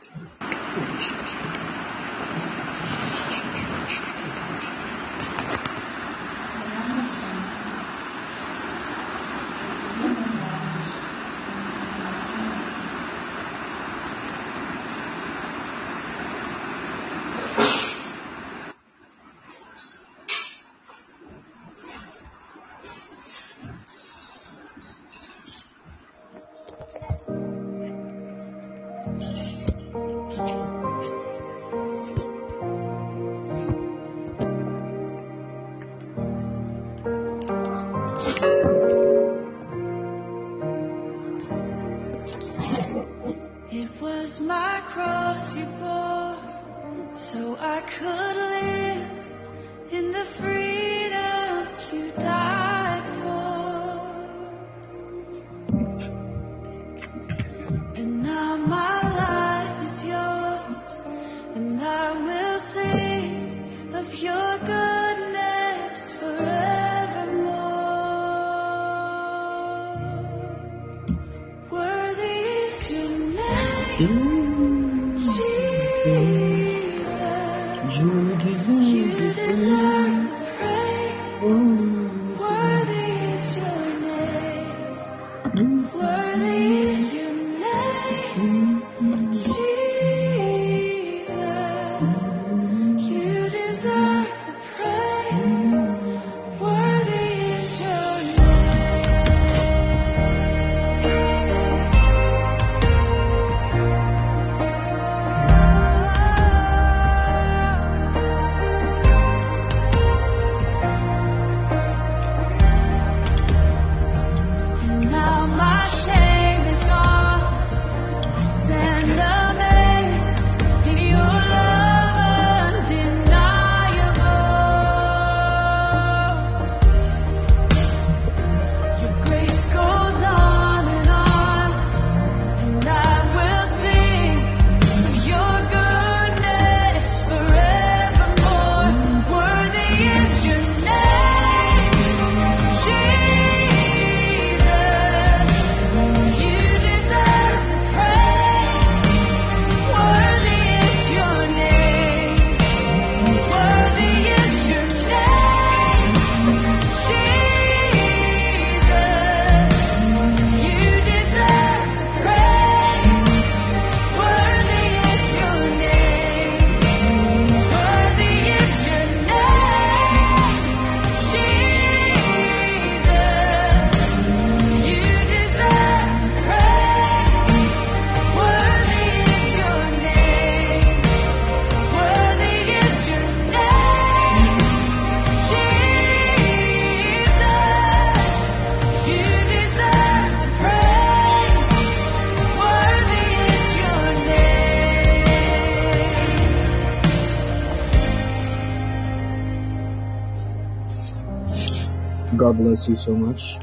God bless you so much.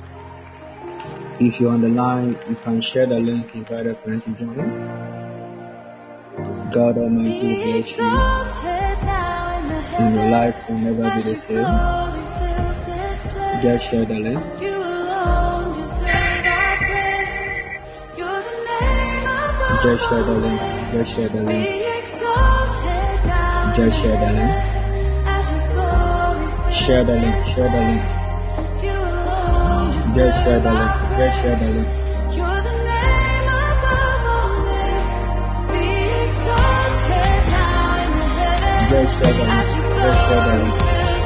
If you're on the line, you can share the link, invite a friend to join. God Almighty will bless you, and your life will never be the same. Just share the link. Just share the link. Just share the link. Just share the link. Share the link. Share the link. Just share the link. Just share the link. Just share the link. Just share the link.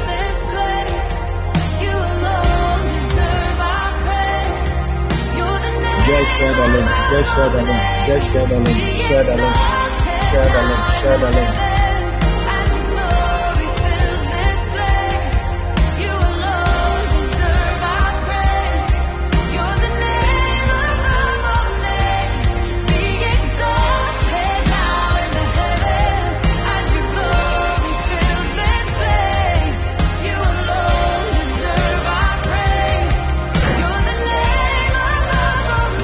Just share the link. Just share the link. Just share the link. Share the link. Share the link. Share the link.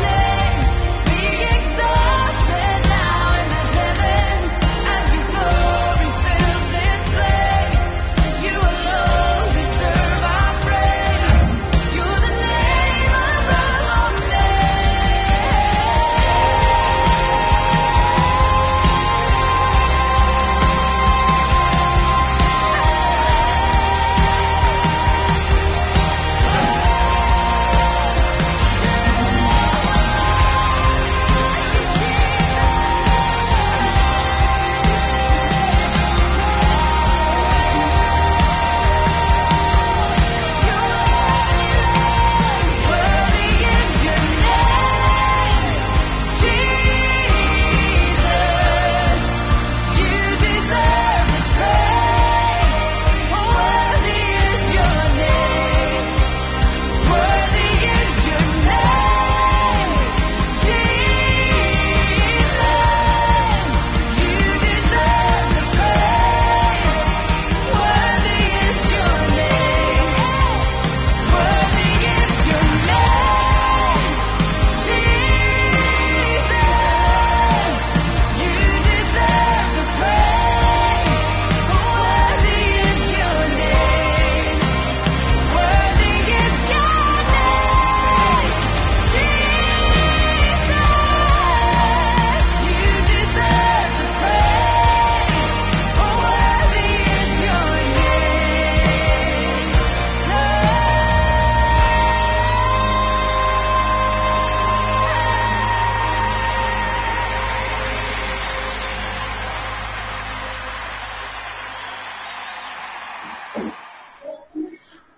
Now in the heavens, as you go.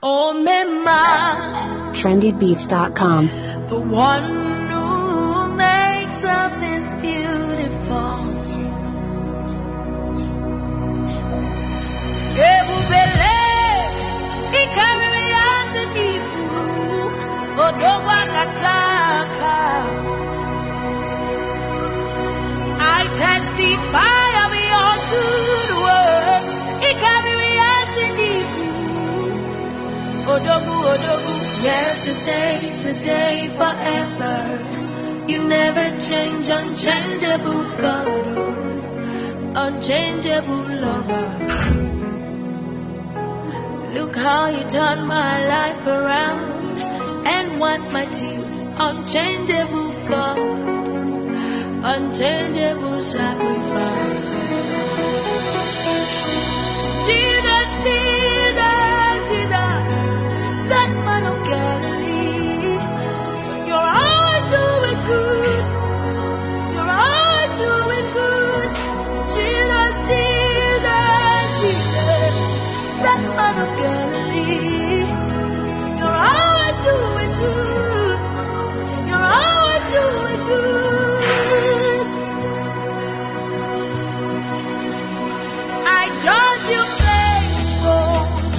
Oh, Mema. trendybeats.com. The one who makes all things beautiful. Ebubele, ikariyati nibu, odowa kataka. I testify of your good works. Ikariyati nibu, odogu, odogu. Yesterday, today, forever. You never change, unchangeable God, unchangeable lover. Look how you turned my life around and wiped my tears. Unchangeable God, unchangeable sacrifice. Jesus, Jesus, Jesus, that man of Galilee. You're always doing good. You're always doing good. Jesus, Jesus, Jesus, that man of Galilee. You're always doing good. You're always doing good. I judge you faithful,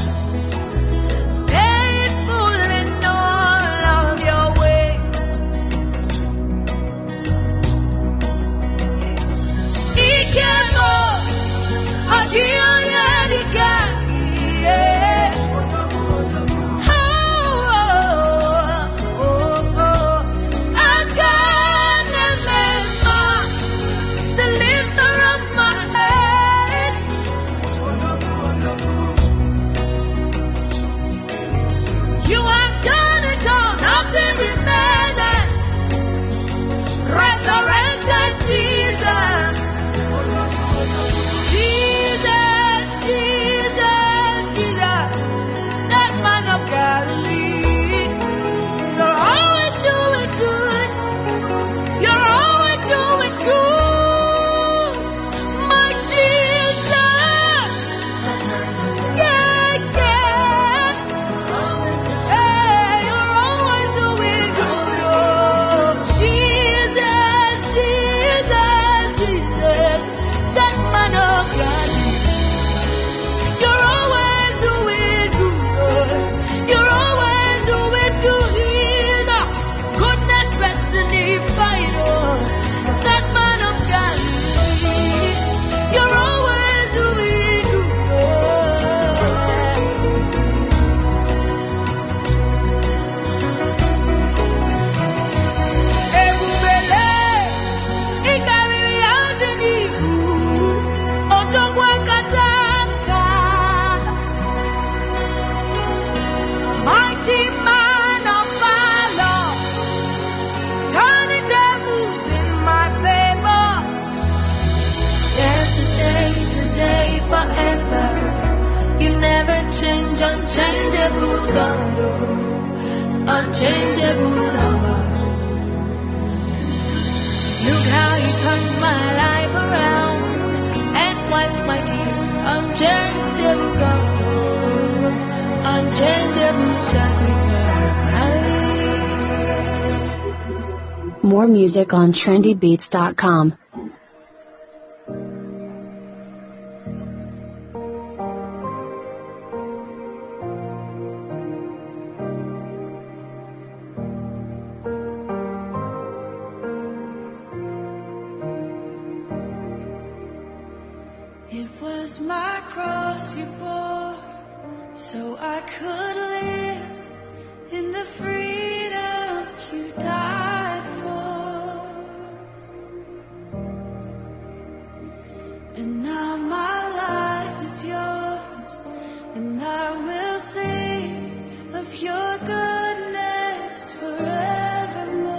faithful in all of your ways. Ikemo, Ajiyarika, yes. I can't remember the lifter of my head. You have done it all, nothing remains. Resurrected Jesus. Jesus, Jesus, Jesus, that man of Galilee. You're always doing good. You're always doing good. My Jesus. Yeah, yeah. Hey, you're always doing good. Oh, Jesus, Jesus, Jesus, that man of Galilee. You're always doing good. You're always doing good. Jesus, goodness, personified. Oh, that man of Galilee. You're always doing good. Ebubele, ikariyati nibu, odogwa kataka. Mighty man of valor, turning tables in my favor. Yesterday, today, forever. You never change, unchangeable God, unchangeable lover. Look how you turned my life around and wiped my tears. Unchangeable God, unchangeable sacrifice. More music on trendybeats.com. It was my cross you bore, so I could live in the freedom you died for. And now my life is yours, and I will sing of your goodness forevermore.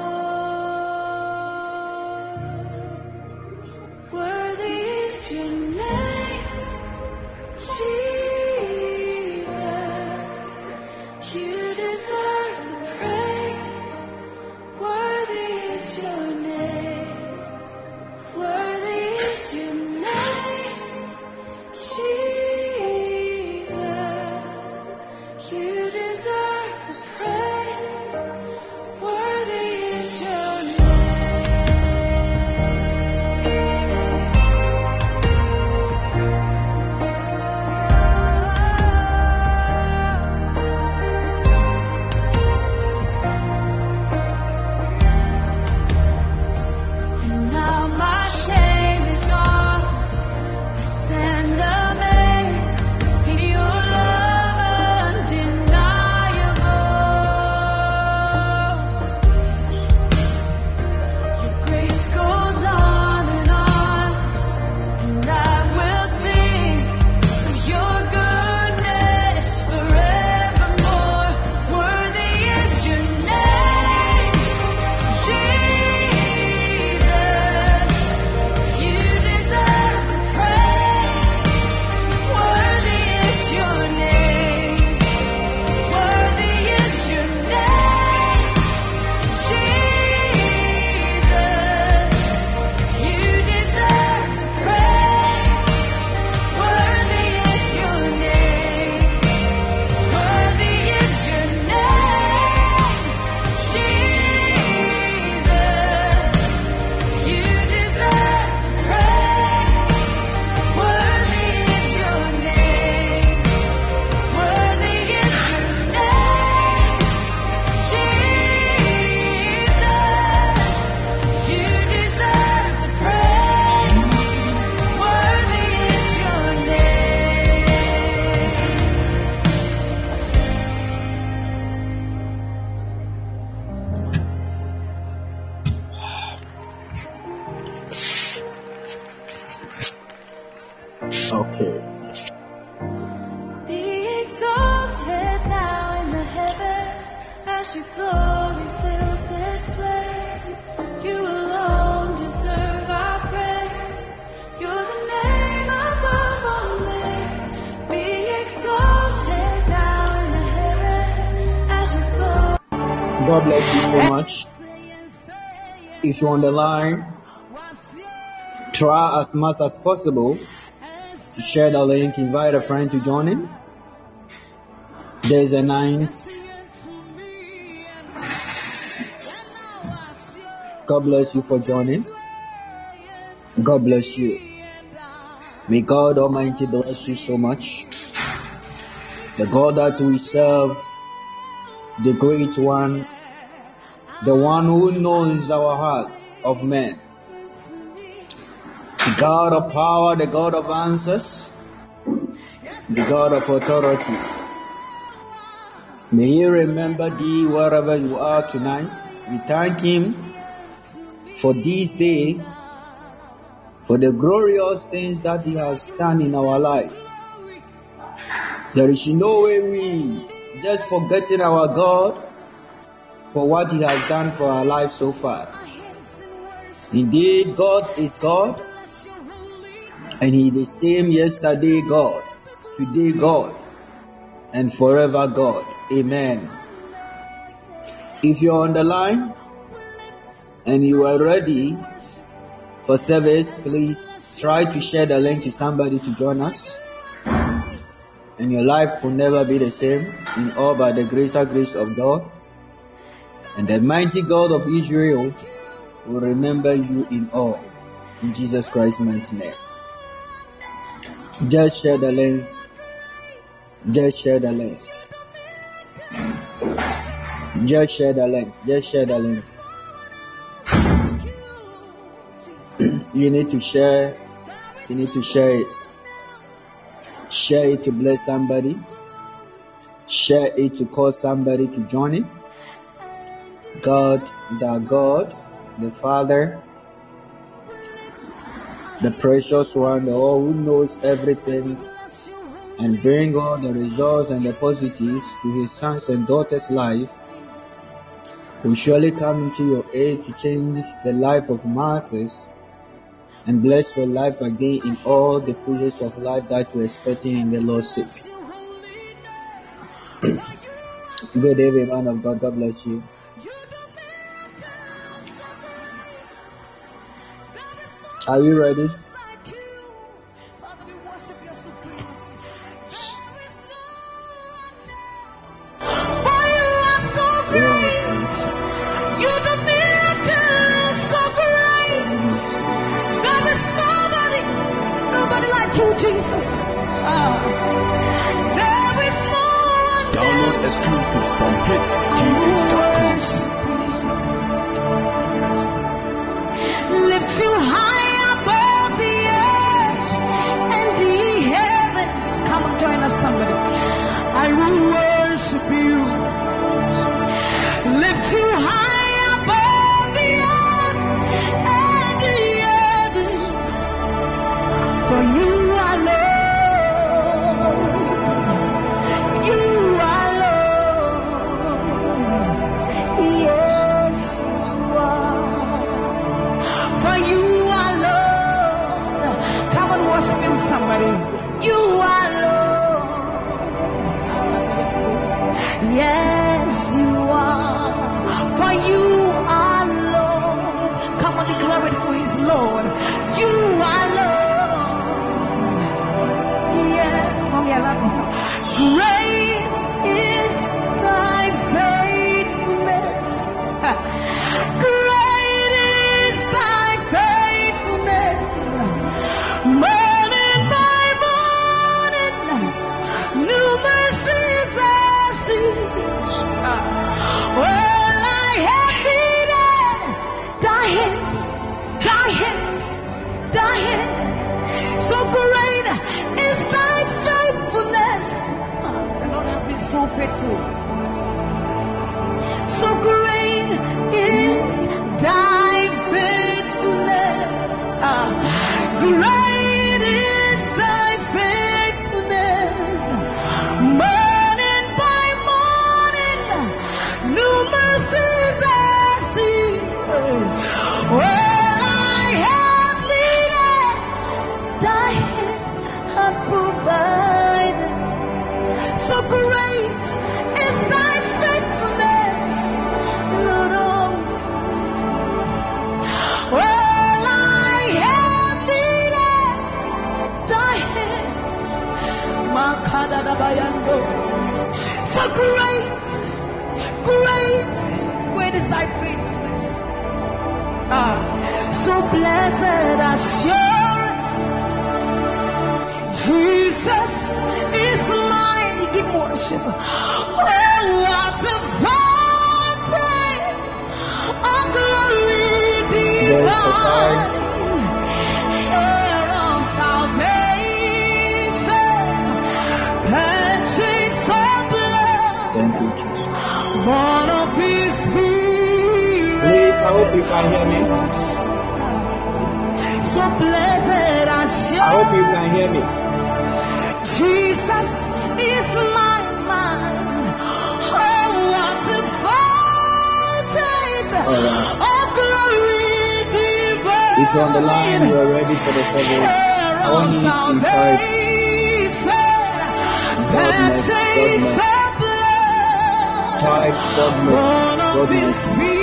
Worthy is your name, Jesus. You deserve the praise. Worthy is your name. Worthy is your name, Jesus. You Okay. Be exalted now in the heavens as your glory fills this place. You alone deserve our praise. You're the name above all names. Be exalted now in the heavens as your glory. God bless you so much. If you're on the line, try as much as possible to share the link, invite a friend to join in. There's a 9th. God bless you for joining. God bless you. May God Almighty bless you so much. The God that we serve, the great one, the one who knows our heart of men, the God of power, the God of answers, the God of authority. May He remember thee wherever you are tonight. We thank Him for this day, for the glorious things that He has done in our life. There is no way we just forgetting our God for what He has done for our life so far. Indeed, God is God, and He is the same yesterday God, today God, and forever God. Amen. If you're on the line and you are ready for service, please try to share the link to somebody to join us, and your life will never be the same, in all by the greater grace of God. And the mighty God of Israel will remember you in all. In Jesus Christ's mighty name. Just share the link. Just share the link. Just share the link. Just share the link. You need to share. You need to share it. Share it to bless somebody. Share it to call somebody to join it. God, the Father, the precious one, the one who knows everything and bring all the results and the positives to His sons and daughters' life, will surely come into your aid to change the life of martyrs and bless your life again in all the phases of life that you're expecting in the Lord's sake. Good evening, man of God. God bless you. Are you ready? Download exclusives from hitsgh.com. Lift you high above the earth and the heavens. Come on, join us, somebody. I will worship you. Lift you high above the earth and the heavens. For you are Lord. You are Lord. Yes, you are. For you are Lord. Come on, worship Him, somebody. You are Lord. Yes, you are. For you are Lord. Come on, declare it for His Lord. You are Lord. Yes, mommy, I love this song. Great is thy faithfulness. Great is thy faithfulness. Morning by morning, new mercies I see. Well, I have needed thy hand, thy hand, thy hand. So great is thy faithfulness. The Lord has been so faithful. So great is thy faithfulness. Great is thy is thy faithfulness. So blessed assurance, Jesus is mine. We give worship. Oh, what a fountain of glory divine, heir of salvation, purchase of blood, Thank you, Jesus. born of His Spirit. Please, I hope you can hear me. So blessed assurance, I hope you can hear me. Jesus is my mind. Oh, what a fountain Alright. of glory divine. If you're on the line, you are ready for the service. I want you to type Godness, Godness. Type Godness,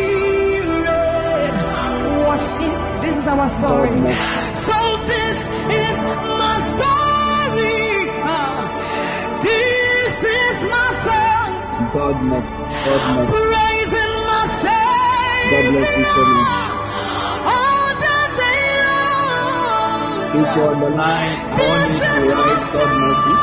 Godness, This is our story. Godness. So this is my story. This is my song. Godness, Godness. Praising my Savior. God bless you so much. All the day long. If you're on the line, I want you to write God mercy.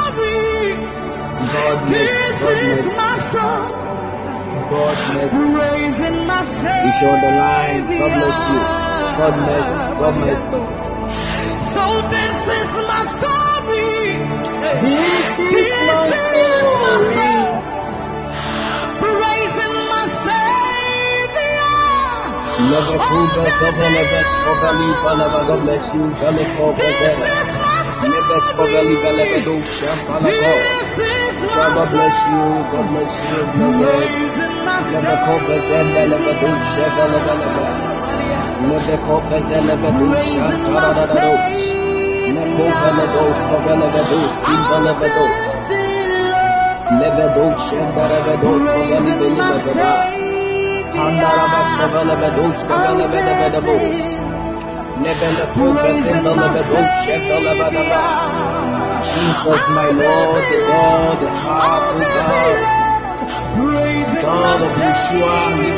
This God is mercy. my song. God mercy. Praising my Savior. If you're on the line, God bless you. God mercy. God mercy. So this is my story. This is my story. Praising my Savior. Love it, God bless you. This is my story. God bless you. God bless you. Praising my Jesus, my Lord, the God, the powerful God, God of Yeshua,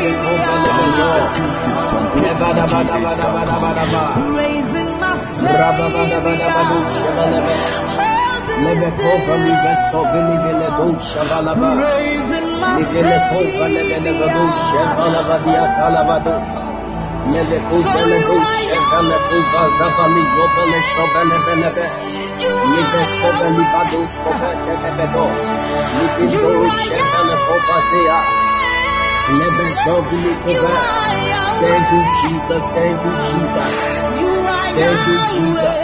Thank you, Jesus. Thank you, Jesus. Thank you, Jesus.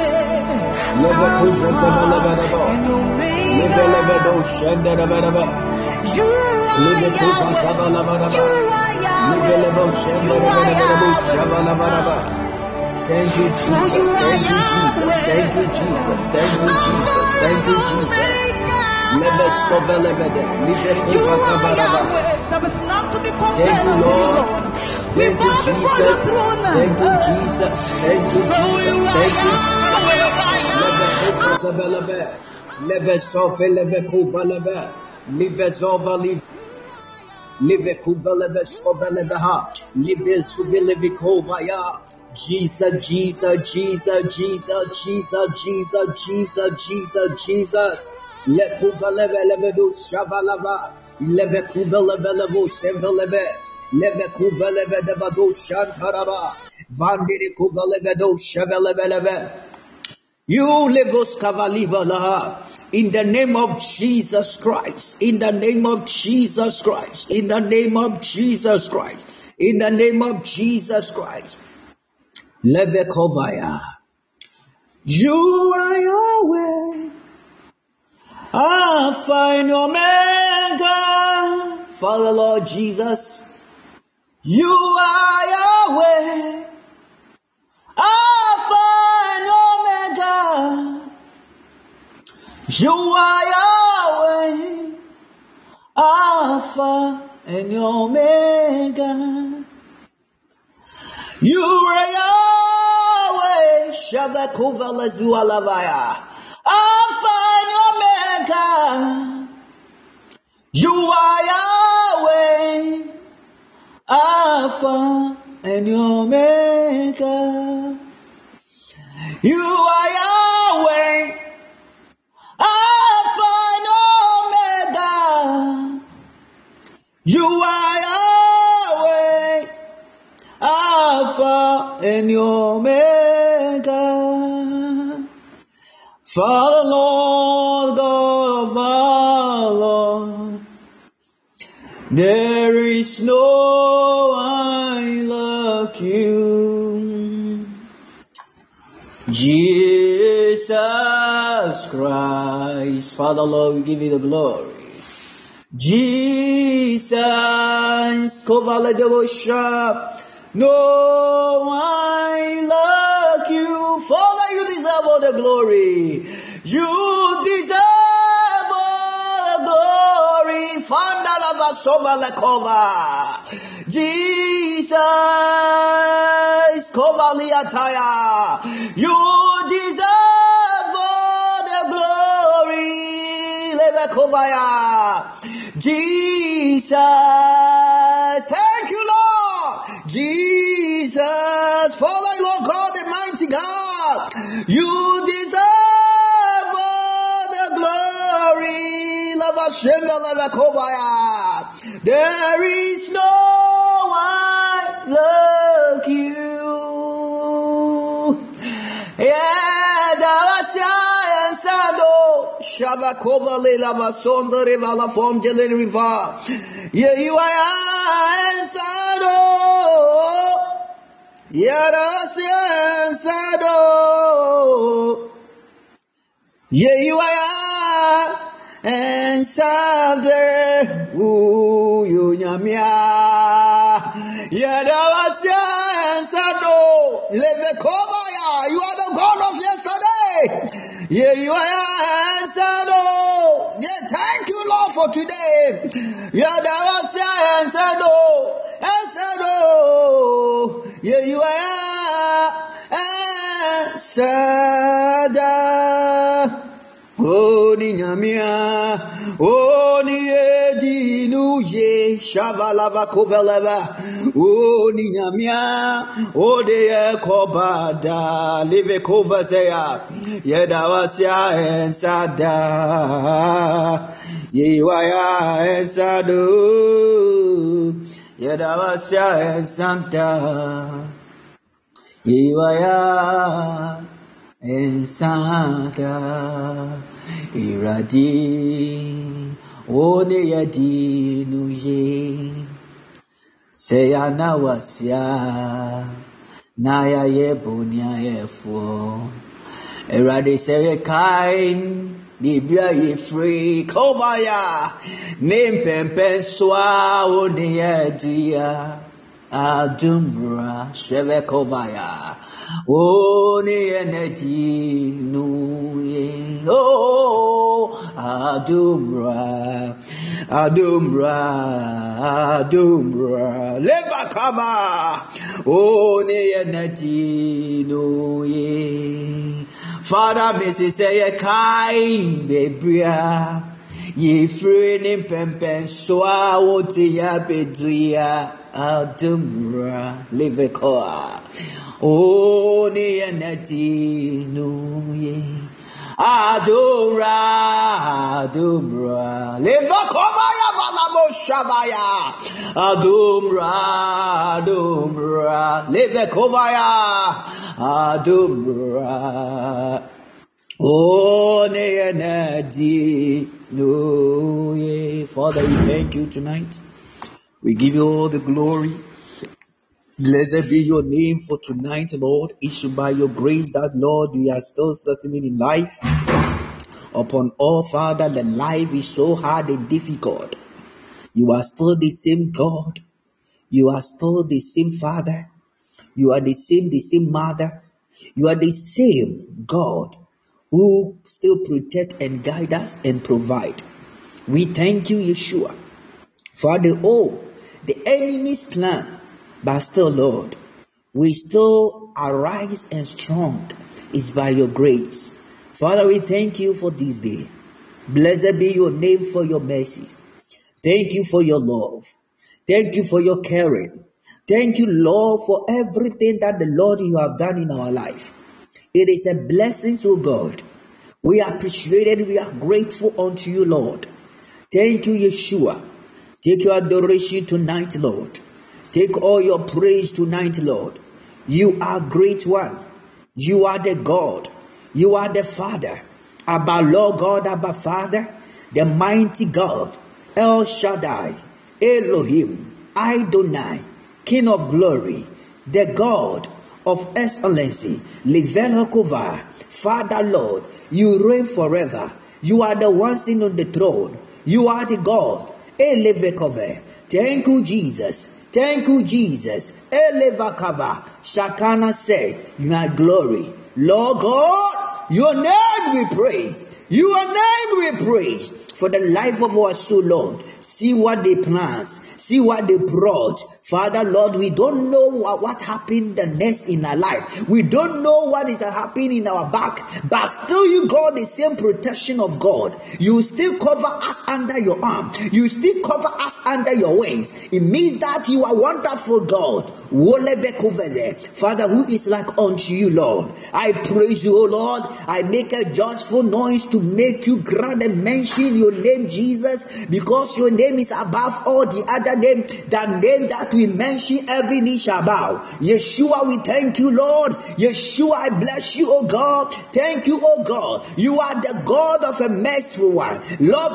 Thank you, Jesus. Thank you, Jesus. Thank you, Jesus. Thank you, Jesus. Thank you, Jesus. Thank you, Lord. Thank you, Jesus. Thank you, Jesus. Thank you, Jesus. Thank you. Jesus, Jesus, Jesus, Jesus, Jesus, Jesus, Jesus, Jesus, Jesus. Lekubalebelebedu shabalaba. Lebekubelebelebu shembelebe. Lebekubelebedebadu shantaraba. Vandiri kubelebedu shebelebelebe. You levos kavaliva laha. In the name of Jesus Christ. In the name of Jesus Christ. In the name of Jesus Christ. In the name of Jesus Christ. Levekovaya. You are Yahweh, Alpha and Omega. Father Lord Jesus, you are Yahweh, Alpha and Omega. You are Yahweh, Alpha and Omega. You are Yahweh, Shabakova Zualavaya, Alpha and Omega. You are Yahweh, Alpha and Omega. You are Yahweh, Alpha and Omega. You are Yahweh, Alpha and Omega. Father, Lord God of our Lord, there is no one like you. Jesus Christ. Father, Lord, we give you the glory. Jesus, cover the worship. No one like you. Father, you deserve all the glory. You deserve all the glory. Father, Jesus, cover Liataya. You deserve all the glory. Lebekovaya. Jesus, thank you, Lord. Jesus, Father, Lord God, the mighty God, you deserve all the glory. There is no one like you. Yeah, Shabakova Lela Basonda Rivala from Jelen River. Yeah, you are Sado. Yeah, Sado. Yeah, you are and Sade. Ooh, you Yamia. Yeah, Sado. Levekova, you are the God of yesterday. Yeah, you are answered. Yeah, thank you, Lord, for today. Yeah, that was answered. Answered. Yeah, you are answered. Oh, Ninyamia. Oh, Niedi Nuye. Shabalava Koveleva. Oh, Ninyamia. Oh, de Kobada. Live Kovazea. Yedawasya and Sada. Yewaya and Sadu. Yedawasya and Santa. Yewaya and Santa. Iradi. One Yadi Nuye. Seyana wasya. Naya Yebunya Yefo. Erade seye kain Biblia ye free Kobaya Name pempen swa Oniye dia Adumra Sheve Kobaya Oniye nedi nuye Oh Adumra Leva kama Oniye nedi nuye Father, Mrs. Say kind, Bebria. Ye free nim pempen soa woti ya bedria adumra levekoa. O ni enati nuye. Adumra levakoma ya balamo shabaya. Adumra levekovaya. Adumra. Oh, Father, we thank you tonight. We give you all the glory. Blessed be your name for tonight, Lord. It's by your grace that, Lord, we are still settling in life. Upon all, Father, the life is so hard and difficult. You are still the same God. You are still the same Father. You are the same Mother. You are the same God who still protect and guide us and provide. We thank you, Yeshua, for the enemy's plan, but still, Lord, we still arise and strong is by your grace. Father, we thank you for this day. Blessed be your name for your mercy. Thank you for your love. Thank you for your caring. Thank you, Lord, for everything that the Lord you have done in our life. It is a blessing, oh God. We appreciate it. We are grateful unto you, Lord. Thank you, Yeshua. Take your adoration tonight, Lord. Take all your praise tonight, Lord. You are great one. You are the God. You are the Father. Abba Lord God, Abba Father, the mighty God, El Shaddai, Elohim, Adonai, King of glory, the God of excellency, Livelokova. Father Lord, you reign forever. You are the one sitting on the throne. You are the God. Elevekove. Thank you, Jesus. Thank you, Jesus. Elevakava. Shakana say, my glory. Lord God, your name we praise. Your name we praise. For the life of our soul, Lord. See what they planned. See what they brought. Father, Lord, we don't know what happened the next in our life. We don't know what is happening in our back. But still you got the same protection of God. You still cover us under your arm. You still cover us under your wings. It means that you are wonderful God. Father, who is like unto you, Lord? I praise you, O Lord. I make a joyful noise to make you grand and mention your name, Jesus, because your name is above all the other name. That name that we mention, every knee shall bow. Yeshua, we thank you, Lord. Yeshua, I bless you, O God. Thank you, O God. You are the God of a merciful one. Lord,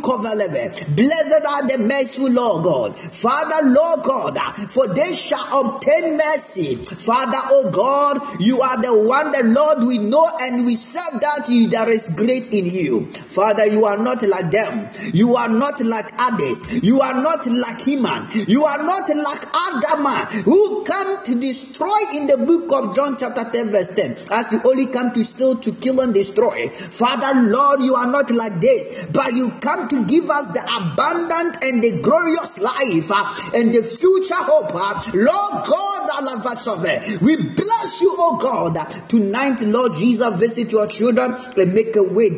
blessed are the merciful, Lord God. Father, Lord God, for they shall obtain mercy. Father, O God, you are the one, the Lord, we know and we serve that you there is great in you. Father, you are not like them. You are not like others. You are not like Heman. You are not like Adama, who come to destroy in the book of John chapter 10 verse 10. As you only come to steal, to kill and destroy. Father, Lord, you are not like this, but you come to give us the abundant and the glorious life and the future hope. Lord God, we bless you, oh God. Tonight, Lord Jesus, visit your children and make a way,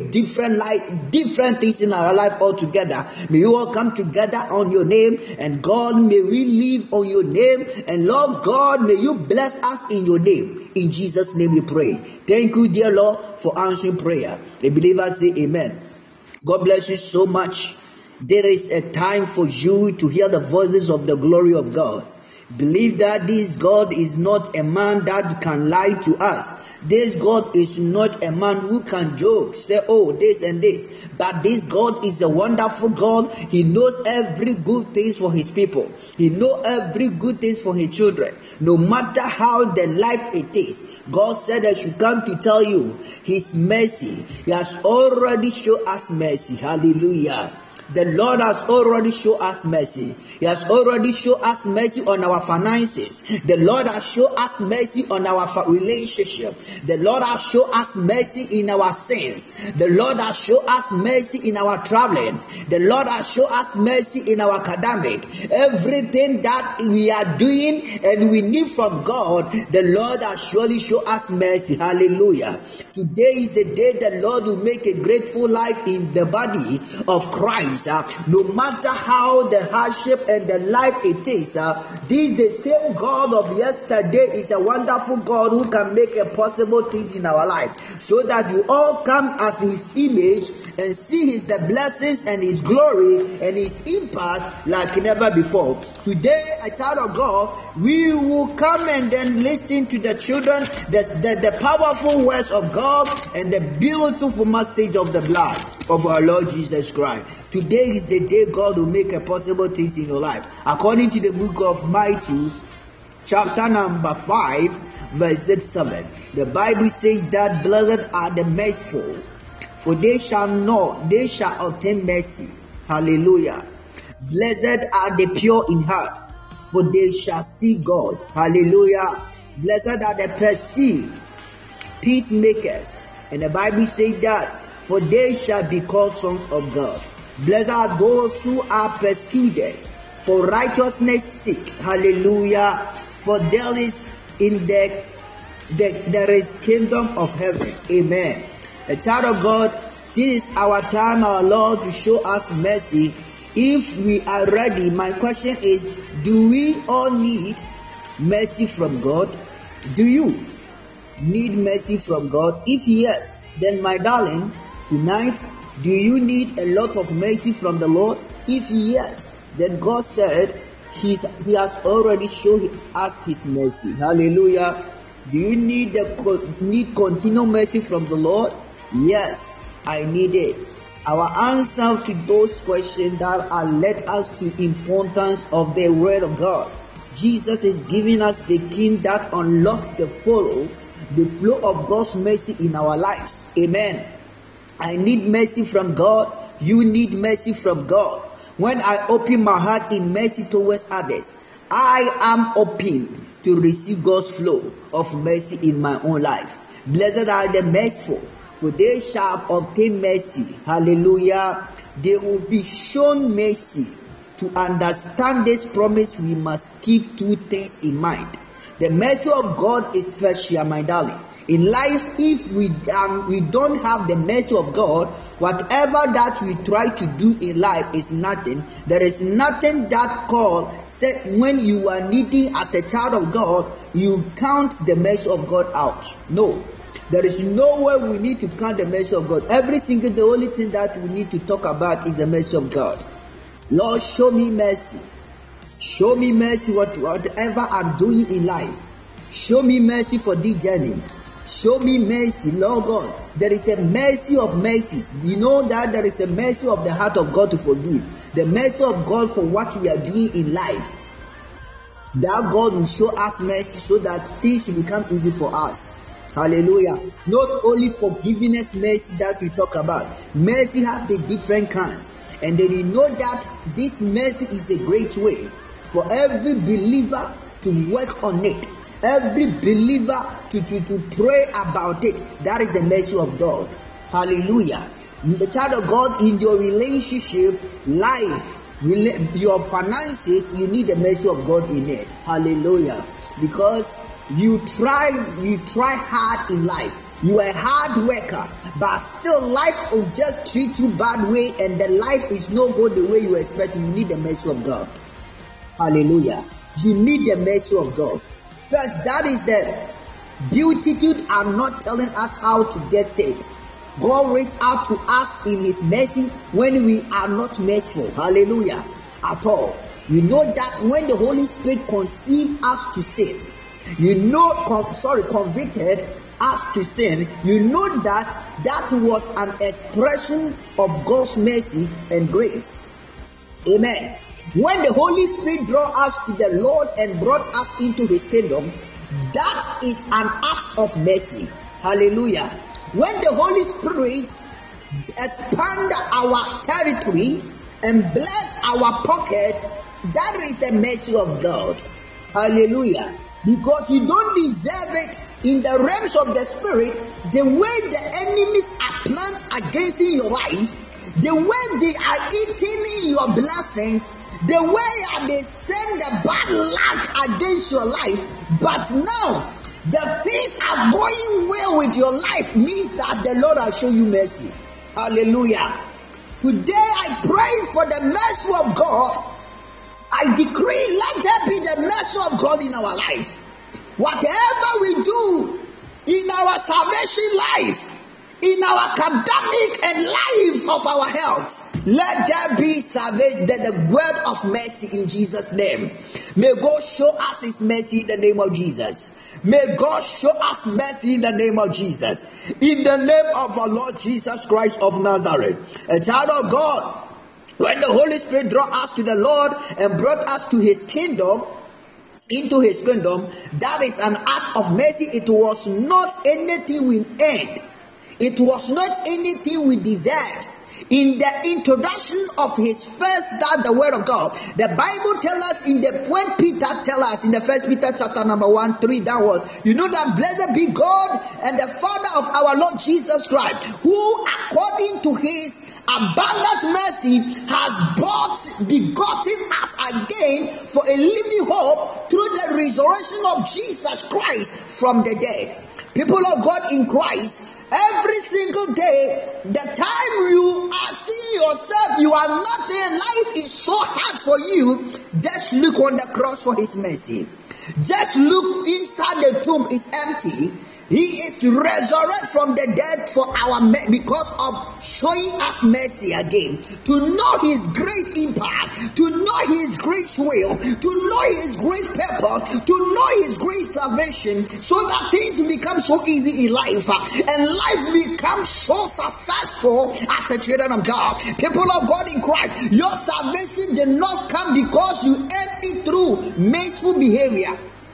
different things in our life altogether. May you all come together on your name, and God, may we live on your name, and Lord God, may you bless us in your name. In Jesus' name we pray. Thank you, dear Lord, for answering prayer. The believers say amen. God bless you so much. There is a time for you to hear the voices of the glory of God. Believe that this God is not a man that can lie to us. This God is not a man who can joke, say, oh, this and this. But this God is a wonderful God. He knows every good thing for his people. He knows every good thing for his children. No matter how the life it is. God said I should come to tell you his mercy. He has already shown us mercy. Hallelujah. The Lord has already shown us mercy. He has already shown us mercy on our finances. The Lord has shown us mercy on our relationship. The Lord has shown us mercy in our sins. The Lord has shown us mercy in our traveling. The Lord has shown us mercy in our academic. Everything that we are doing and we need from God, the Lord has surely shown us mercy. Hallelujah. Today is a day the Lord will make a grateful life in the body of Christ. No matter how the hardship and the life it is, this the same God of yesterday is a wonderful God who can make a possible things in our life, so that you all come as his image and see his the blessings and his glory and his impact like never before. Today, a child of God, we will come and then listen to the children, the powerful words of God and the beautiful message of the blood of our Lord Jesus Christ. Today is the day God will make a possible things in your life. According to the book of Matthew, chapter number 5, verse 6-7, the Bible says that blessed are the merciful, for they shall obtain mercy. Hallelujah. Blessed are the pure in heart, for they shall see God. Hallelujah. Blessed are the perceived peacemakers, and the Bible says that for they shall be called sons of God. Blessed are those who are persecuted for righteousness' sake. Hallelujah. For there is there is kingdom of heaven. Amen. A child of God, this is our time, our Lord, to show us mercy If we are ready, my question is, do we all need mercy from God? Do you need mercy from God? If yes, then my darling, tonight, do you need a lot of mercy from the Lord? If yes, then God said He has already shown us His mercy. Hallelujah. Do you need continual mercy from the Lord? Yes, I need it. Our answer to those questions that are led us to importance of the Word of God. Jesus is giving us the key that unlocks the flow of God's mercy in our lives. Amen. I need mercy from God. You need mercy from God. When I open my heart in mercy towards others, I am open to receive God's flow of mercy in my own life. Blessed are the merciful, for they shall obtain mercy. Hallelujah. They will be shown mercy. To understand this promise, we must keep two things in mind. The mercy of God is special, my darling. In life, if we don't have the mercy of God, whatever that we try to do in life is nothing. There is nothing that when you are needing as a child of God, you count the mercy of God out. No. There is no way we need to count the mercy of God. The only thing that we need to talk about is the mercy of God. Lord, show me mercy. Show me mercy whatever I'm doing in life. Show me mercy for this journey. Show me mercy, Lord God. There is a mercy of mercies. You know that there is a mercy of the heart of God to forgive. The mercy of God for what we are doing in life. That God will show us mercy so that things will become easy for us. Hallelujah. Not only forgiveness mercy that we talk about. Mercy has the different kinds. And then you know that this mercy is a great way for every believer to work on it. Every believer to pray about it. That is the mercy of God. Hallelujah. The child of God, in your relationship, life, your finances, you need the mercy of God in it. Hallelujah. Because you try hard in life. You are a hard worker, but still life will just treat you bad way, and the life is not go the way you expect. You need the mercy of God. Hallelujah. You need the mercy of God. First, that is the Beatitudes are not telling us how to get saved. God reached out to us in His mercy when we are not merciful. Hallelujah. At all. You know that when the Holy Spirit conceived us to sin, convicted us to sin, you know that was an expression of God's mercy and grace. Amen. When the Holy Spirit drew us to the Lord and brought us into His kingdom, that is an act of mercy. Hallelujah. When the Holy Spirit expand our territory and bless our pocket, that is the mercy of God. Hallelujah. Because you don't deserve it. In the realms of the spirit, the way the enemies are planned against your life, the way they are eating your blessings, the way they send the bad luck against your life, but now the things are going well with your life, means that the Lord has shown you mercy. Hallelujah. Today I pray for the mercy of God. I decree, let there be the mercy of God in our life. Whatever we do in our salvation life, in our academic and life of our health, let there be salvation, the word of mercy in Jesus' name. May God show us His mercy in the name of Jesus. May God show us mercy in the name of Jesus. In the name of our Lord Jesus Christ of Nazareth. A child of God, when the Holy Spirit drew us to the Lord and brought us to His kingdom, into His kingdom, that is an act of mercy. It was not anything we earned. It was not anything we deserved. In the introduction of His first, that the word of God, the Bible tells us when Peter tells us in the 1 Peter chapter number 1:3 downward, you know that blessed be God and the Father of our Lord Jesus Christ, who according to His abundant mercy has begotten us again for a living hope through the resurrection of Jesus Christ from the dead. People of God in Christ, Every single day, the time you are seeing yourself, you are not there, life is so hard for you, just look on the cross for his mercy. Just look inside the tomb, is empty. He is resurrected from the dead for our because of showing us mercy again. To know his great impact, to know his great will, to know his great purpose, to know his great salvation, so that things become so easy in life, and life becomes so successful as a children of God. People of God in Christ, your salvation did not come because you earned it through merciful behavior.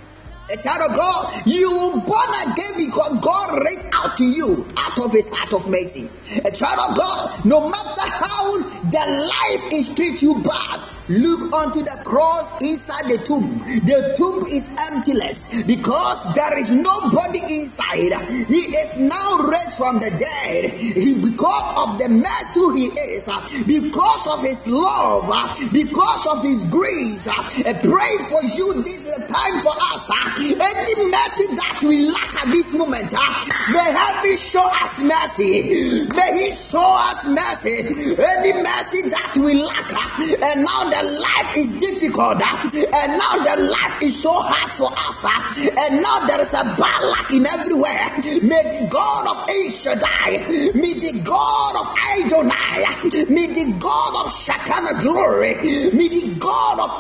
A child of God, you were born again because God reached out to you out of his heart of mercy. A child of God, no matter how the life is treat you bad, look onto the cross inside the tomb. The tomb is emptiness because there is nobody inside. He is now raised from the dead. Because of the mercy he is, because of his love, because of his grace. I pray for you, this is a time for us. Any mercy that we lack at this moment, may heaven show us mercy. May he show us mercy. Any mercy that we lack, and now the life is difficult, and now the life is so hard for us, and now there is a bad luck in everywhere. May the God of El Shaddai, may the God of Adonai, may the God of Shekinah glory, may the God of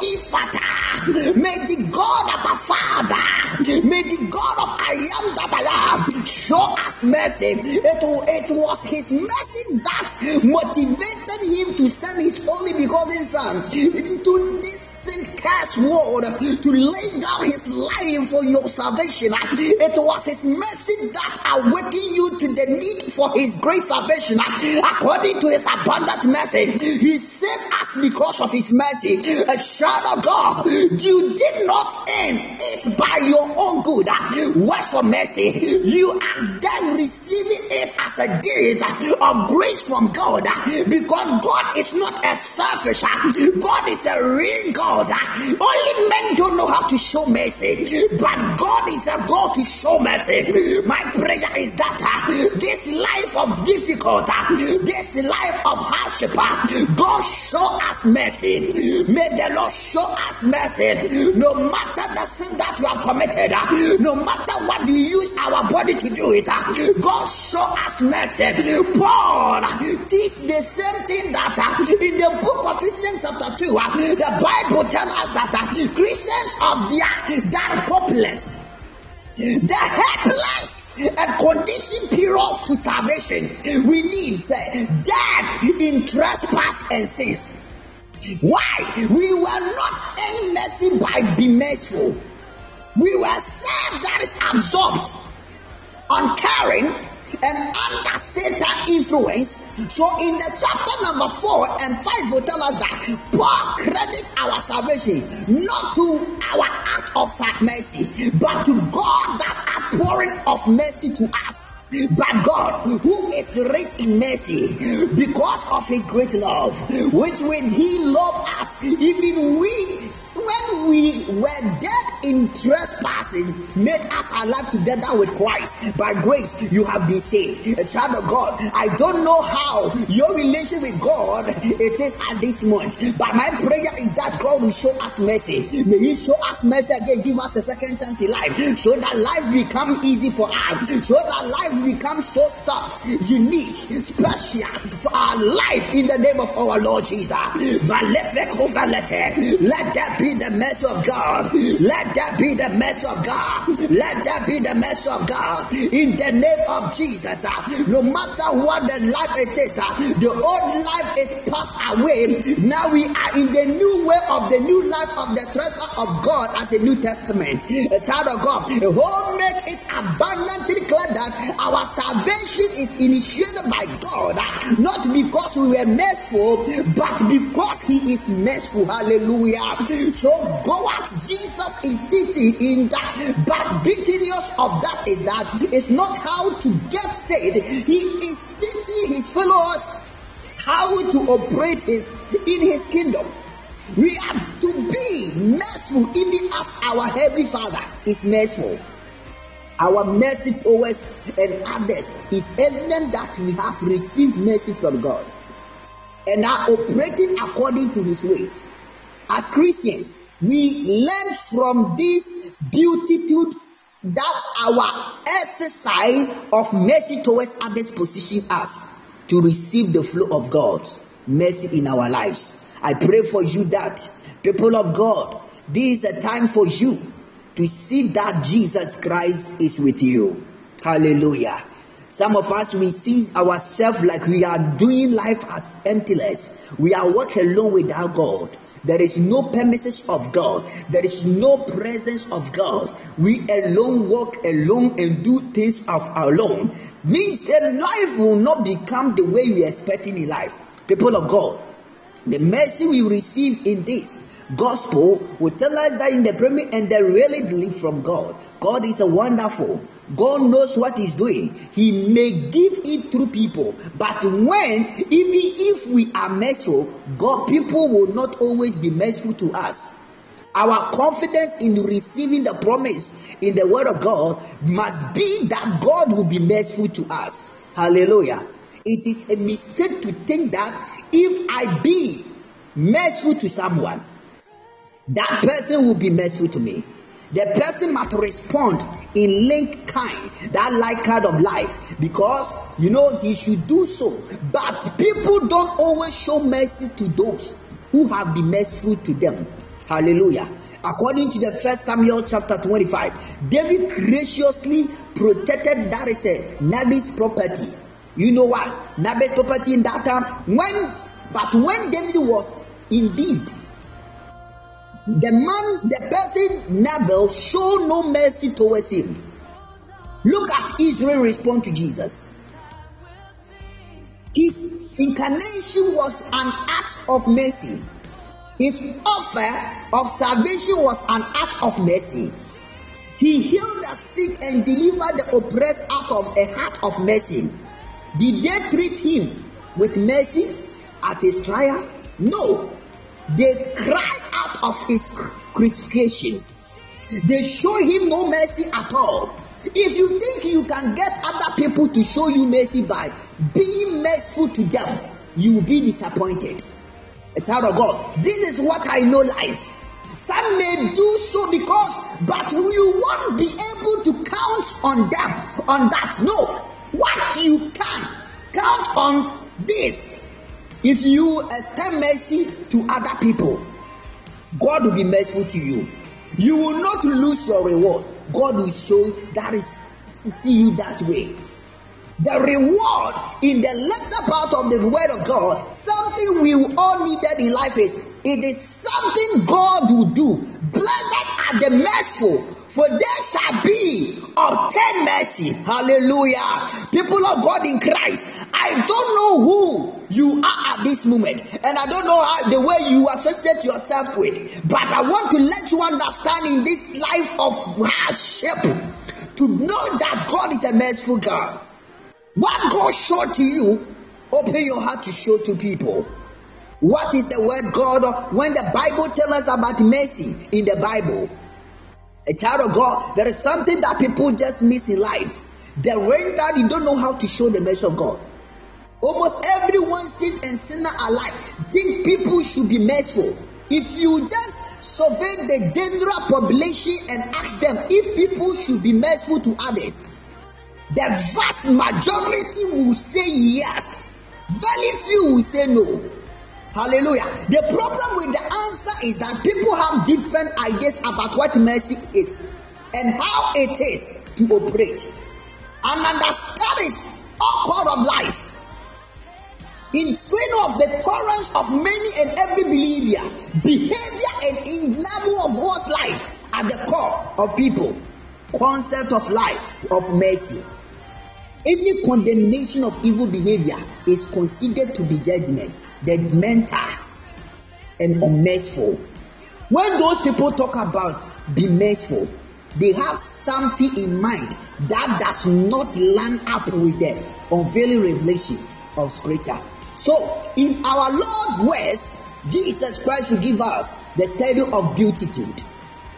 Ephata, may the God of our Father, may the God of I am that I am show us mercy. It was his mercy that motivated him to send his only begotten son into this cursed world to lay down his life for your salvation. It was his mercy that awakened you to the need for his great salvation. According to his abundant mercy, he saved us because of his mercy. A child of God, you did not earn it by your own good work for mercy. You are then receiving it as a gift of grace from God, because God is not a selfish God, is a real God. Only men don't know how to show mercy, but God is a God to show mercy. My prayer is that this life of difficulty, this life of hardship, God show us mercy. May the Lord show us mercy. No matter the sin that we have committed, no matter what we use our body to do it, God show us mercy. Paul teach the same thing that in the book of Ephesians chapter 2, the Bible tells us that Christians of that hopeless, the helpless and condition period to salvation, we need dead in trespass and sins. Why? We were not any mercy by being merciful. We were saved that is absorbed, uncaring, and under Satan's influence. So in the chapter number 4 and 5 will tell us that Paul credits our salvation not to our act of mercy, but to God that outpouring of mercy to us. But God, who is rich in mercy, because of his great love, which when he loved us, even when we were dead in trespassing, made us alive together with Christ. By grace, you have been saved. A child of God, I don't know how your relation with God it is at this moment, but my prayer is that God will show us mercy. May he show us mercy again, give us a second chance in life, so that life become easy for us, so that life becomes so soft, unique, special for our life in the name of our Lord Jesus. But let that be the mercy of God. Let that be the mercy of God. Let that be the mercy of God in the name of Jesus. No matter what the life it is, the old life is passed away. Now we are in the new way of the new life of the treasure of God as a New Testament. A child of God, who make it abundantly clear that our salvation is initiated by God, not because we were merciful, but because he is merciful. Hallelujah. So go at Jesus is teaching in that, but beginningness of that is that it's not how to get saved. He is teaching his followers how to operate in his kingdom. We are to be merciful even as our Heavenly Father is merciful. our mercy towards and others is evident that we have received mercy from God and are operating according to His ways. As Christians, we learn from this beatitude that our exercise of mercy towards others position us to receive the flow of God's mercy in our lives. I pray for you that, people of God, this is a time for you to see that Jesus Christ is with you. Hallelujah. Some of us, we see ourselves like we are doing life as emptiness. We are walking alone without God. There is no premises of God. There is no presence of God. We alone walk alone and do things of our own. Means that life will not become the way we are expecting in life. People of God, the mercy we receive in this gospel will tell us that in the premier and they really believe from God. God is a wonderful. God knows what He's doing. He may give it through people, but even if we are merciful, God, people will not always be merciful to us. Our confidence in receiving the promise in the word of God must be that God will be merciful to us. Hallelujah. It is a mistake to think that if I be merciful to someone, that person will be merciful to me. The person must respond in like kind, that like kind of life, because he should do so. But people don't always show mercy to those who have been merciful to them. Hallelujah. According to the 1 Samuel chapter 25, David graciously protected Nabal's property. You know what? Nabal's property in that time, when David was indeed the person Nabal showed no mercy towards him. Look at Israel's response to Jesus. His incarnation was an act of mercy. His offer of salvation was an act of mercy. He healed the sick and delivered the oppressed out of a heart of mercy. Did they treat him with mercy at his trial? No. They cried out of his crucifixion. They show him no mercy at all. If you think you can get other people to show you mercy by being merciful to them, you will be disappointed. A child of God, this is what I know life. Some may do so but you won't be able to count on them, on that. No. What you can count on this. If you extend mercy to other people, God will be merciful to you. You will not lose your reward. God will show that is to see you that way. The reward in the latter part of the word of God, something we all needed in life it is something God will do. Blessed are the merciful, for they shall be obtained mercy. Hallelujah. People of God in Christ, I don't know who you are at this moment, and I don't know how the way you associate yourself with, but I want to let you understand in this life of hardship to know that God is a merciful God. What God showed to you, open your heart to show to people. What is the word God? When the Bible tells us about mercy in the Bible, a child of God, there is something that people just miss in life. The way that you don't know how to show the mercy of God. Almost everyone, sin and sinner alike, think people should be merciful. If you just survey the general population and ask them if people should be merciful to others, the vast majority will say yes. Very few will say no. Hallelujah. The problem with the answer is that people have different ideas about what mercy is and how it is to operate. And that is all part of life. In spite of the tolerance of many and every behavior and in level of God's life at the core of people, concept of life of mercy. Any condemnation of evil behavior is considered to be judgmental and unmerciful. When those people talk about be merciful, they have something in mind that does not line up with the unveiling revelation of Scripture. So, in our Lord's words, Jesus Christ will give us the study of beatitude.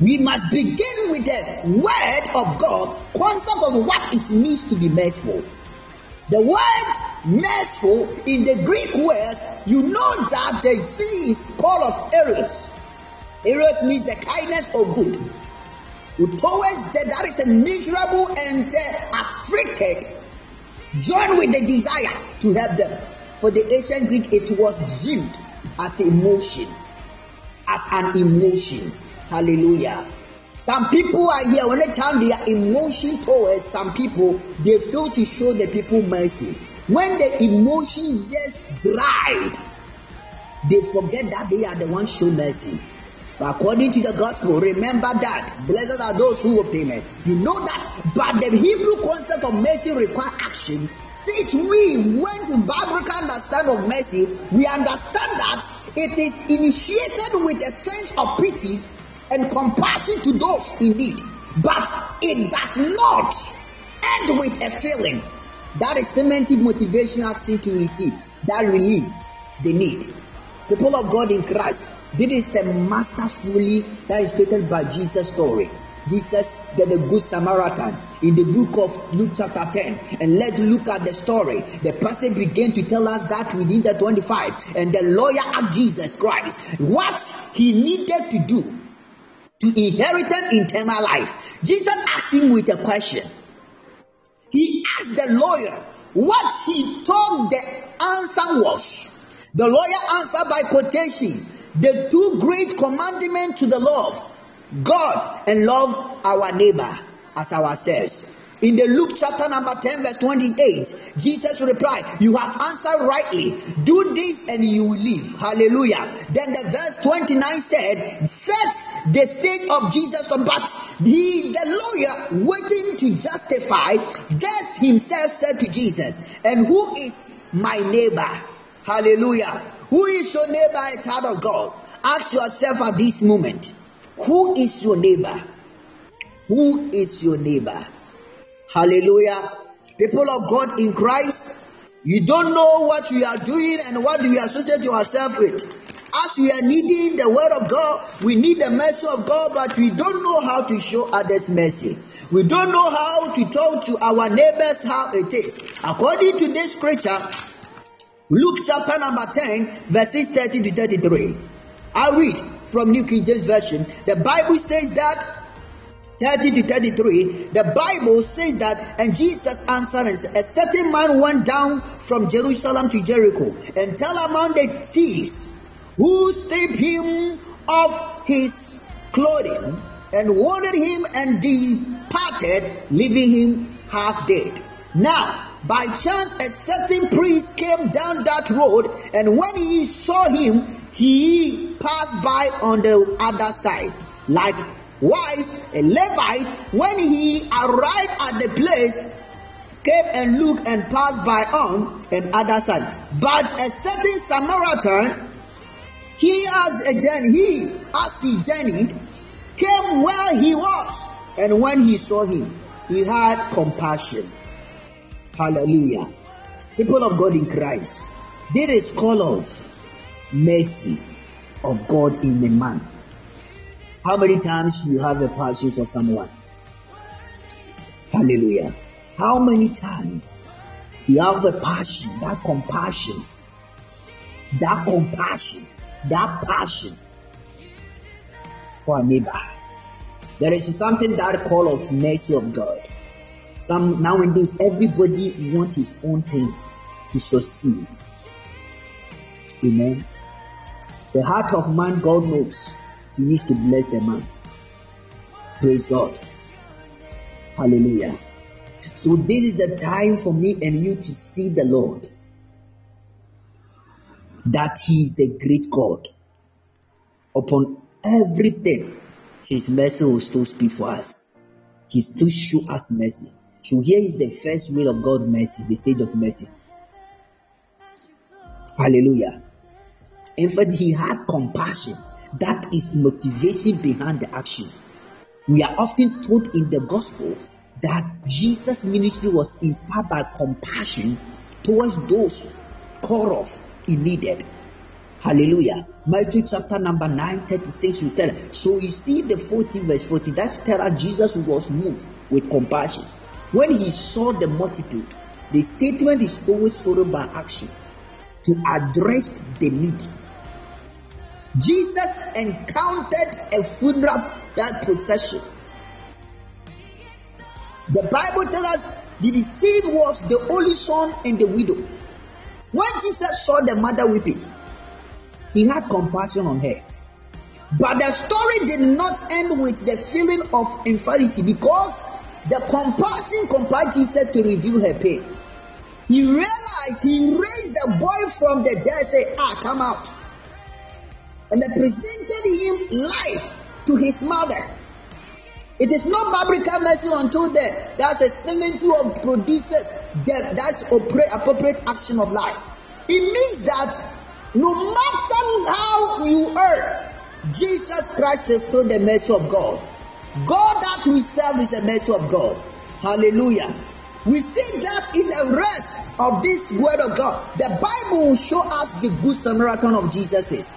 We must begin with the word of God, concept of what it means to be merciful. The word merciful in the Greek words, you know that the sea is called of eros. Eros means the kindness of good. Towards that is a miserable and afflicted, joined with the desire to help them. For the ancient Greek, it was viewed as emotion, as an emotion. Hallelujah. Some people are here, when they turn their emotion towards some people, they fail to show the people mercy. When the emotion just dried, they forget that they are the ones show mercy. But according to the gospel, remember that blessed are those who obtain it. You know that, but the Hebrew concept of mercy requires action. Since we went in biblical understanding of mercy, we understand that it is initiated with a sense of pity and compassion to those in need, but it does not end with a feeling. That is cementing motivation action to receive that relief they need. People of God in Christ, this is the masterfully that is stated by Jesus' story. Jesus, the Good Samaritan, in the book of Luke chapter 10. And let's look at the story. The person began to tell us that within the 25. And the lawyer asked Jesus Christ what he needed to do to inherit eternal life. Jesus asked him with a question. He asked the lawyer what he thought the answer was. The lawyer answered by quotation the two great commandments to the Lord God and love our neighbor as ourselves. In the Luke chapter number 10 verse 28, Jesus replied, you have answered rightly. Do this and you will live. Hallelujah. Then the verse 29 said, sets the stage of Jesus, but the lawyer waiting to justify, just himself said to Jesus, and who is my neighbor? Hallelujah. Who is your neighbor, a child of God? Ask yourself at this moment, who is your neighbor? Who is your neighbor? Hallelujah. People of God in Christ, you don't know what we are doing and what we associate yourself with. As we are needing the word of God, we need the mercy of God, but we don't know how to show others mercy. We don't know how to talk to our neighbors how it is. According to this scripture, Luke chapter number 10, verses 30 to 33. I read from New King James Version. The Bible says that 30 to 33, the Bible says that, and Jesus answered, a certain man went down from Jerusalem to Jericho, and fell among the thieves, who stripped him of his clothing, and wounded him, and departed, leaving him half dead. Now, by chance, a certain priest came down that road, and when he saw him, he passed by on the other side. Likewise, a Levite, when he arrived at the place, came and looked and passed by on the other side. But a certain Samaritan, as he journeyed, came where he was, and when he saw him, he had compassion. Hallelujah. People of God in Christ, there is call of mercy of God in a man. How many times you have a passion for someone? Hallelujah. How many times you have a passion, that compassion, that passion for a neighbor? There is something that call of mercy of God. Nowadays, everybody wants his own things to succeed. Amen. The heart of man, God knows. He needs to bless the man. Praise God. Hallelujah. So this is the time for me and you to see the Lord, that He is the great God. Upon everything, His mercy will still speak for us. He still show us mercy. So here is the first way of God's mercy, the stage of mercy. Hallelujah. In fact, He had compassion. That is motivation behind the action. We are often told in the gospel that Jesus' ministry was inspired by compassion towards those called off in needed. Hallelujah. Matthew chapter number 9:36 will tell us. So you see the 40 verse 40, that's tell us Jesus was moved with compassion. When he saw the multitude, the statement is always followed by action to address the needy. Jesus encountered a funeral that procession. The Bible tells us the deceased was the only son and the widow. When Jesus saw the mother weeping, he had compassion on her. But the story did not end with the feeling of inferiority, because the compassion compelled Jesus to reveal her pain. He realized he raised the boy from the dead, said, come out. And they presented him life to his mother. It is not biblical mercy until death. That's a cemetery of produces death. That's appropriate action of life. It means that no matter how you err, Jesus Christ is still the mercy of God. God that we serve is the mercy of God. Hallelujah. We see that in the rest of this word of God. The Bible will show us the good Samaritan of Jesus is.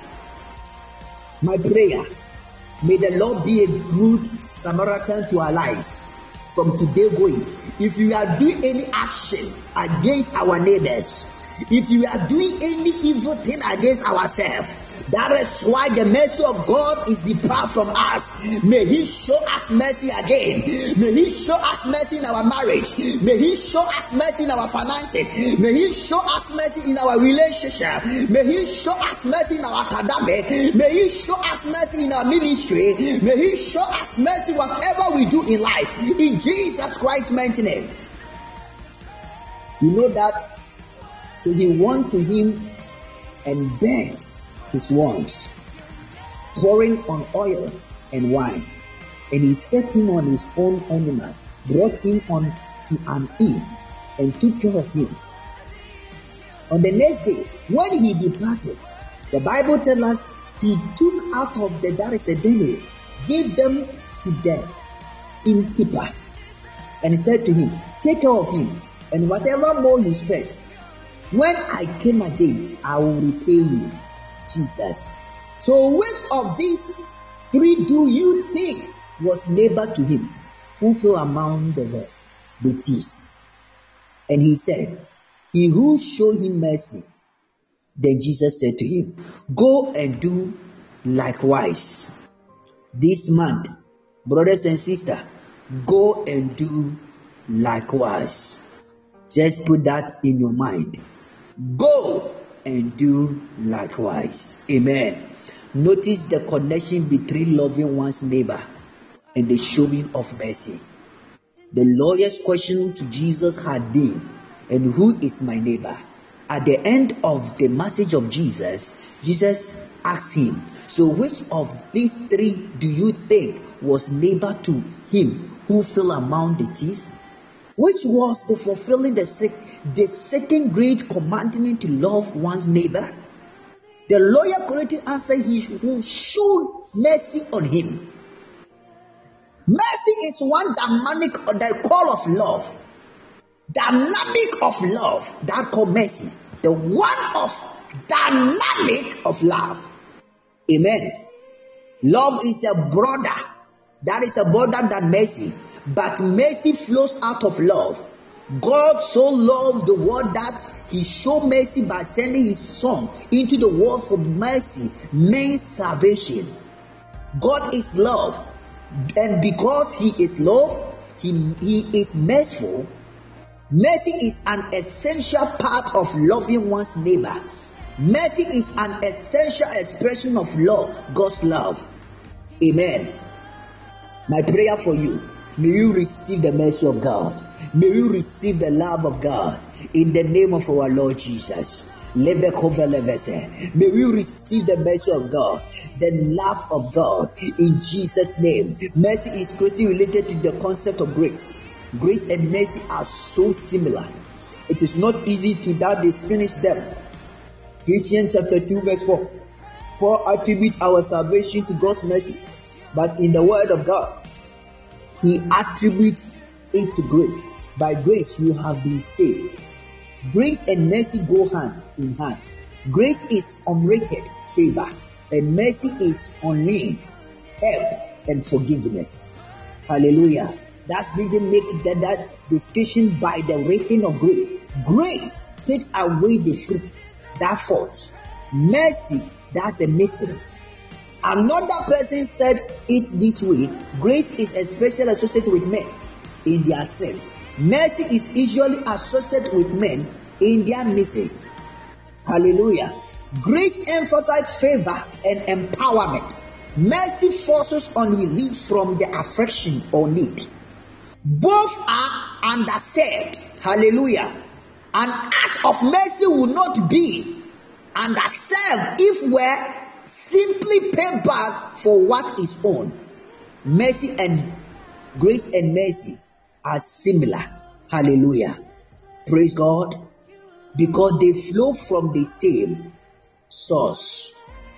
My prayer, may the Lord be a good Samaritan to our lives from today going. If you are doing any action against our neighbors, if you are doing any evil thing against ourselves, that is why the mercy of God is depart from us. May He show us mercy again. May He show us mercy in our marriage. May He show us mercy in our finances. May He show us mercy in our relationship. May He show us mercy in our academic. May He show us mercy in our ministry. May He show us mercy whatever we do in life. In Jesus Christ's mighty name. You know that? So he went to him and begged his wants, pouring on oil and wine. And he set him on his own animal, brought him on to an inn, and took care of him. On the next day, when he departed, the Bible tells us he took out of the there a denary, gave them to the innkeeper, and he said to him, take care of him, and whatever more you spend, when I came again, I will repay you. Jesus. So which of these three do you think was neighbor to him, who fell among the rest, the thieves? And he said, he who showed him mercy. Then Jesus said to him, go and do likewise. This month, brothers and sisters, go and do likewise. Just put that in your mind. Go and do likewise. Amen. Notice the connection between loving one's neighbor and the showing of mercy. The lawyer's question to Jesus had been, and who is my neighbor? At the end of the message of Jesus, Jesus asked him, so which of these three do you think was neighbor to him who fell among the thieves? Which was the fulfilling the second great commandment to love one's neighbor? The lawyer correctly answered, he who showed mercy on him. Mercy is one dynamic or the call of love. Dynamic of love, that called mercy. The one of dynamic of love. Amen. Love is a broader. That is a broader than mercy. But mercy flows out of love. God so loved the world that He showed mercy by sending His Son into the world for mercy, means salvation. God is love. And because He is love, He is merciful. Mercy is an essential part of loving one's neighbor. Mercy is an essential expression of love, God's love. Amen. My prayer for you, may you receive the mercy of God. May you receive the love of God in the name of our Lord Jesus. May we receive the mercy of God, the love of God in Jesus' name. Mercy is closely related to the concept of grace. Grace and mercy are so similar. It is not easy to that distinguish them. Ephesians chapter 2 verse 4. Paul attributes our salvation to God's mercy, but in the word of God, he attributes it to grace. By grace you have been saved. Grace and mercy go hand in hand. Grace is unrated favor, and mercy is unlearned help and forgiveness. Hallelujah. That's didn't make that distinction by the rating of grace. Grace takes away the fruit, that fault. Mercy, that's a mystery. Another person said it this way: grace is especially associated with men in their sin. Mercy is usually associated with men in their missing. Hallelujah. Grace emphasizes favor and empowerment. Mercy forces on relief from the affliction or need. Both are underserved. Hallelujah. An act of mercy will not be underserved if we're simply pay back for what is owed. Mercy and grace and mercy are similar. Hallelujah. Praise God. Because they flow from the same source.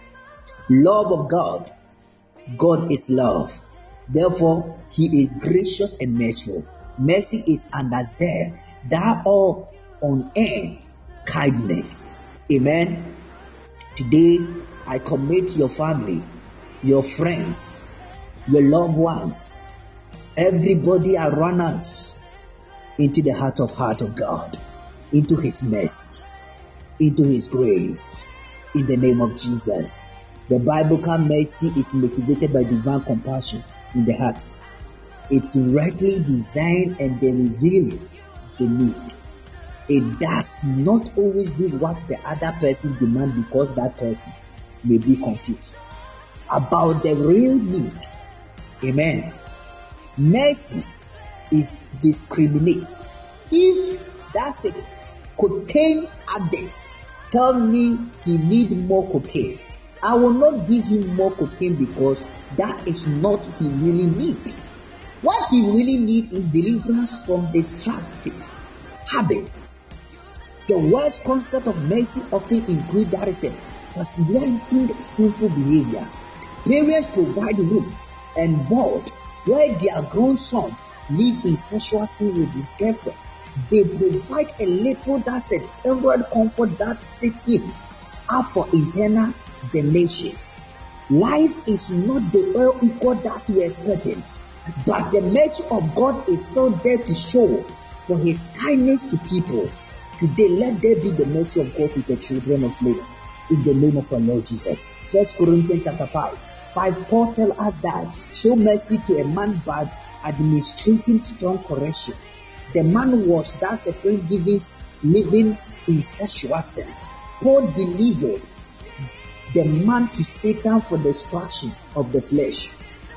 Love of God. God is love. Therefore, He is gracious and merciful. Mercy is undeserved. That all unearned kindness. Amen. Today, I commit your family, your friends, your loved ones, everybody around us into the heart of God, into His mercy, into His grace, in the name of Jesus. The Biblical mercy is motivated by divine compassion in the heart. It's rightly designed and then revealing the need. It does not always do what the other person demands because that person may be confused about the real need. Amen. Mercy is discriminates. If that's a cocaine addict tell me he needs more cocaine, I will not give him more cocaine because that is not he really needs. What he really needs is deliverance from destructive habits. The worst concept of mercy often includes that is a facilitating sinful behavior. Parents provide room and board where their grown son live in sexual sin with his girlfriend. They provide a little that's a temporary comfort that sets him up for eternal damnation. Life is not the well equal that we expected, but the mercy of God is still there to show for His kindness to people. Today, let there be the mercy of God to the children of men, in the name of our Lord Jesus. 1 Corinthians chapter 5, Paul tells us that show mercy to a man by administrating strong correction. The man was thus a friend living in sexual sin. Paul delivered the man to Satan for destruction of the flesh,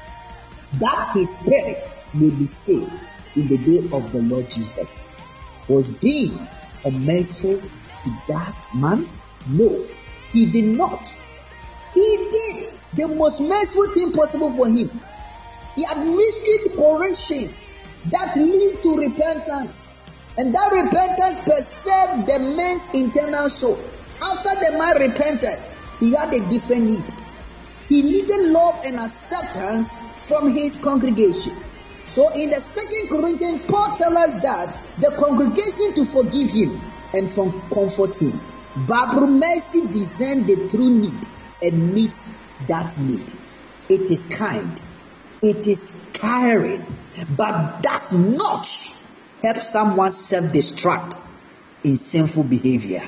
that his spirit may be saved in the day of the Lord Jesus. Was being unmerciful to that man? No, he did not. He did the most merciful thing possible for him. He administered correction that lead to repentance, and that repentance preserved the man's internal soul. After the man repented, he had a different need. He needed love and acceptance from his congregation. So in the 2 Corinthians, Paul tells us that the congregation to forgive him and comfort him. But mercy discerns the true need and meets that need. It is kind. It is caring. But does not help someone self-destruct in sinful behavior.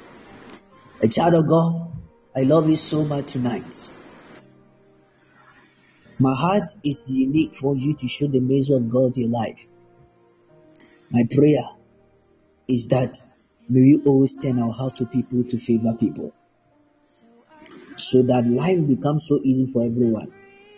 A child of God, I love you so much tonight. My heart is unique for you to show the measure of God in your life. My prayer is that may we always turn our heart to people to favor people, so that life becomes so easy for everyone.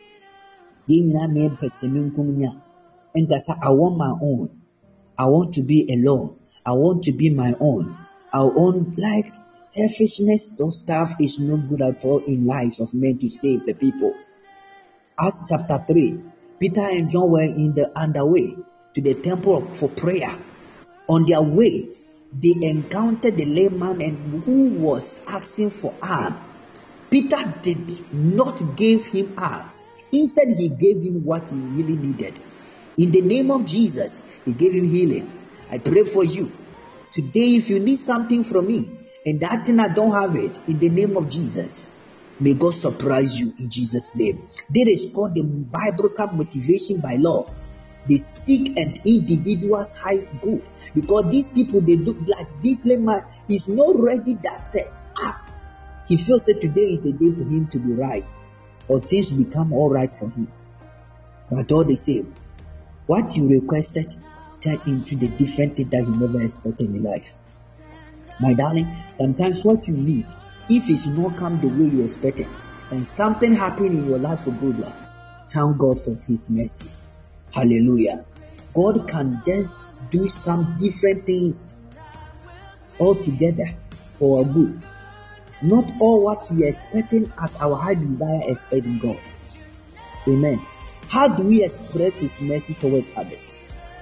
And that's I want my own. I want to be alone. I want to be my own. Our own like selfishness or stuff is not good at all in lives of men to save the people. Acts chapter 3, Peter and John were on their way to the temple for prayer. On their way, they encountered the layman and who was asking for alms. Peter did not give him alms. Instead, he gave him what he really needed. In the name of Jesus, he gave him healing. I pray for you. Today, if you need something from me, and that thing I don't have it, in the name of Jesus, may God surprise you in Jesus' name. That is called the biblical motivation by love. They seek an individual's highest good, because these people, they look like this man is not ready. That said, he feels that today is the day for him to be right, or things will become all right for him. But all the same, what you requested turned into the different thing that he never expected in life. My darling, sometimes what you need, if it's not come the way you expected, and something happened in your life for good, thank God for his mercy. Hallelujah. God can just do some different things all together for our good. Not all what we are expecting as our high desire expecting God. Amen. How do we express his mercy towards others?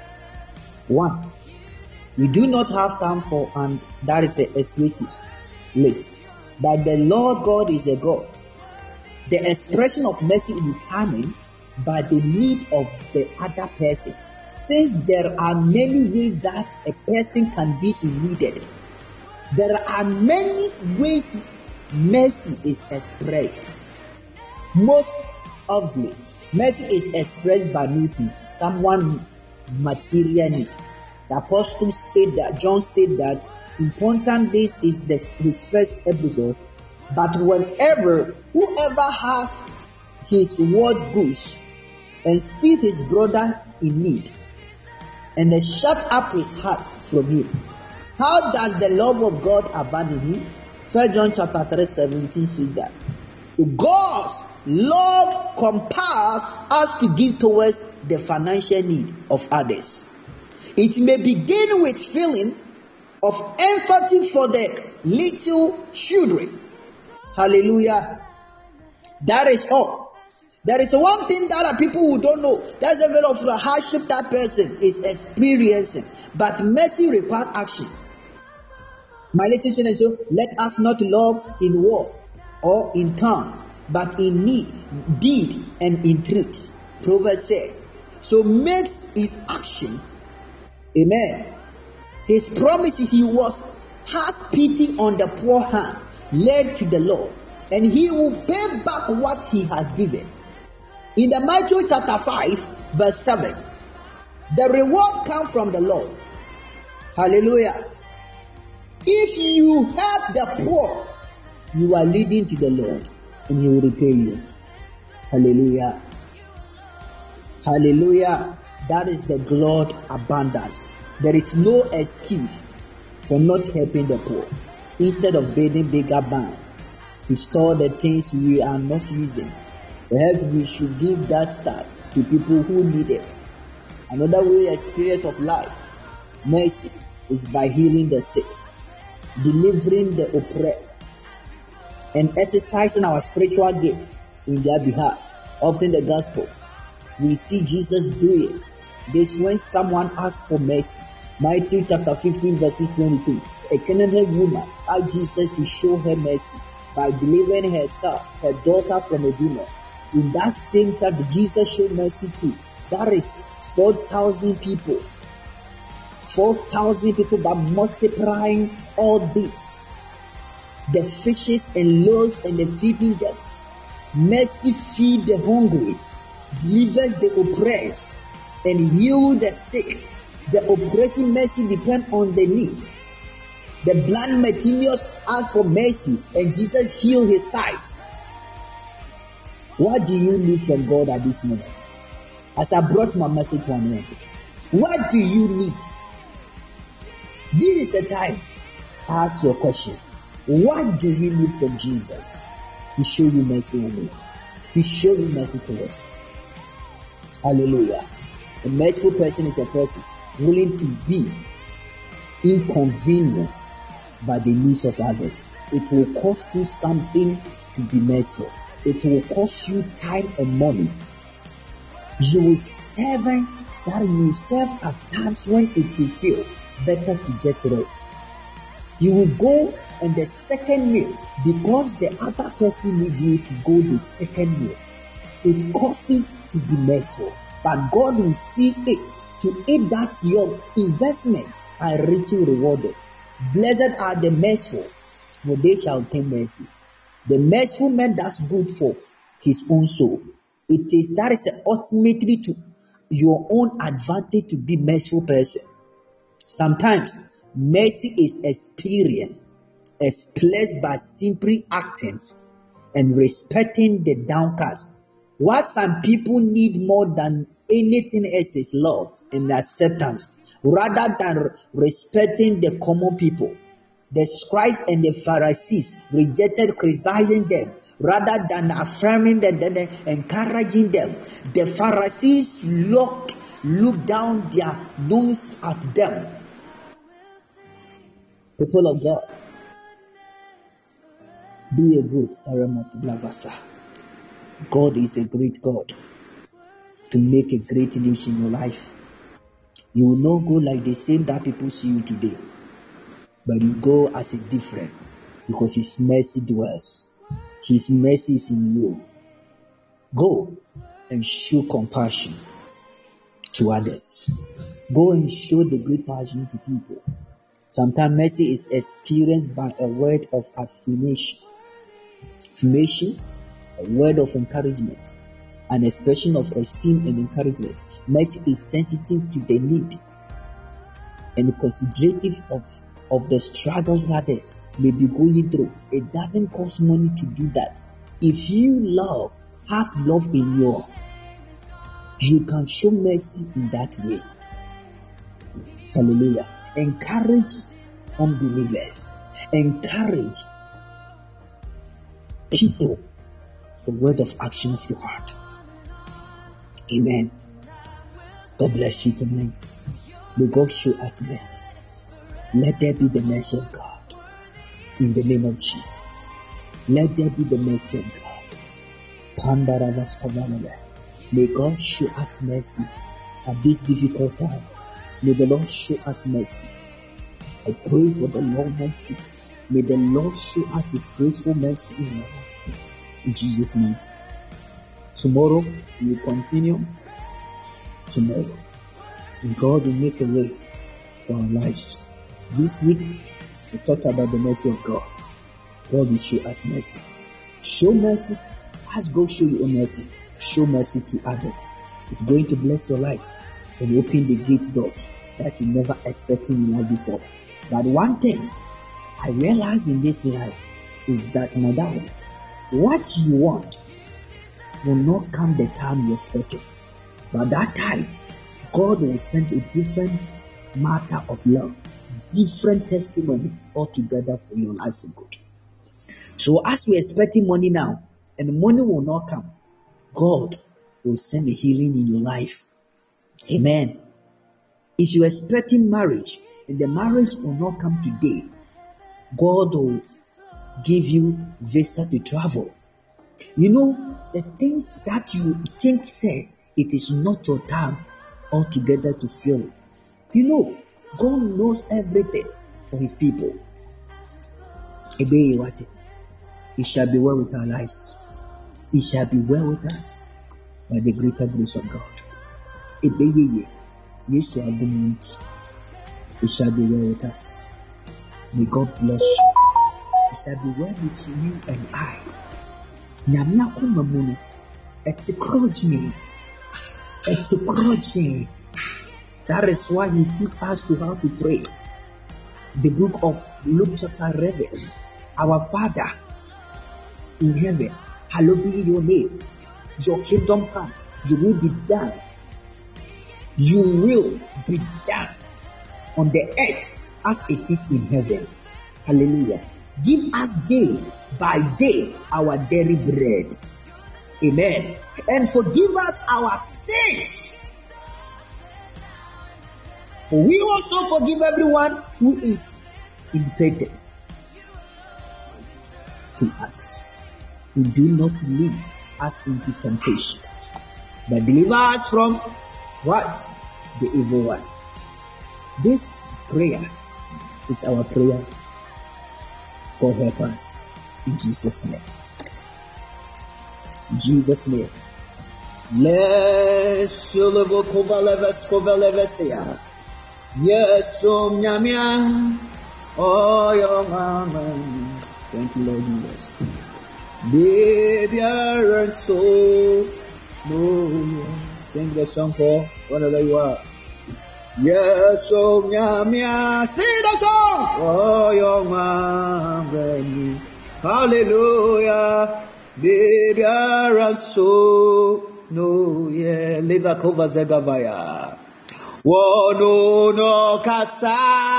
1. We do not have time for, and that is the expletive list. But the Lord God is a God. The expression of mercy is determined by the need of the other person. Since there are many ways that a person can be needed, there are many ways mercy is expressed. Most obviously, mercy is expressed by meeting someone material need. The apostle said that, John said that, important this is his first episode, but whoever has his word goods and sees his brother in need, and then shut up his heart from him, how does the love of God abandon him? 1 John chapter 3, 17 says that God's love compels us to give towards the financial need of others. It may begin with feeling of empathy for the little children. Hallelujah. That is all. There is one thing that people who don't know. That's a bit of the hardship that person is experiencing. But mercy requires action. My little children, so let us not love in word or in tongue, but in deed and in truth. Proverbs said. So makes in action. Amen. His promise is has pity on the poor hand, led to the Lord, and he will pay back what he has given. In the Matthew chapter 5, verse 7, the reward comes from the Lord. Hallelujah. If you help the poor, you are leading to the Lord, and he will repay you. Hallelujah. Hallelujah. That is the God abundance. There is no excuse for not helping the poor. Instead of building bigger bank to store the things we are not using, perhaps we should give that stuff to people who need it. Another way experience of life, mercy, is by healing the sick, delivering the oppressed, and exercising our spiritual gifts in their behalf. Often the gospel, we see Jesus do it. This when someone asks for mercy. Matthew chapter 15 verses 22. A Canaanite woman asked Jesus to show her mercy by delivering her daughter from a demon. In that same chapter, Jesus showed mercy too. That is 4,000 people. 4,000 people, by multiplying all this. The fishes and loaves and the feeding them. Mercy feed the hungry, delivers the oppressed, and heal the sick. The oppression mercy depends on the need. The blind Bartimaeus asked for mercy, and Jesus healed his sight. What do you need from God at this moment? As I brought my message to an end, what do you need? This is the time to ask your question. What do you need from Jesus to show you mercy on me? To show you mercy towards you. Hallelujah. A merciful person is a person willing to be inconvenienced by the needs of others. It will cost you something to be merciful. It will cost you time and money. You will serve at times when it will feel better to just rest. You will go and the second meal, because the other person needs you to go the second meal. It costs you to be merciful, but God will see it to eat that your investment are richly rewarded. Blessed are the merciful, for they shall obtain mercy. The merciful man does good for his own soul. That is ultimately to your own advantage to be merciful person. Sometimes mercy is experienced by simply acting and respecting the downcast. What some people need more than anything else is love and acceptance, rather than respecting the common people. The scribes and the Pharisees rejected criticizing them rather than affirming them and encouraging them. The Pharisees looked down their nose at them. People of God, be a good Saramati Lavasa. God is a great God to make a great news in your life. You will not go like the same that people see you today, but you go as a different, because His mercy dwells. His mercy is in you. Go and show compassion to others. Go and show the great passion to people. Sometimes mercy is experienced by a word of affirmation, a word of encouragement, an expression of esteem and encouragement. Mercy is sensitive to the need and considerative of the struggles others may be going through. It doesn't cost money to do that. If you have love in you can show mercy in that way. Hallelujah. Encourage unbelievers. Encourage people. The word of action of your heart. Amen. God bless you tonight. May God show us mercy. Let there be the mercy of God. In the name of Jesus. Let there be the mercy of God. May God show us mercy at this difficult time. May the Lord show us mercy. I pray for the Lord mercy. May the Lord show us His graceful mercy in our life. In Jesus' name. Tomorrow we will continue. Tomorrow. And God will make a way for our lives. This week we talked about the mercy of God. God will show us mercy. Show mercy. Ask God show you mercy. Show mercy to others. It's going to bless your life and open the gate doors that you never expected in life before. But one thing I realize in this life is that, my darling, what you want will not come the time you expect it. But that time, God will send a different matter of love, different testimony altogether for your life for good. So as we're expecting money now, and the money will not come, God will send a healing in your life. Amen. If you're expecting marriage, and the marriage will not come today, God will give you visa to travel. You know, the things that you think say, it is not your time altogether to feel it. You know, God knows everything for His people. It shall be well with our lives. It shall be well with us by the greater grace of God. It shall be well with us. May God bless you. It shall be well with you and I. That is why He teaches us to how to pray. The book of Luke chapter 11. Our Father in heaven, hallowed be your name. Your kingdom come. Your will be done. You will be done on the earth as it is in heaven. Hallelujah. Give us day by day our daily bread. Amen. And forgive us our sins. For we also forgive everyone who is indebted to us. We do not lead us into temptation, but deliver us from what? The evil one. This prayer is our prayer. God help us in Jesus' name. In Jesus' name. Yes, yes, oh, your mama. Thank you, Lord Jesus. Baby, and soul. No, sing the song for wherever you are. Yes, oh, mia, sing the song. Oh, your man, hallelujah. Baby, and soul. No, yeah, Leva Kova Zegavaya. Wono no kasa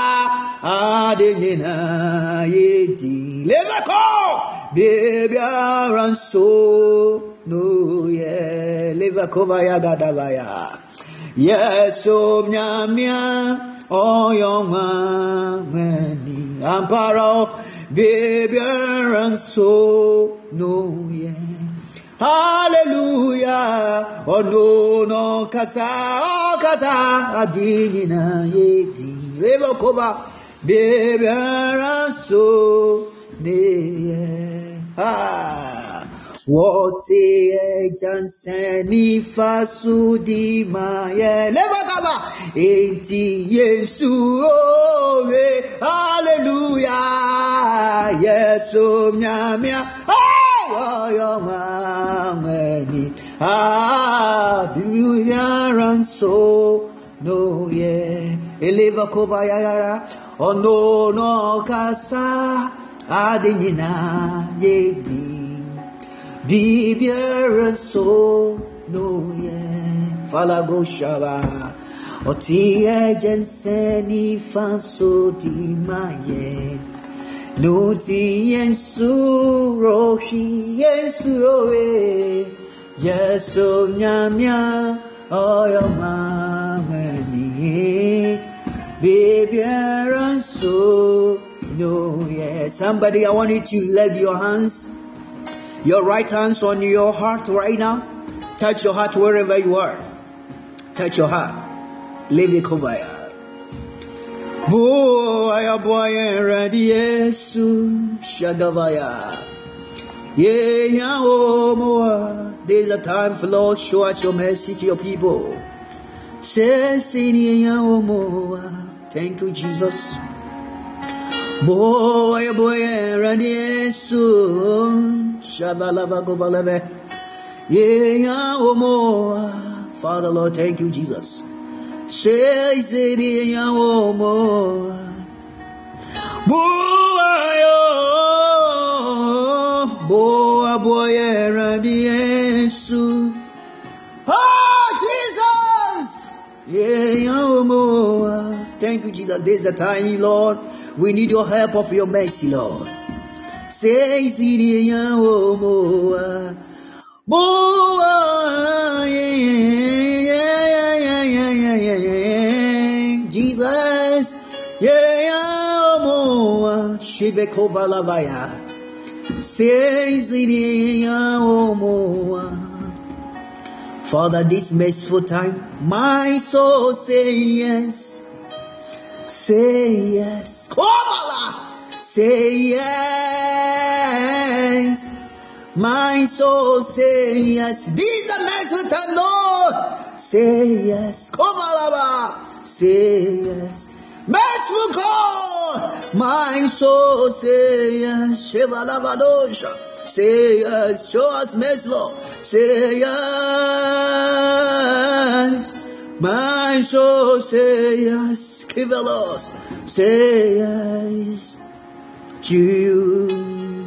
adenina yedi levako baby aranso no ye levako vaya gadavaya yeso mnyamia oyoma meni amparo baby aranso no ye. Hallelujah. Oh no kasa adinina yedi levo koba baby so ne what a janseni fasudi maye levo koba enti yesu hallelujah yesu mnyamia your mani and so no yeah eleva kovayara oh no kasa adenina yedi bibier and so no yeah falago shaba otie jenseni faso di maye no ti yensu rohi yensu roe yeso nyamia oyo mamani baby so no yeah. Somebody, I want you to lay your hands, your right hands on your heart right now. Touch your heart wherever you are. Touch your heart. Leave it cover. Boy, ready, Yesu, Shadavaya. Yeah, oh, more. There's a time for Lord, show us your mercy to your people. Thank you, Jesus. Boy, ready, Yesu, Shabalava Gobaleve. Yeah, oh, more. Father, Lord, thank you, Jesus. Says it in your more. Boy, radiation. Oh, Jesus! Yeah, more. Thank you, Jesus. There's a time, Lord. We need your help of your mercy, Lord. Says it in your more. Jesus, yeah, more. Shibekova Lavaya. Says it more. Father, this merciful time, my soul say yes. Say yes. Say yes. My soul say yes. This is a merciful time, Lord. Say yes. Say yes. Merciful God. My soul say yes. Say yes. Show us mercy, Lord. Say yes. My soul say yes. Give a Lord. Say yes to you.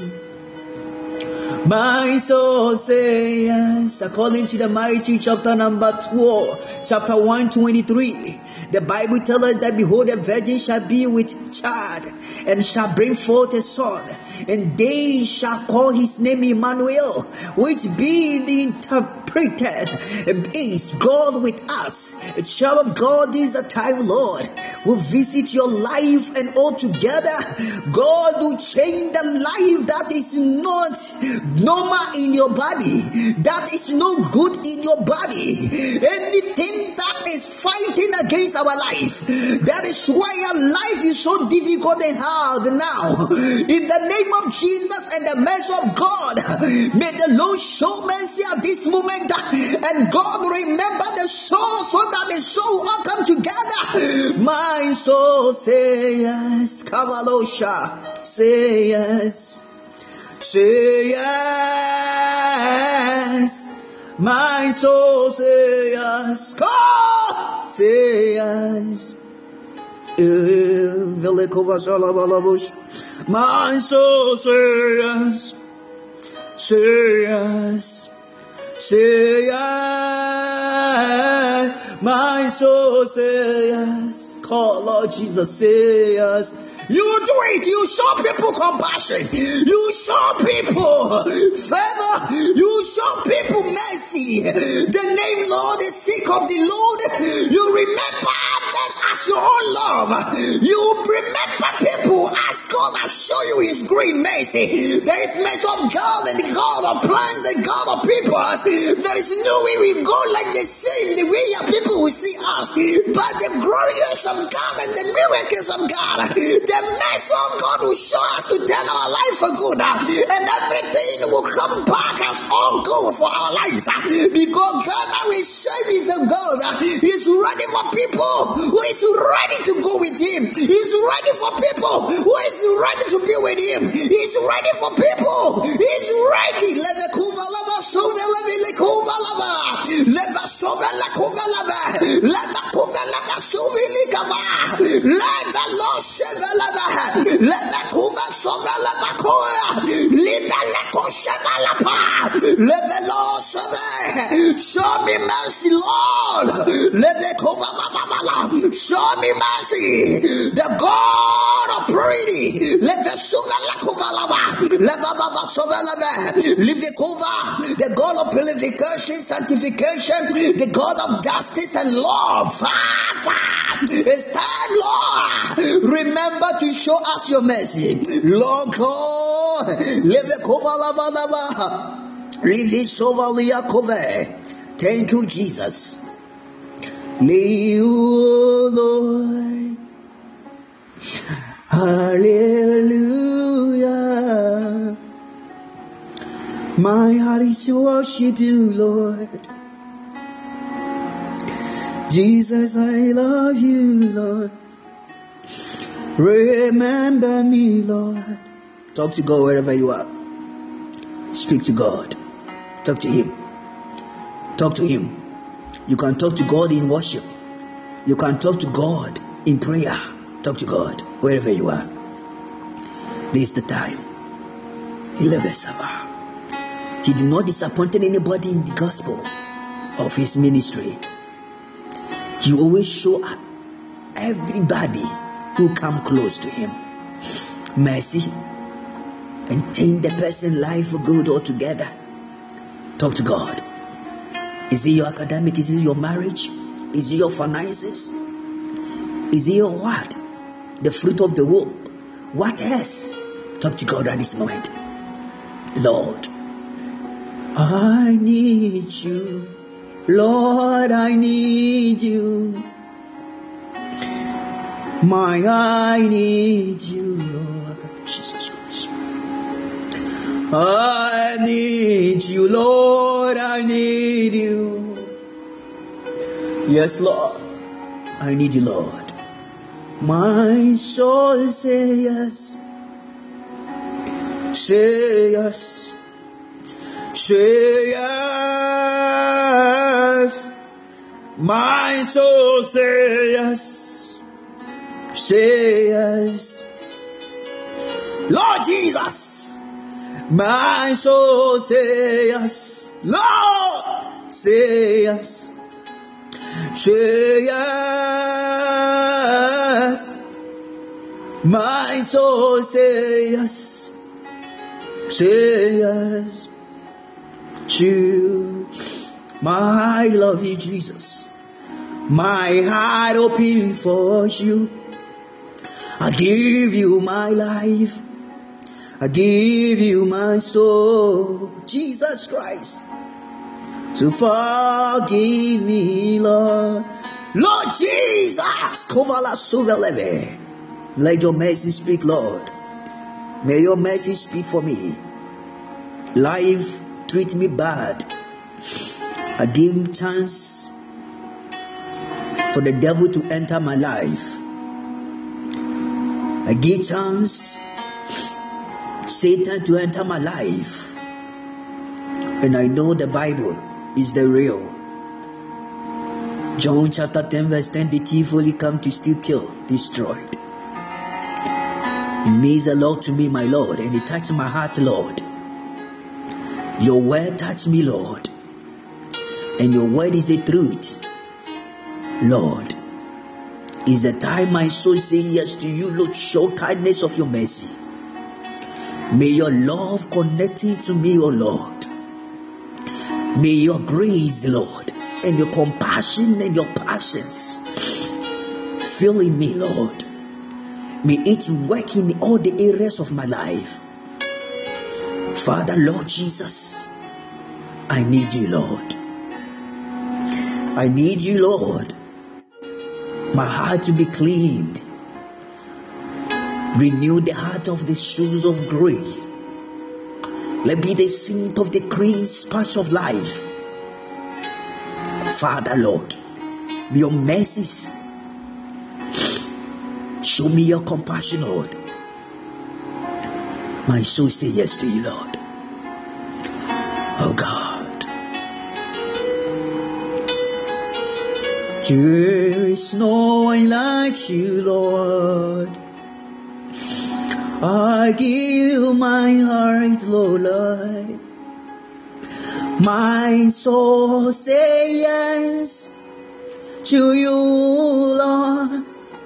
My soul say yes. According to the Matthew chapter number 12, chapter 123, the Bible tells us that behold, a virgin shall be with child and shall bring forth a son, and they shall call his name Emmanuel, which be the interpreted is God with us. A child of God, this is a time, Lord, will visit your life, and altogether God will change the life that is not normal in your body, that is no good in your body, anything that is fighting against our life. That is why our life is so difficult and hard now. In the name of Jesus and the mercy of God, may the Lord show mercy at this moment, and God remember the soul so that the soul will come together. My soul say yes, Kavalosha, say yes. Say yes. My soul say yes. God say yes. My soul say yes. Say yes. Say yes. My soul say yes. Call Lord Jesus, say yes. You do it. You show people compassion. You show people favor. You show people mercy. The name Lord is sick of the Lord. You remember others as your own love. You remember people as God has shown you His great mercy. There is mercy of God and the God of plans, the God of people. There is no way we go like the same, the way your people will see us. But the glorious of God and the miracles of God, the mercy of God will show us to turn our life for good, and everything will come back as all good for our lives, because God that we serve is the God. He's ready for people who is ready to go with Him. He's ready for people who is ready to be with Him. He's ready for people. He's ready. Let the Lord save the let the kuva soga la bakoya, liba la kosheva la pa, let the Lord save. Show me mercy, Lord. Let the kuva babala, show me mercy. The God of purity, let the suga la kuva lava, let the baba sova lava, leave the kuva, the God of purification, sanctification, the God of justice and love. Father, it's time, Lord. Remember to show us your mercy, Lord God. Thank you, Jesus. Lord. Hallelujah. My heart is to worship you, Lord. Jesus, I love you, Lord. Remember me, Lord. Talk to God wherever you are. Speak to God. Talk to Him. Talk to Him. You can talk to God in worship. You can talk to God in prayer. Talk to God wherever you are. This is the time. He did not disappoint anybody in the gospel of His ministry. He always show up everybody who come close to Him mercy and change the person's life for good altogether. Talk to God. Is it your academic? Is it your marriage? Is it your finances? Is it your what? The fruit of the womb? What else? Talk to God at this moment. Lord, I need you. Lord, I need you. I need you, Lord. Jesus Christ. I need you, Lord. I need you. Yes, Lord. I need you, Lord. My soul say yes. Say yes. Say yes. My soul say yes. Say yes. Lord Jesus. My soul say yes. Lord say yes. Say yes. My soul say yes. Say yes. To my love you, Jesus. My heart open for you. I give you my life. I give you my soul. Jesus Christ. So forgive me, Lord. Lord Jesus. Let your mercy speak, Lord. May your mercy speak for me. Life treat me bad. I give him chance for the devil to enter my life. I give chance Satan to enter my life. And I know the Bible is the real. John chapter 10 verse 10, the thief only come to steal, kill, destroy. It means a lot to me, my Lord, and it touched my heart, Lord. Your word touched me, Lord, and your word is the truth, Lord. Is the time my soul say yes to you, Lord. Show kindness of your mercy. May your love connecting to me, O Lord. May your grace, Lord, and your compassion and your passions filling me, Lord. May it work in all the areas of my life. Father, Lord Jesus, I need you, Lord. I need you, Lord. My heart to be cleaned. Renew the heart of the shoes of grace. Let be the seat of the cleansed patch of life. Father, Lord, may your mercies show me your compassion, Lord. My soul say yes to you, Lord. Oh God. There is no one like you, Lord. I give you my heart, Lord. My soul say yes to you, Lord.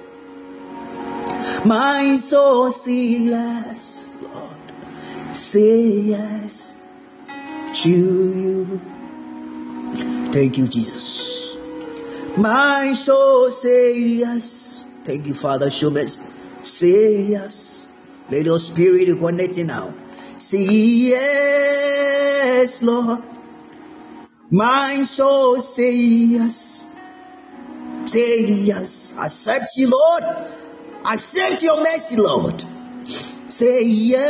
My soul say yes, Lord. Say yes to you. Thank you, Jesus. My soul say yes. Thank you, Father. Show mercy. Say yes. Let your spirit connect now. Say yes, Lord. My soul say yes. Say yes. Accept you, Lord. Accept your mercy, Lord. Say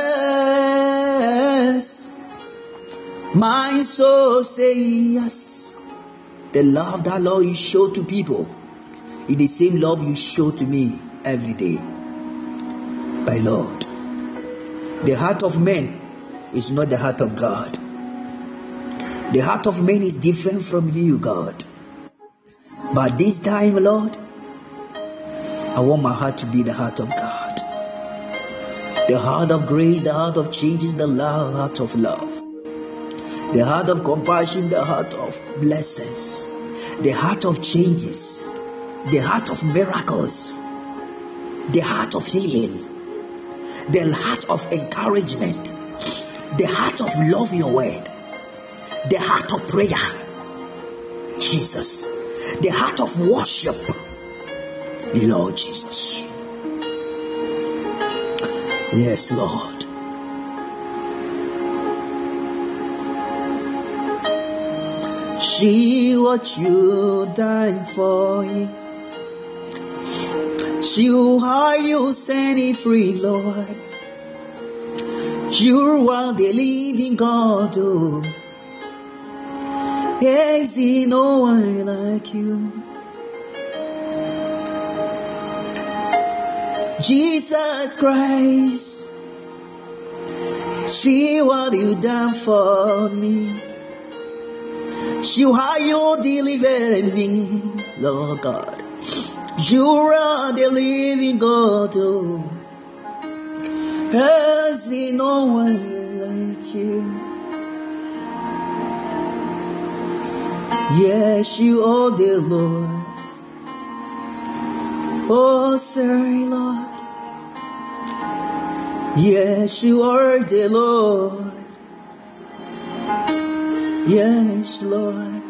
yes. My soul say yes. The love that, Lord, you show to people is the same love you show to me every day. My Lord, the heart of man is not the heart of God. The heart of man is different from you, God. But this time, Lord, I want my heart to be the heart of God. The heart of grace, the heart of changes, the heart of love. The heart of compassion, the heart of blessings. The heart of changes. The heart of miracles. The heart of healing. The heart of encouragement. The heart of love your word. The heart of prayer. Jesus. The heart of worship. Lord Jesus. Yes, Lord. See what you died for. See how you set it free, Lord. You are the living God. Oh. Is there no one like you? Jesus Christ, see what you done for me. See how you delivered me, Lord God. You are the living God. Oh. Has there no one like you? Yes, you are the Lord. Oh, sorry, Lord. Yes, you are the Lord. Yes, Lord.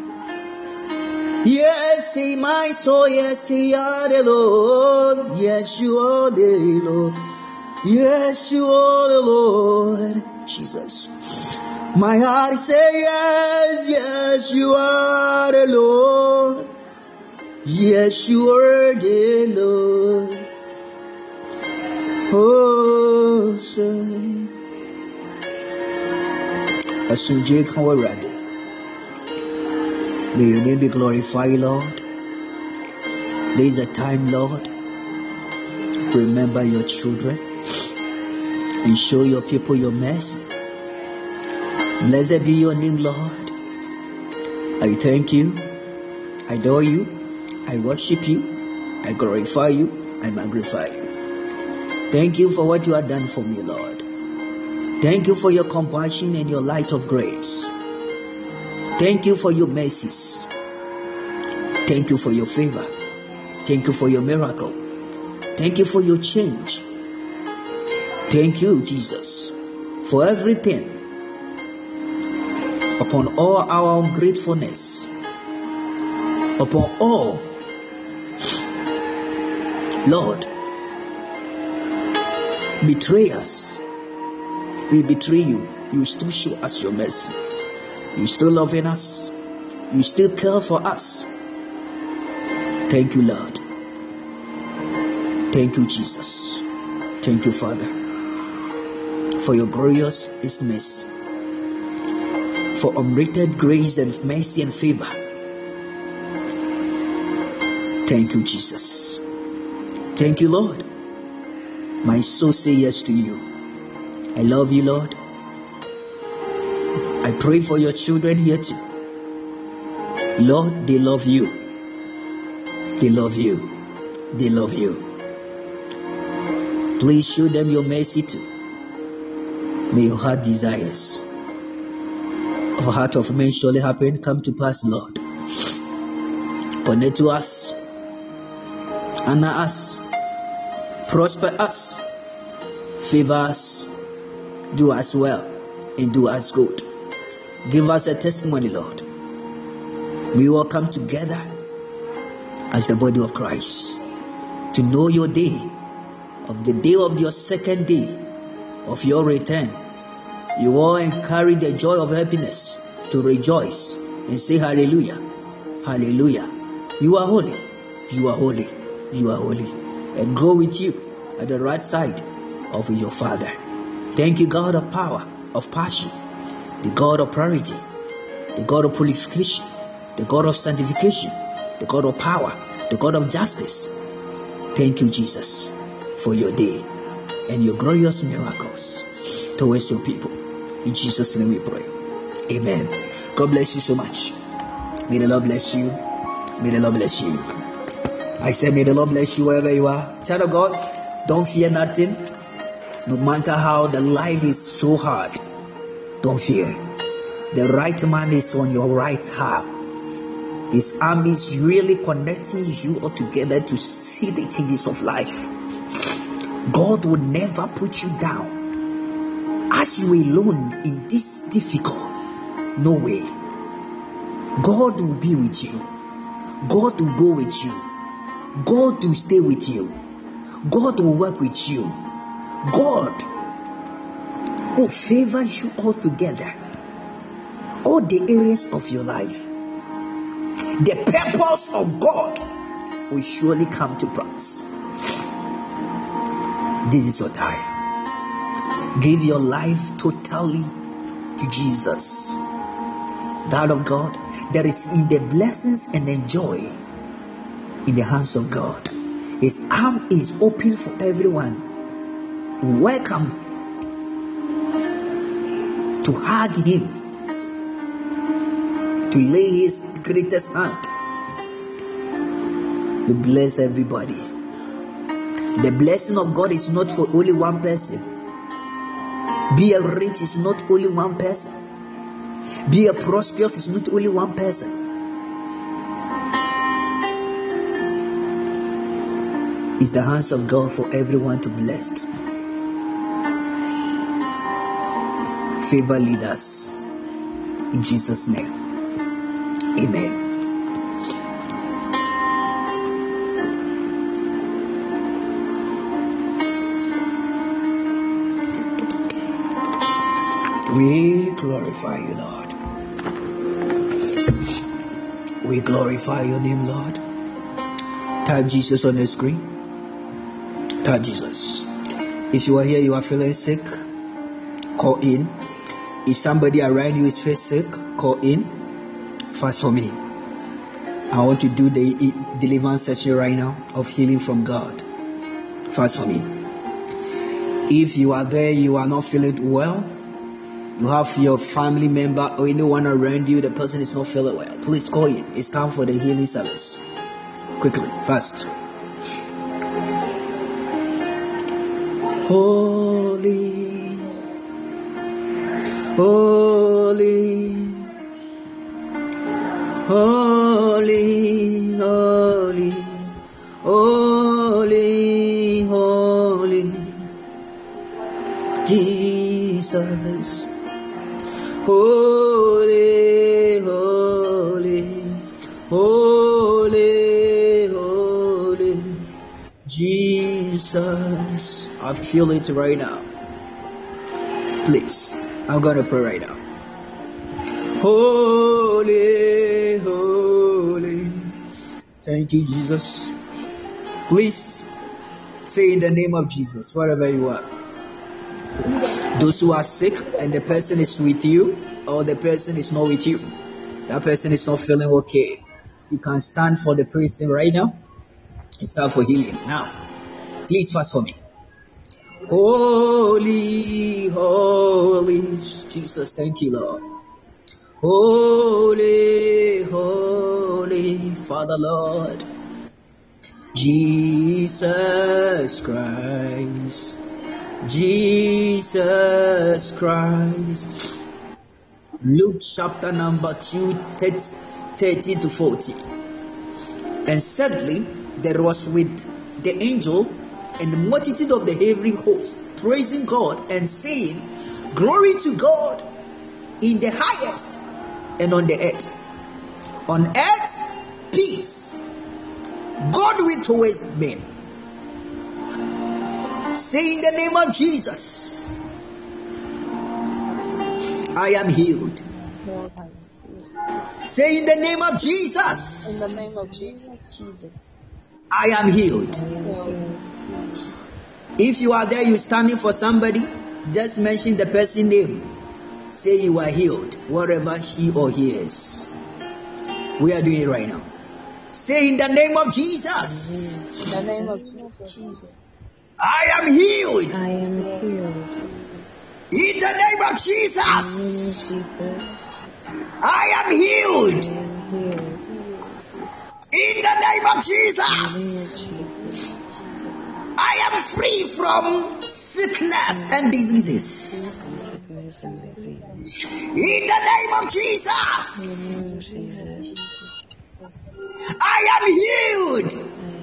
Yes, see my soul. Yes, you are the Lord. Yes, you are the Lord. Yes, you are the Lord. Jesus. My heart say yes. Yes, you are the Lord. Yes, you are the Lord. Oh, say. Asunje Kawarade. May your name be glorified, Lord. There is a time, Lord. Remember your children. and show your people your mercy. Blessed be your name, Lord. I thank you, I adore you, I worship you, I glorify you, I magnify you. Thank you for what you have done for me, Lord. Thank you for your compassion and your light of grace. Thank you for your mercies. Thank you for your favor. Thank you for your miracle. Thank you for your change. Thank you, Jesus, for everything. Upon all our ungratefulness, upon all, Lord, betray us. We betray you. You still show us your mercy. You still loving us. You still care for us. Thank you, Lord. Thank you, Jesus. Thank you, Father, for your glorious mercy, for unmerited grace and mercy and favor. Thank you, Jesus. Thank you, Lord. My soul say yes to you. I love you, Lord. I pray for your children here too. Lord, they love you. They love you. They love you. Please show them your mercy too. May your heart desires of a heart of men surely happen, come to pass, Lord. Connect to us, honor us, prosper us, favor us, do us well, and do us good. Give us a testimony, Lord. We all come together as the body of Christ to know your day, of the day of your second day of your return. You all carry the joy of happiness to rejoice and say hallelujah, hallelujah. You are holy, you are holy, you are holy, and go with you at the right side of your Father. Thank you, God of power, of passion, the God of purity, the God of purification, the God of sanctification, the God of power, the God of justice. Thank you, Jesus, for your day and your glorious miracles towards your people. In Jesus' name we pray. Amen. God bless you so much. May the Lord bless you. May the Lord bless you. I said, may the Lord bless you wherever you are. Child of God, don't fear nothing. No matter how the life is so hard, don't fear. The right man is on your right hand. His arm is really connecting you all together to see the changes of life. God will never put you down. As you alone in this difficult, no way. God will be with you. God will go with you. God will stay with you. God will work with you. God will favor you all together. All the areas of your life. The purpose of God will surely come to pass. This is your time. Give your life totally to Jesus. That of God, there is in the blessings and the joy in the hands of God. His arm is open for everyone. Welcome to hug him, to lay his greatest hand. We bless everybody. The blessing of God is not for only one person. Be a rich is not only one person. Be a prosperous is not only one person. It's the hands of God for everyone to bless. Favor leaders in Jesus' name. Amen. We glorify you, Lord. We glorify your name, Lord. Type Jesus on the screen. Type Jesus. If you are here, you are feeling sick, call in. If somebody around you is feeling sick, call in. Fast for me. I want to do the deliverance session right now of healing from God. Fast for me. If you are there, you are not feeling well, you have your family member or anyone around you, the person is not feeling well, please call in. It's time for the healing service. Quickly, fast. Holy, holy, holy, holy, holy, holy, Jesus. Holy, holy, holy, holy, Jesus. I feel it right now. Please, I'm gonna pray right now. Holy, holy. Thank you, Jesus. Please say in the name of Jesus, wherever you are. Those who are sick and the person is with you, or the person is not with you, that person is not feeling okay, you can stand for the person right now. It's time for healing. Now, please fast for me. Holy, holy, Jesus, thank you, Lord. Holy, holy, Father, Lord, Jesus Christ. Jesus Christ. Luke chapter number 2, 30 to 40. And suddenly there was with the angel and the multitude of the heavenly hosts praising God and saying, Glory to God in the highest, and on the earth. On earth, peace, goodwill towards men. Say in the name of Jesus, I am healed. Say in the name of Jesus, In the name of Jesus. I am healed. If you are there, you're standing for somebody, just mention the person's name. Say you are healed, wherever she or he is. We are doing it right now. Say in the name of Jesus, In the name of Jesus. I am healed. I am healed. In the name of Jesus, I am healed. In the name of Jesus, I am free from sickness and diseases. In the name of Jesus, I am healed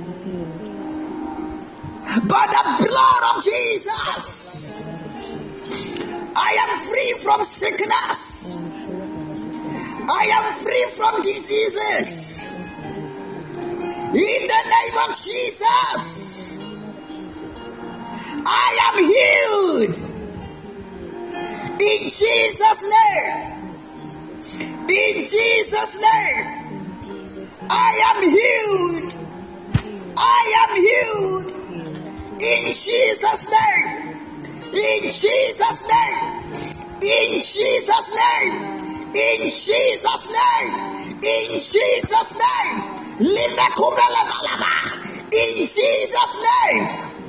by the blood of Jesus. I am free from sickness. I am free from diseases. In the name of Jesus, I am healed. In Jesus' name. In Jesus' name. I am healed. I am healed. In Jesus' name. In Jesus' name. In Jesus' name. In Jesus' name. In Jesus' name. In Jesus' name.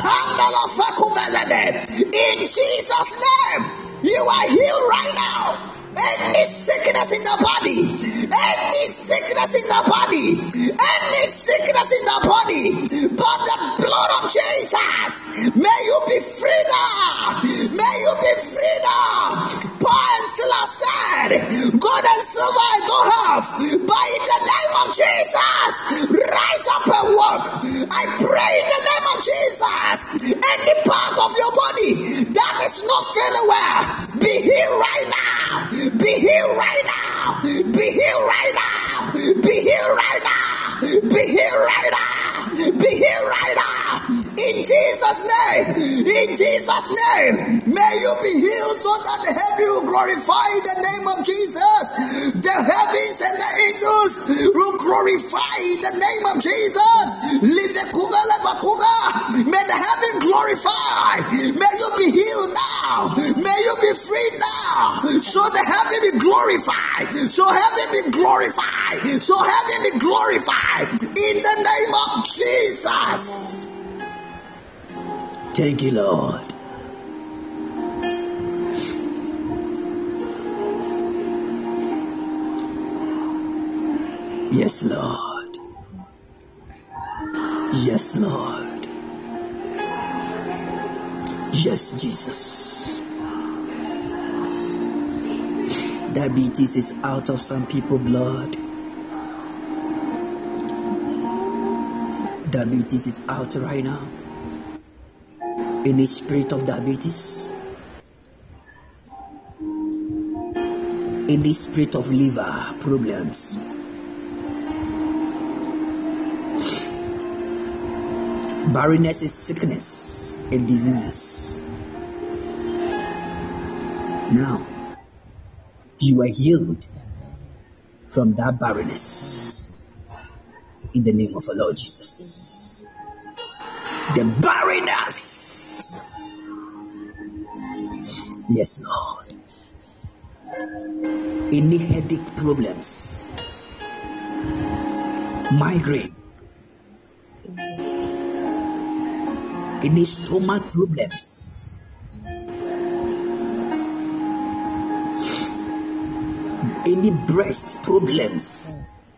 In Jesus' name. You are healed right now. Any sickness in the body, any sickness in the body, any sickness in the body, but the blood of Jesus, may you be free now. May you be free now. Paul and Silas said, God and silver I don't have, but in the name of Jesus, rise up and walk. I pray in the name of Jesus, any part of your body that is not feeling well, be healed right now. Be healed right now. Be healed right now. Be healed right now. Be healed right now. Be healed right now. In Jesus' name. In Jesus' name. May you be healed so that the heaven will glorify the name of Jesus. The heavens and the angels will glorify the name of Jesus. May the heaven glorify. May you be healed now. May you be free now. So the heaven be glorified. So heaven be glorified. So heaven be glorified. In the name of Jesus. Thank you, Lord. Yes, Lord. Yes, Lord. Yes, Jesus. Diabetes is out of some people's blood. Diabetes is out right now. Any spirit of diabetes, any spirit of liver problems, barrenness is sickness and diseases. Now, you are healed from that barrenness in the name of the Lord Jesus. The barrenness, yes, Lord. Any headache problems, migraine, any stomach problems, any breast problems,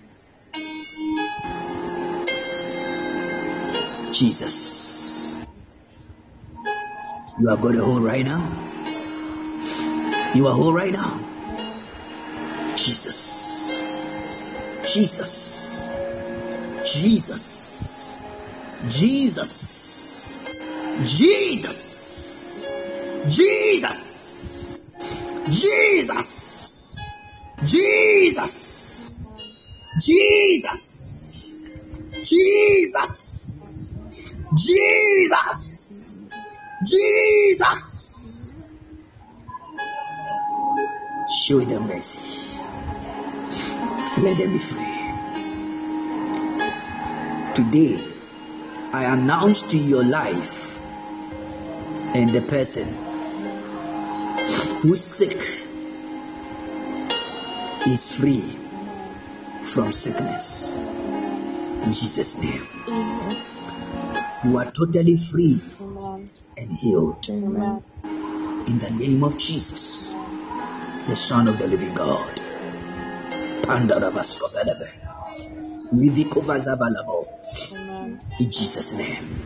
Jesus, you are going to hold right now. You are whole right now. Jesus, Jesus, Jesus, Jesus, Jesus, Jesus, Jesus, Jesus, Jesus, Jesus, Jesus, Jesus. Show them mercy. Let them be free. Today, I announce to your life and the person who is sick is free from sickness. In Jesus' name. You are totally free and healed. In the name of Jesus, the Son of the living God. In Jesus' name.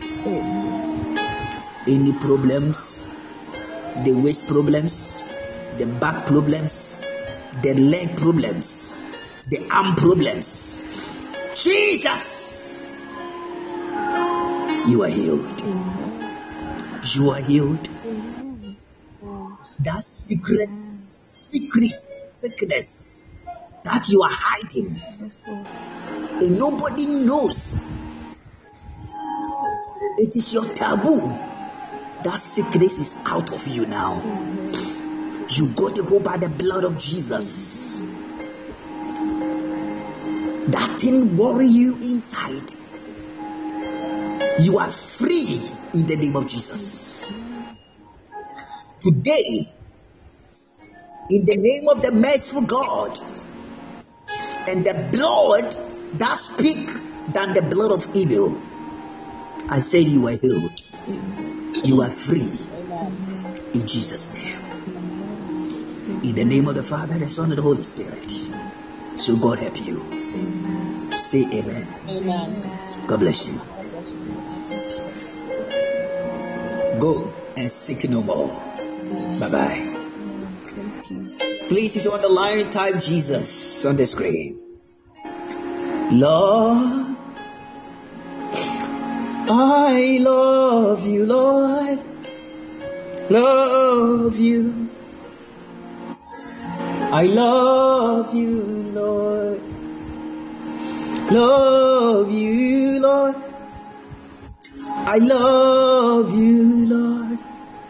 Any problems, the waist problems, the back problems, the leg problems, the arm problems, Jesus, you are healed. You are healed. That secret sickness that you are hiding and nobody knows, it is your taboo. That sickness is out of you now. You got to go by the blood of Jesus. That thing worry you inside. You are free in the name of Jesus. Today, in the name of the merciful God and the blood that speaks than the blood of evil, I said you are healed. You are free. In Jesus' name. In the name of the Father, the Son, and the Holy Spirit. So God help you. Say amen. Amen. God bless you. Go and seek no more. Bye-bye. Please, if you're on the line, type Jesus on the screen. Lord, I love you, Lord. Love you. I love you, Lord. Love you, Lord. I love you, Lord.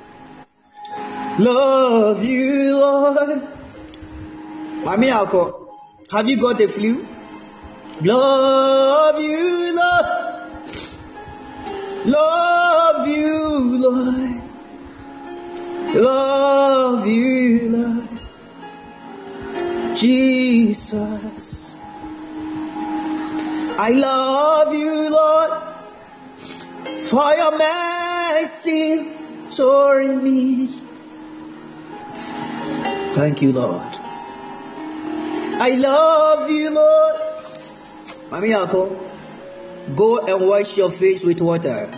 Love you, Lord. Mami Alko, have you got a flu? Love you, Lord. Love you, Lord. Love you, Lord. Jesus, I love you, Lord, for your mercy toward me. Thank you, Lord. I love you, Lord, Mami Yako, go and wash your face with water.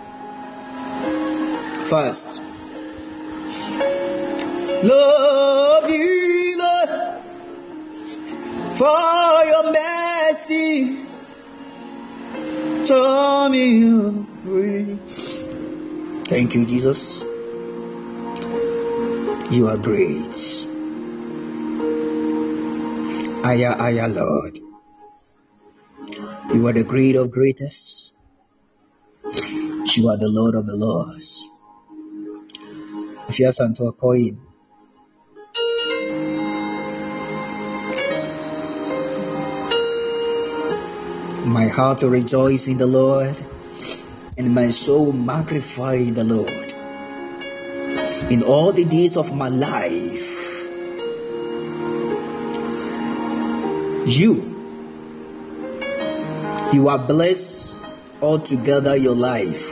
First. Love you, Lord, for your mercy. Tell me you free. Thank you, Jesus. You are great. Aya, Lord. You are the great of greatest. You are the Lord of the Lords. If you are to a coin, my heart will rejoice in the Lord, and my soul magnify the Lord. In all the days of my life, you are blessed altogether your life.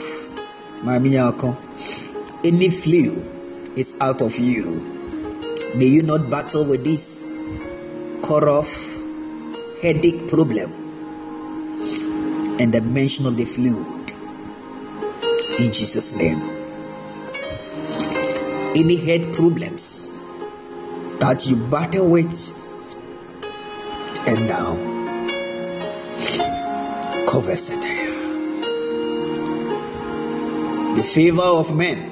Any flu is out of you. May you not battle with this cough, headache problem and the mention of the fluid. In Jesus' name. Any head problems that you battle with, and now cover satire. The favor of men,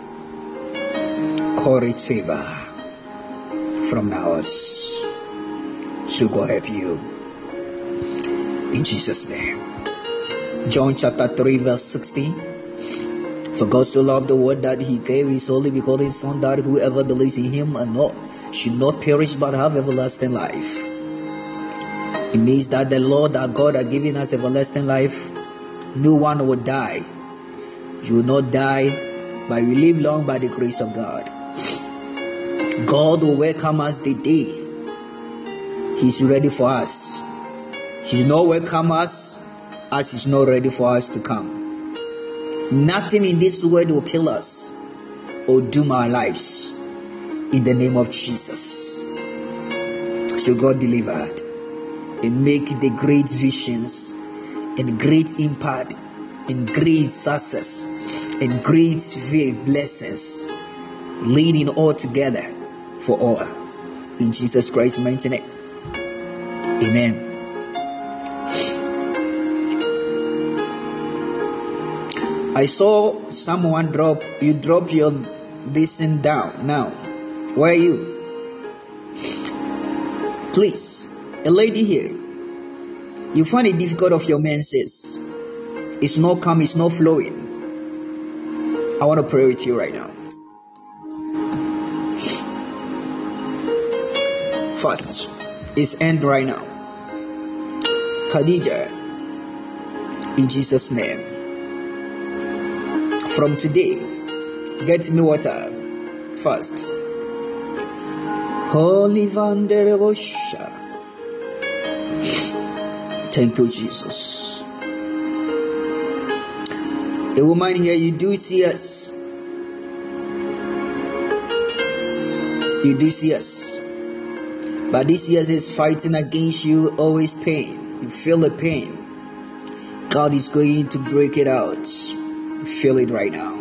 call it favor from now. So God help you. In Jesus' name. John chapter 3 verse 16. For God so loved the world that he gave his only begotten Son, that whoever believes in him should not perish but have everlasting life. It means that the Lord our God has given us everlasting life. No one will die. You will not die, but you live long by the grace of God. God will welcome us the day He's ready for us. He will not welcome us as He's not ready for us to come. Nothing in this world will kill us or doom our lives. In the name of Jesus. So God delivered and make the great visions and great impact and great success and great blessings, leading all together for all. In Jesus Christ's mighty name. Amen. I saw someone drop your this thing down now. Where are you? Please, a lady here. You find it difficult of your menses. It's not come, it's not flowing. I want to pray with you right now. First, it's end right now. Khadija, in Jesus' name. From today, get me water first. Holy Vanderebosha. Thank you, Jesus. A woman here, you do see us. You do see us. But this year is fighting against you, always pain. You feel the pain. God is going to break it out. You feel it right now.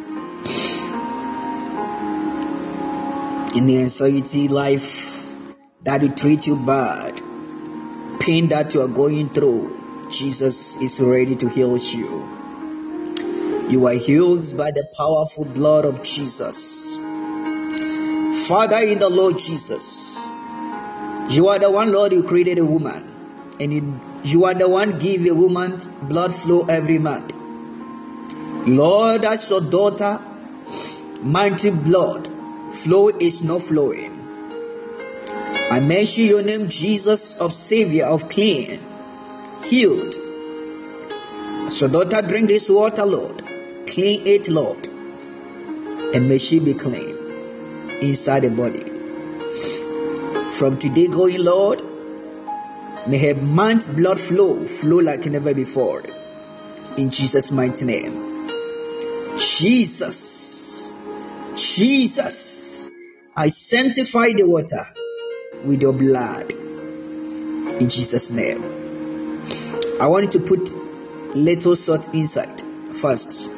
In the anxiety life that will treat you bad, pain that you are going through, Jesus is ready to heal you. You are healed by the powerful blood of Jesus. Father, in the Lord Jesus, you are the one, Lord, you created a woman, and you are the one give a woman blood flow every month. Lord, as your daughter, mighty blood flow is not flowing. I mention your name, Jesus, of Savior, of clean, healed. So daughter, drink this water, Lord. Clean it, Lord. And may she be clean inside the body. From today going, Lord, may her man's blood flow like never before. In Jesus' mighty name. Jesus, I sanctify the water with your blood. In Jesus' name. I want you to put little salt inside first.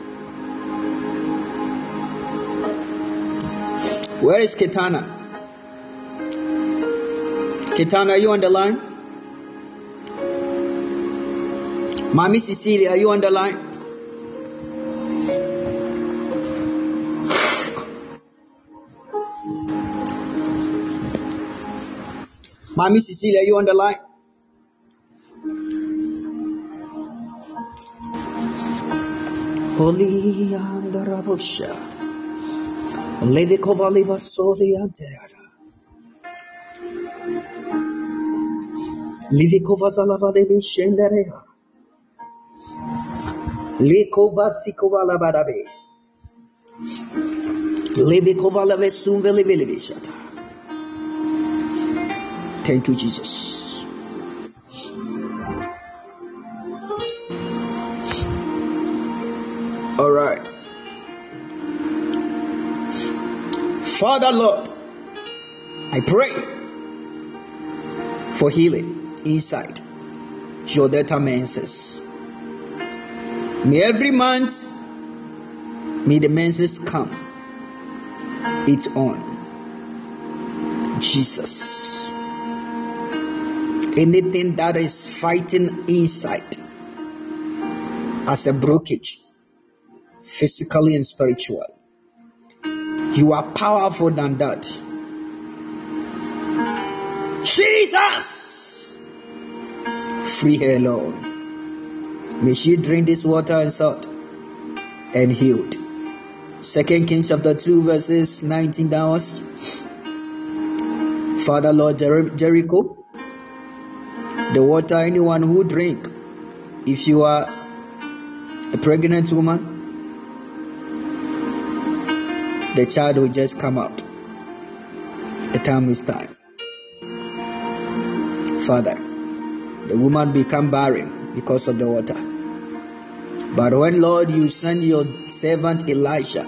Where is Ketana? Ketana, are you on the line? Mommy Cecilia, are you on the line? Mommy Cecilia, are you on the line? Holy and the Rabosha. Levikova Liva Soli Anterada. Livikova Zalava de Shenderea. Likova Sikova Labadabe. Levikova Lave Sumveli Vilivishata. Thank you, Jesus. All right. Father Lord, I pray for healing inside your data menses. May every month, may the menses come. It's on. Jesus. Anything that is fighting inside as a blockage, physically and spiritually, you are powerful than that. Jesus! Free her, Lord. May she drink this water and salt and healed. 2 Kings chapter 2 verses 19 downwards. Father Lord Jericho, the water anyone who drink, if you are a pregnant woman, the child will just come out. The time is time. Father, the woman become barren because of the water. But when, Lord, you send your servant Elisha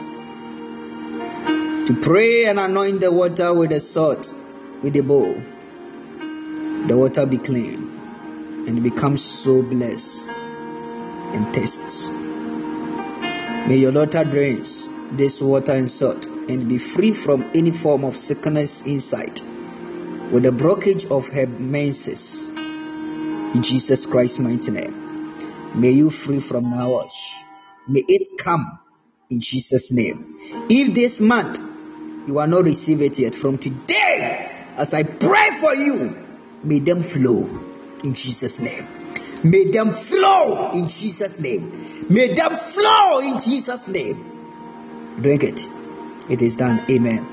to pray and anoint the water with the salt, with the bowl, the water be clean and it becomes so blessed and tastes. May your daughter drink this water and salt and be free from any form of sickness inside with the blockage of her menses. In Jesus Christ's mighty name. May you free from now on. May it come in Jesus' name. If this month you are not receiving it yet, from today, as I pray for you, may them flow in Jesus' name. May them flow in Jesus' name. May them flow in Jesus' name. Drink it. It is done. Amen.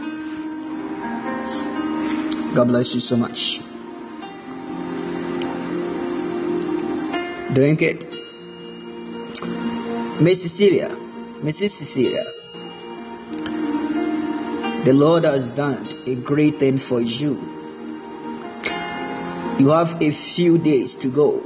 God bless you so much. Drink it. Mrs. Cecilia, the Lord has done a great thing for you. You have a few days to go.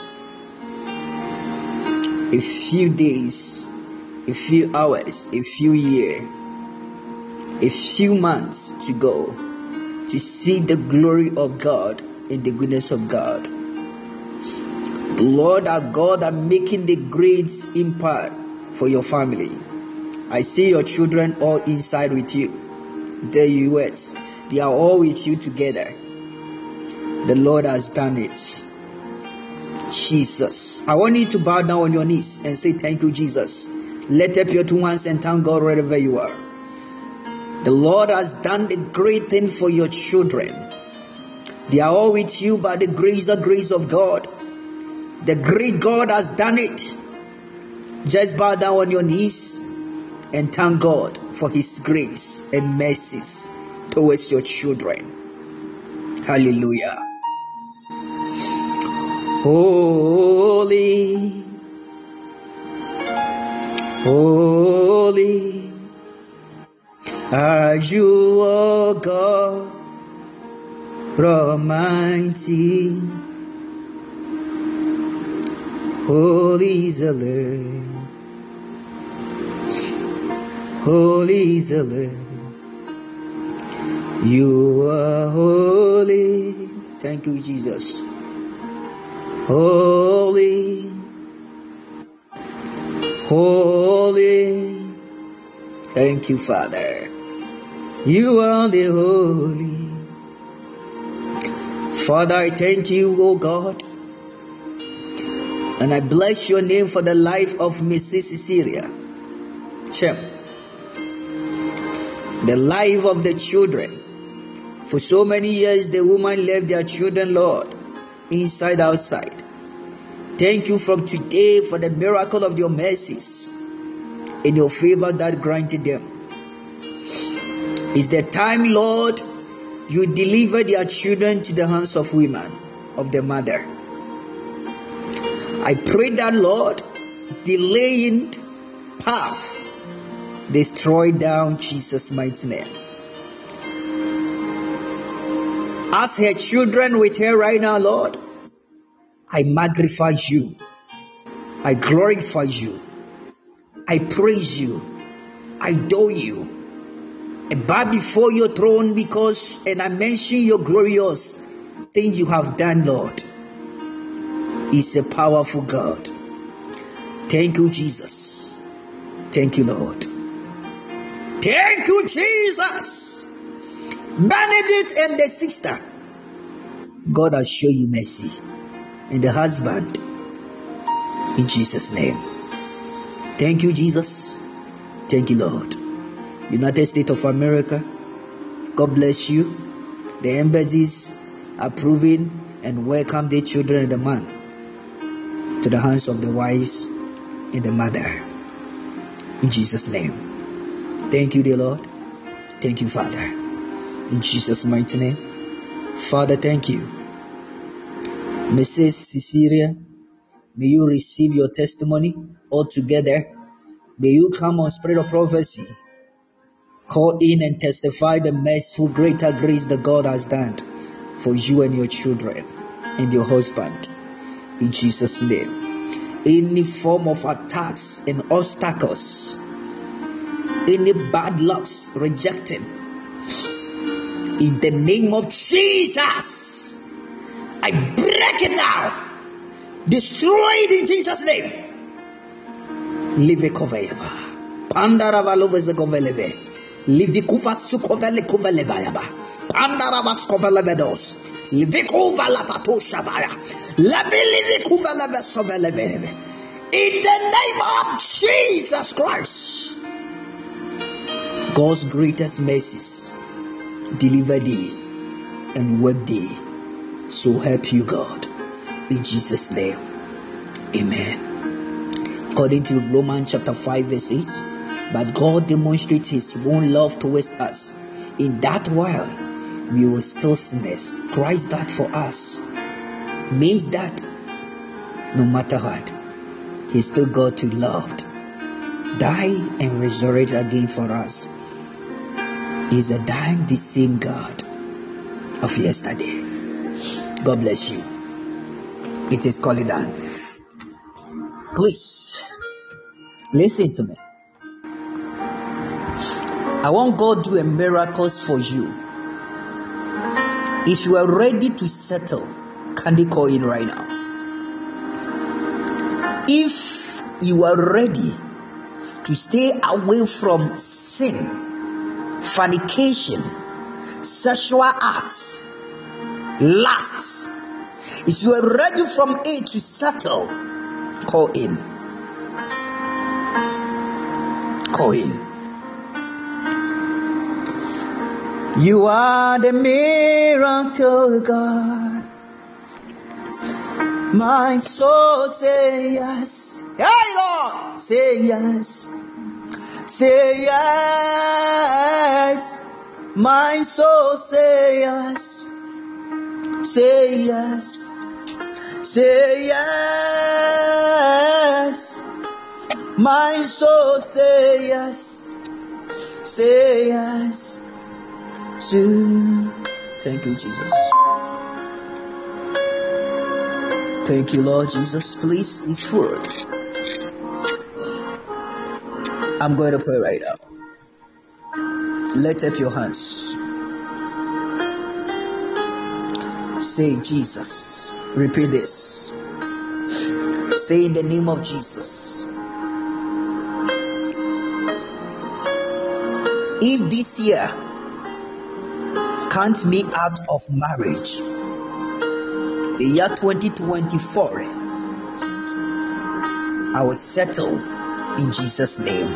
A few days, a few hours, a few years, a few months to go to see the glory of God and the goodness of God. The Lord our God are making the great impact for your family. I see your children all inside with you. The US, they are all with you together. The Lord has done it. Jesus. I want you to bow down on your knees and say thank you, Jesus. Lift up your two hands and thank God wherever you are. The Lord has done the great thing for your children. They are all with you by the grace of God. The great God has done it. Just bow down on your knees and thank God for His grace and mercies towards your children. Hallelujah. Holy, holy are you, O God Almighty. Holy is the Lamb. Holy is the Lamb. You are holy. Thank you, Jesus. Holy, holy. Thank you, Father. You are the holy. Father, I thank you, O God. And I bless your name for the life of Mrs. Cecilia Chem. The life of the children. For so many years, the woman left their children, Lord, inside, outside. Thank you from today for the miracle of your mercies and your favor that granted them. It's the time, Lord, you deliver their children to the hands of women, of the mother. I pray that, Lord, delaying path, destroy down Jesus' mighty name. As her children with her right now, Lord, I magnify you. I glorify you. I praise you. I adore you. I bow before your throne and I mention your glorious things you have done, Lord. He's a powerful God. Thank you, Jesus. Thank you, Lord. Thank you, Jesus. Benedict and the sister, God has shown you mercy. And the husband, in Jesus' name. Thank you, Jesus. Thank you, Lord. United States of America, God bless you. The embassies approving and welcome the children and the man to the hands of the wives and the mother. In Jesus' name. Thank you, dear Lord. Thank you, Father. In Jesus' mighty name. Father, thank you. Mrs. Cecilia, may you receive your testimony altogether. May you come on spirit of prophecy. Call in and testify the merciful greater grace that God has done for you and your children and your husband. In Jesus' name. Any form of attacks and obstacles, any bad lucks rejected, in the name of Jesus, I break it now. Destroy it in Jesus' name. Live a koveva. Pandarava loveze koveleve. Live the kuvasu kovele kovelevayaba. Pandaravas kovelevedos. Live kova la patosha vaya. Live koveleve soveleve. In the name of Jesus Christ, God's greatest mercies deliver thee and work thee. So help you, God. In Jesus' name. Amen. According to Romans chapter 5 verse 8, but God demonstrates his own love towards us, in that while we were still sinners, Christ died for us. Means that no matter what, he's still God to loved, die and resurrect again for us. He's a dying the same God of yesterday. God bless you. It is called done. Please listen to me. I want God to do a miracles for you. If you are ready to settle, can they call in right now? If you are ready to stay away from sin, fornication, sexual acts, lusts, if you are ready from it to settle, call in. Call in. You are the miracle God. My soul say yes. Hey Lord, say yes. Say yes. My soul say yes. Say yes. Say yes. My soul say yes. Say yes. Thank you, Jesus. Thank you, Lord Jesus. Please, it's food. I'm going to pray right now. Lift up your hands. Say, Jesus. Repeat this. Say in the name of Jesus. If this year count me out of marriage, the year 2024, I will settle in Jesus' name.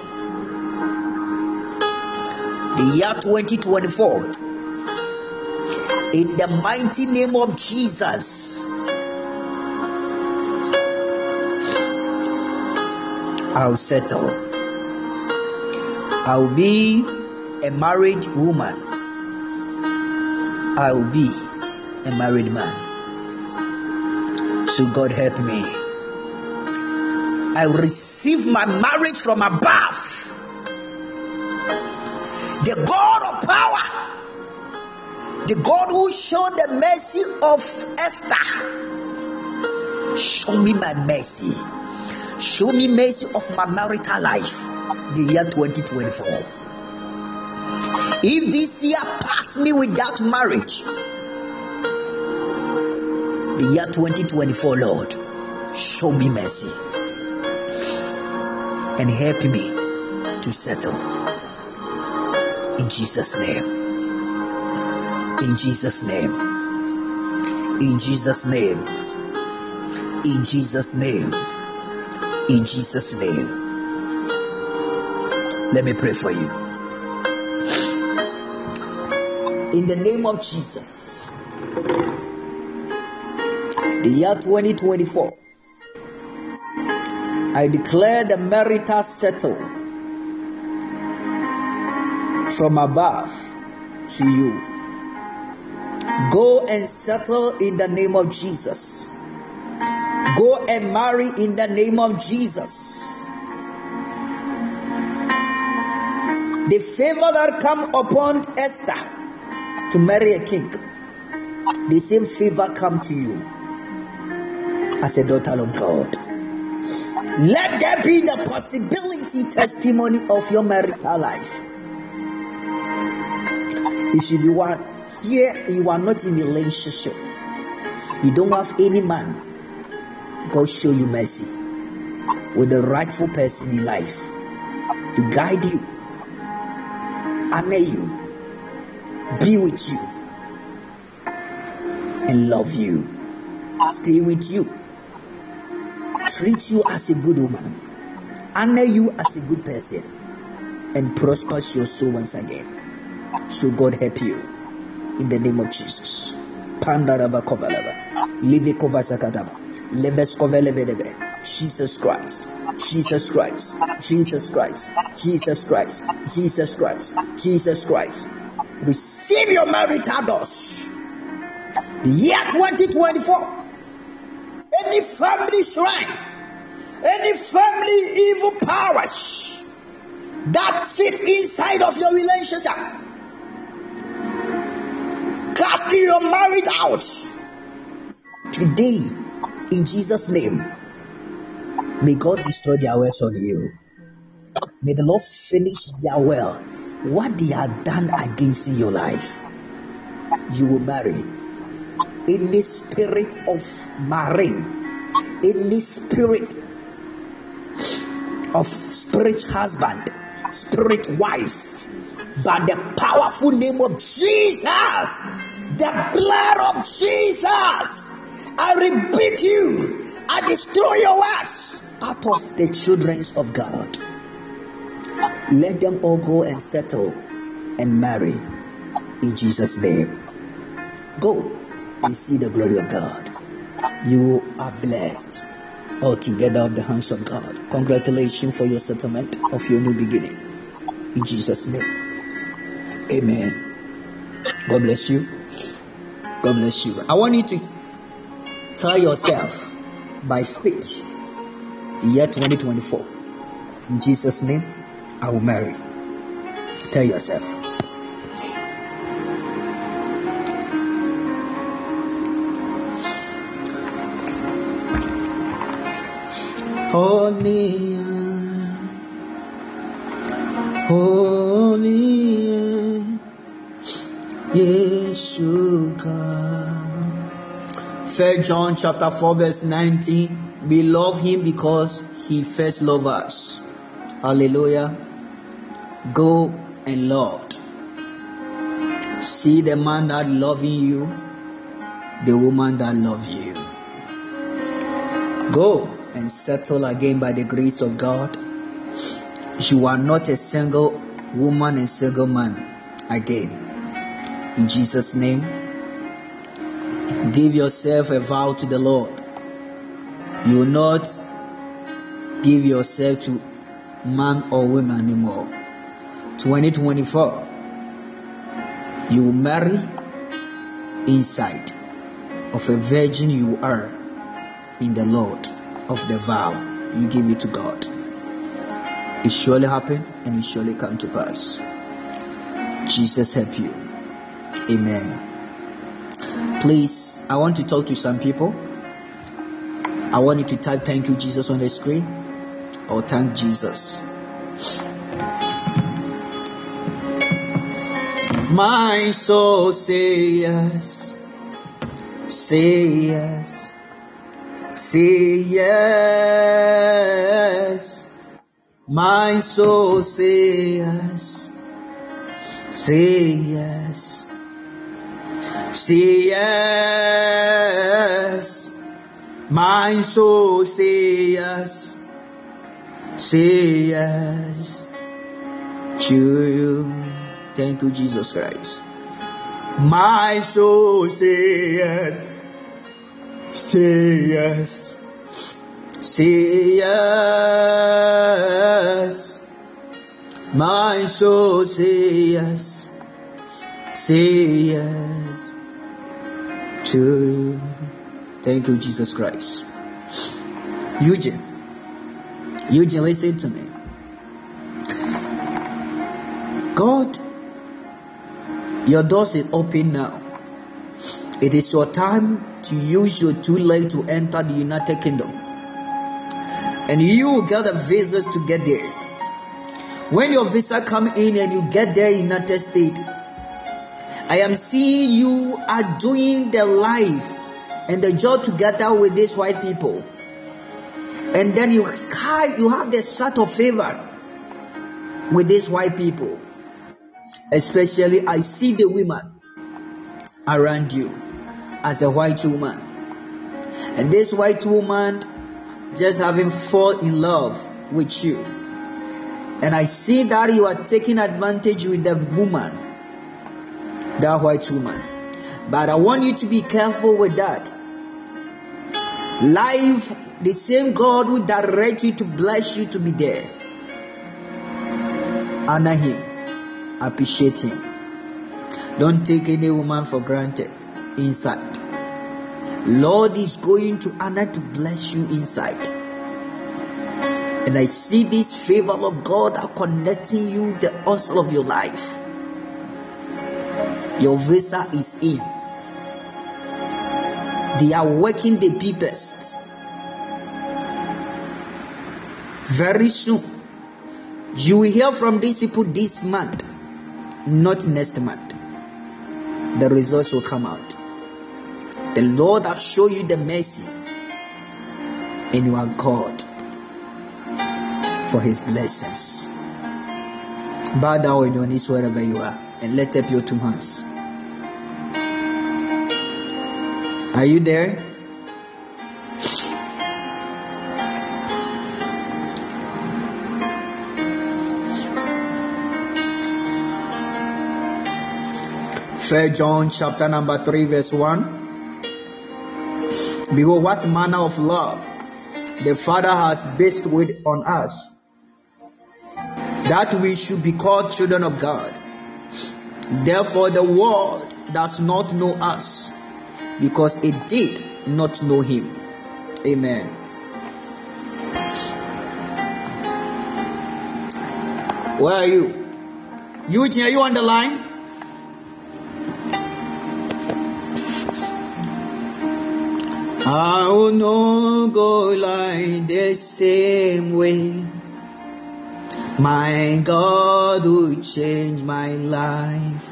The year 2024, in the mighty name of Jesus, I'll settle. I'll be a married woman. I'll be a married man. So God help me. I receive my marriage from above. The God of power, the God who showed the mercy of Esther, show me my mercy. Show me mercy of my marital life, the year 2024. If this year pass me without marriage, the year 2024, Lord, show me mercy and help me to settle. In Jesus' name. In Jesus' name. In Jesus' name. In Jesus' name. In Jesus' name. Let me pray for you. In the name of Jesus, the year 2024, I declare the marital settle from above to you. Go and settle in the name of Jesus. Go and marry in the name of Jesus. The favor that come upon Esther to marry a king, the same favor come to you as a daughter of God. Let there be the possibility testimony of your marital life. If you are here, you are not in a relationship, you don't have any man, God show you mercy with the rightful person in life to guide you, honor you, be with you, and love you, stay with you, treat you as a good woman, honor you as a good person, and prosper your soul once again. So God help you in the name of Jesus. Pandaraba kovalaba, live kovasakadaba, leves kovelebedebe. Jesus Christ, Jesus Christ, Jesus Christ, Jesus Christ, Jesus Christ, Jesus Christ. Receive your marital doors. The year 2024. Any family shrine, any family evil powers that sit inside of your relationship, casting your marriage out today in Jesus' name. May God destroy their works on you. May the Lord finish their well. What they have done against your life, you will marry. Any spirit of marrying, any spirit of spirit husband, spirit wife, by the powerful name of Jesus, the blood of Jesus, I rebuke you. I destroy your works out of the children of God. Let them all go and settle and marry in Jesus' name. Go and see the glory of God. You are blessed altogether of the hands of God. Congratulations for your settlement of your new beginning. In Jesus' name. Amen. God bless you. God bless you. I want you to tell yourself by faith, the year 2024, in Jesus' name, I will marry. Tell yourself. Holy, holy, Yeshua. 1 John chapter 4 verse 19. We love him because he first loved us. Hallelujah. Go and love. See the man that loving you, the woman that love you. Go and settle again by the grace of God. You are not a single woman and single man again. In Jesus' name, give yourself a vow to the Lord. You will not give yourself to man or woman anymore. 2024, you will marry inside of a virgin you are in the Lord of the vow you give it to God. It surely happen and it surely come to pass. Jesus help you. Amen. Please, I want to talk to some people. I want you to type thank you Jesus on the screen or thank Jesus. My soul say yes, say yes, say yes. My soul say yes, say yes, say yes. My soul say yes, say yes to you. Thank you, Jesus Christ. My soul say yes, say yes, say yes. My soul say yes, say yes to you. Thank you, Jesus Christ. Eugene, listen to me. God, your doors is open now. It is your time to use your too late to enter the United Kingdom. And you will get a visa to get there. When your visa come in and you get there in United States, I am seeing you are doing the life and the job together with these white people. And then you have the sort of favor with these white people. Especially, I see the women around you as a white woman. And this white woman just having fall in love with you. And I see that you are taking advantage with the woman, that white woman. But I want you to be careful with that. Life, the same God will direct you to bless you to be there. Honor him. Appreciate him. Don't take any woman for granted inside. Lord is going to honor to bless you inside. And I see this favor of God are connecting you the onset of your life. Your visa is in. They are working the deepest. Very soon, you will hear from these people this month, not next month. The results will come out. The Lord has shown you the mercy, and you are God for his blessings. Bow down on your knees wherever you are and lift up your two hands. Are you there? First John chapter number 3 verse 1. Behold, what manner of love the Father has bestowed on us, that we should be called children of God. Therefore the world does not know us, because it did not know him. Amen. Where are you? Eugene, are you on the line? I will not go like the same way. My God will change my life.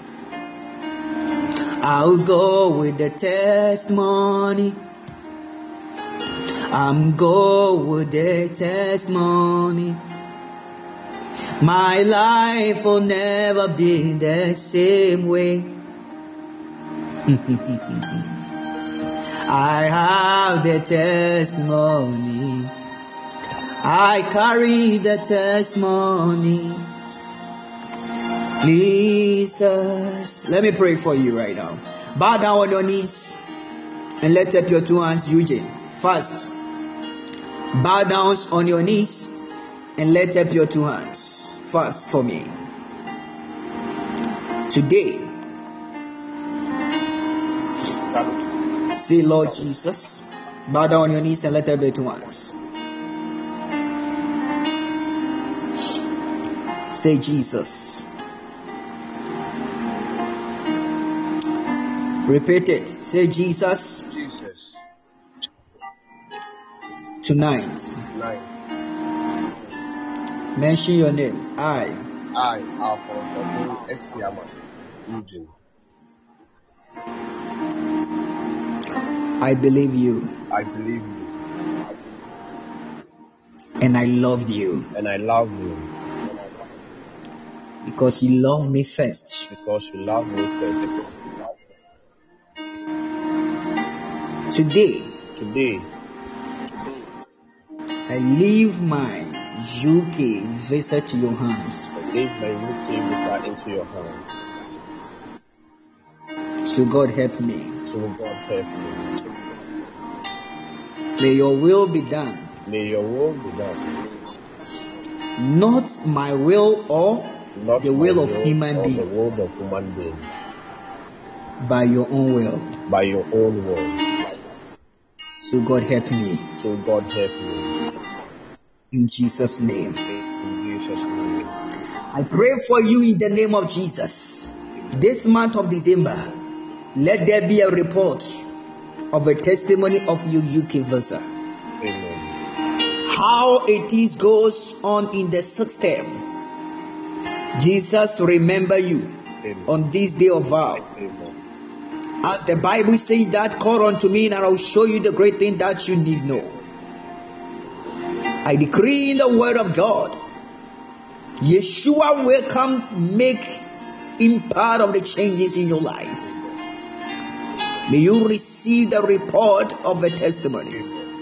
I'll go with the testimony. I'm going with the testimony. My life will never be the same way. I have the testimony. I carry the testimony. Jesus. Let me pray for you right now. Bow down on your knees and lift up your two hands, Eugene. First, bow down on your knees and lift up your two hands. First for me. Today, say, Lord Jesus, bow down on your knees and lift up your two hands. Say, Jesus. Repeat it. Say, Jesus. Jesus. Tonight. Mention your name. I, Alphonse Esiama Eugene. I believe you. I believe you. And I loved you. And I love you. Because you love me first. Because you love me first. Today, I leave my UK visa to your hands. I leave my UK visa into your hands. So God help me. So God help me. May your will be done. May your will be done. Not my will or Not the will of human being. The will of human being. By your own will. By your own will. So God help me. So God help me. In Jesus' name. In Jesus' name. I pray for you in the name of Jesus. This month of December, let there be a report of a testimony of your UK visa. Amen. How it is goes on in the system. Jesus remember you. Amen. On this day of vow. Amen. As the Bible says that, call unto me and I will show you the great thing that you need know. I decree in the word of God, Yeshua will come make him part of the changes in your life. May you receive the report of a testimony.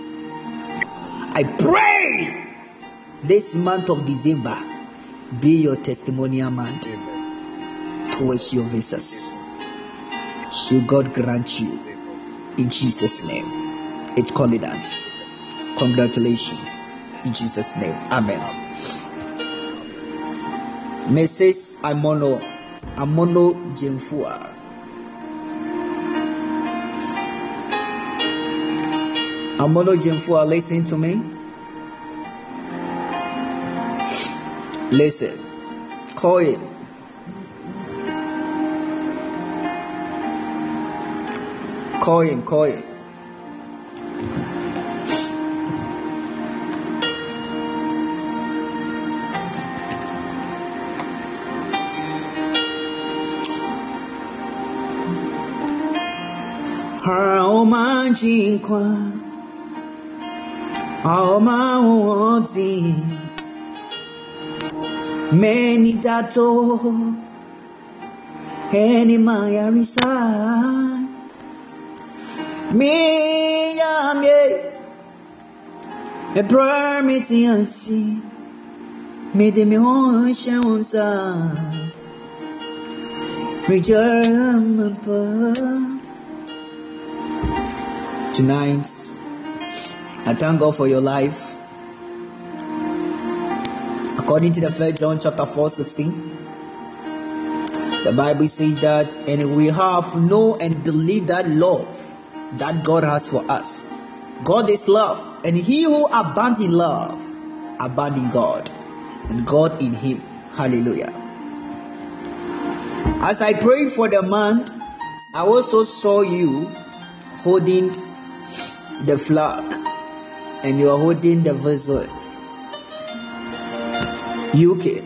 I pray this month of December be your testimonial month towards your visas. So God grant you in Jesus' name. It's called it done. Congratulations in Jesus' name. Amen. Mrs. Amono Jemfua. Amono Jemfua, listen to me. Listen. Call it. Call it. How much in kwa? How much many dato? Any Maya reside. Me a permit I see. Me de me onsa. Return. Tonight, I thank God for your life. According to the 1 John chapter 4:16, the Bible says that, and we have known and believe that love that God has for us. God is love, and he who abounds in love abounds in God, and God in him. Hallelujah. As I prayed for the month, I also saw you holding the flag, and you are holding the vessel. UK.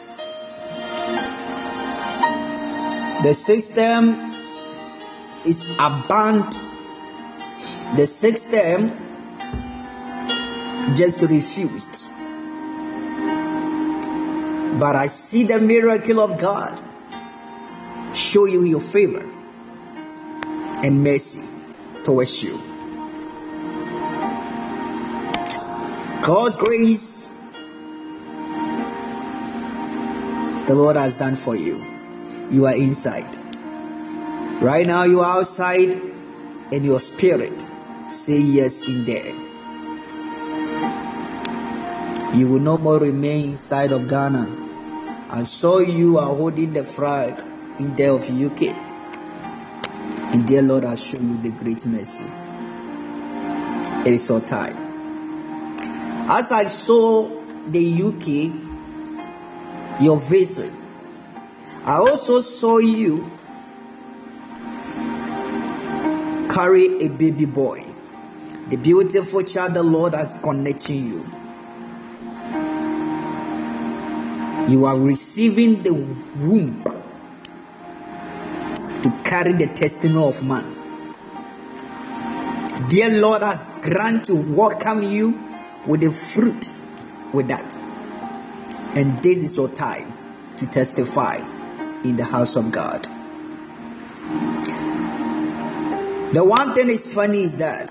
The system is abandoned. The system just refused. But I see the miracle of God show you your favor and mercy towards you. God's grace, the Lord has done for you. You are inside. Right now you are outside, and your spirit say yes in there. You will no more remain inside of Ghana. I saw you are holding the flag in there of UK. And dear Lord has shown you the great mercy. It is your time. As I saw the UK, your vessel, I also saw you carry a baby boy. The beautiful child the Lord has connected you. You are receiving the womb to carry the testimony of man. Dear Lord has granted to welcome you with the fruit with that. And this is your time to testify in the house of God. The one thing is funny is that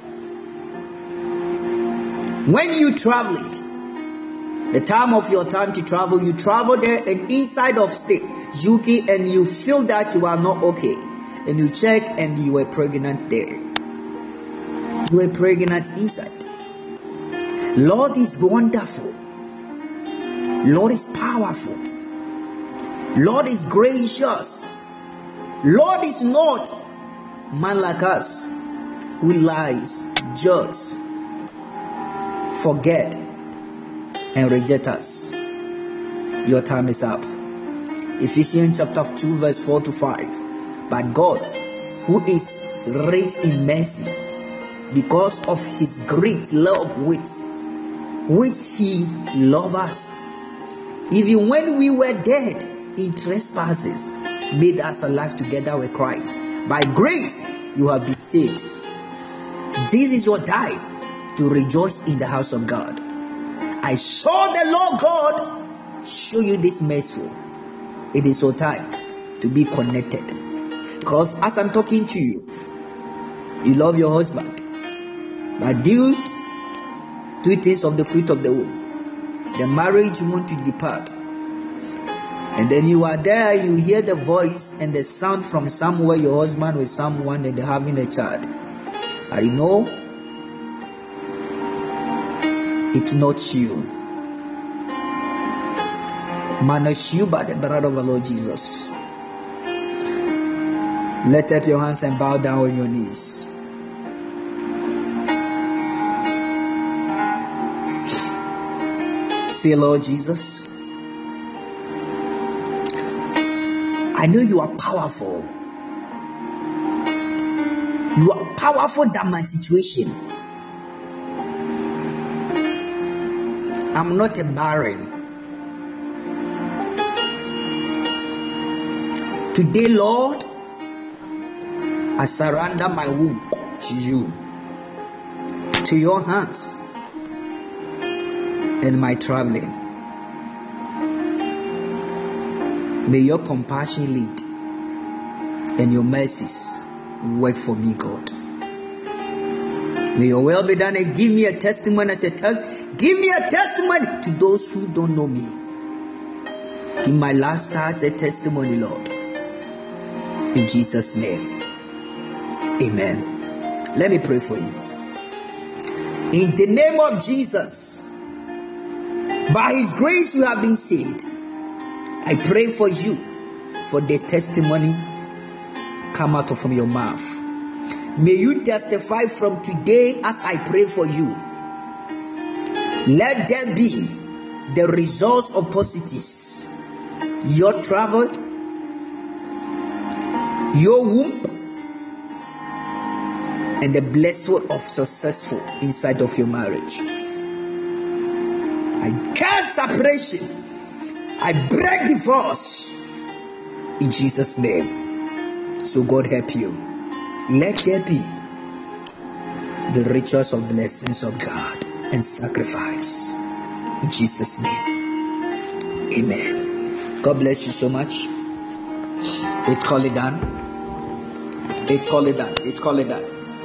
when you traveling, the time of your time to travel, you travel there and inside of state UK, and you feel that you are not okay, and you check and you were pregnant there. You were pregnant inside. Lord is wonderful. Lord is powerful. Lord is gracious. Lord is not man like us who lies, judges, forget, and reject us. Your time is up. Ephesians chapter 2 verse 4 to 5. But God, who is rich in mercy, because of his great love which he loved us, even when we were dead in trespasses, made us alive together with Christ. By grace you have been saved. This is your time to rejoice in the house of God. I saw the Lord God show you this mercy. It is your time to be connected. Because as I'm talking to you, you love your husband, but due to things of the fruit of the womb, the marriage you want to depart. And then you are there, you hear the voice and the sound from somewhere, your husband with someone, and they're having a child. I know it's not you. Manage you by the blood of the Lord Jesus. Lift up your hands and bow down on your knees. Say, Lord Jesus, I know you are powerful. You are powerful than my situation. I'm not a barren. Today, Lord, I surrender my womb to you, to your hands, and my traveling. May your compassion lead and your mercies work for me, God. May your will be done, and give me a testimony as a test. Give me a testimony to those who don't know me. In my lifestyle as a testimony, Lord. In Jesus' name. Amen. Let me pray for you. In the name of Jesus, by his grace you have been saved. I pray for you, for this testimony come out from your mouth. May you testify from today as I pray for you. Let there be the results of positives. Your travel, your womb, and the blessing of successful inside of your marriage. I curse separation. I break divorce in Jesus' name. So God help you. Let there be the riches of blessings of God and sacrifice. In Jesus' name. Amen. God bless you so much. It's called it done. It's called it done. It's called it done.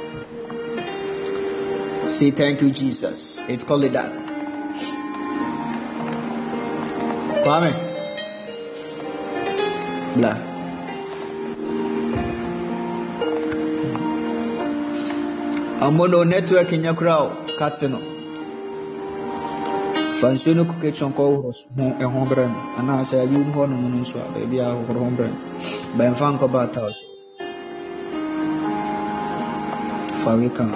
Say thank you, Jesus. It's called it done. Kwame. Blah. Amono network in your crowd. Katino. Fansuno kitchen call was a home brand. And I say, you want to swap, baby, I have a home brand. Ben Fanko Batas. Farika.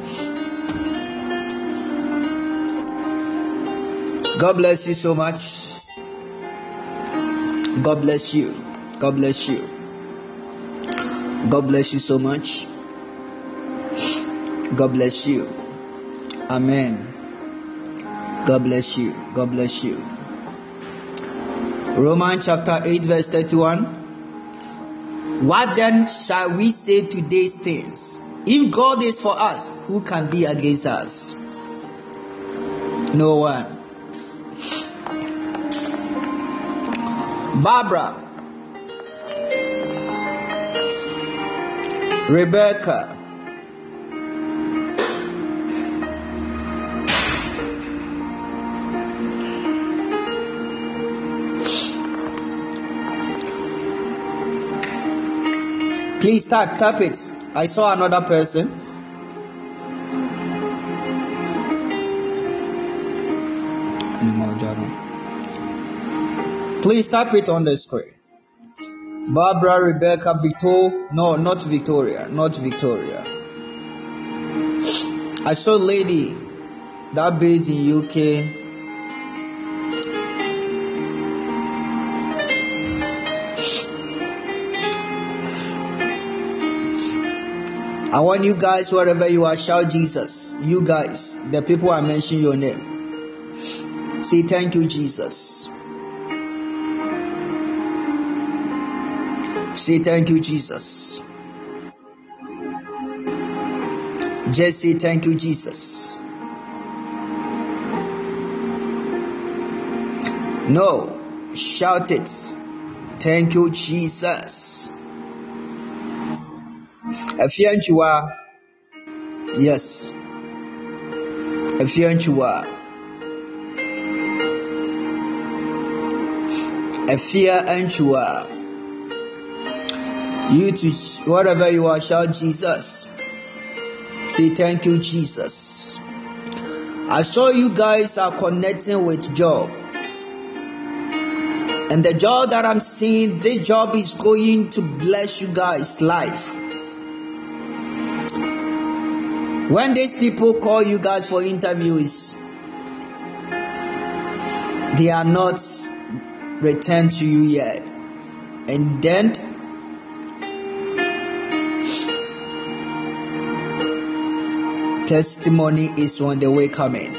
God bless you so much. God bless you. God bless you. God bless you so much. God bless you. Amen. God bless you. God bless you. Romans chapter 8 verse 31. What then shall we say to these things? If God is for us, who can be against us? No one. Barbara, Rebecca, please tap it. I saw another person. Please tap it on the screen. Barbara, Rebecca, no, not Victoria. I saw a lady that based in UK. I want you guys, wherever you are, shout Jesus. You guys, the people I mention your name. Say thank you, Jesus. Say thank you, Jesus. Just say thank you, Jesus. No, shout it. Thank you, Jesus. Efianchua. Yes. Efianchua. Efianchua. You to whatever you are, shout Jesus. Say thank you, Jesus. I saw you guys are connecting with job. And the job that I'm seeing, this job is going to bless you guys' life. When these people call you guys for interviews, they are not returned to you yet. And then testimony is on the way coming.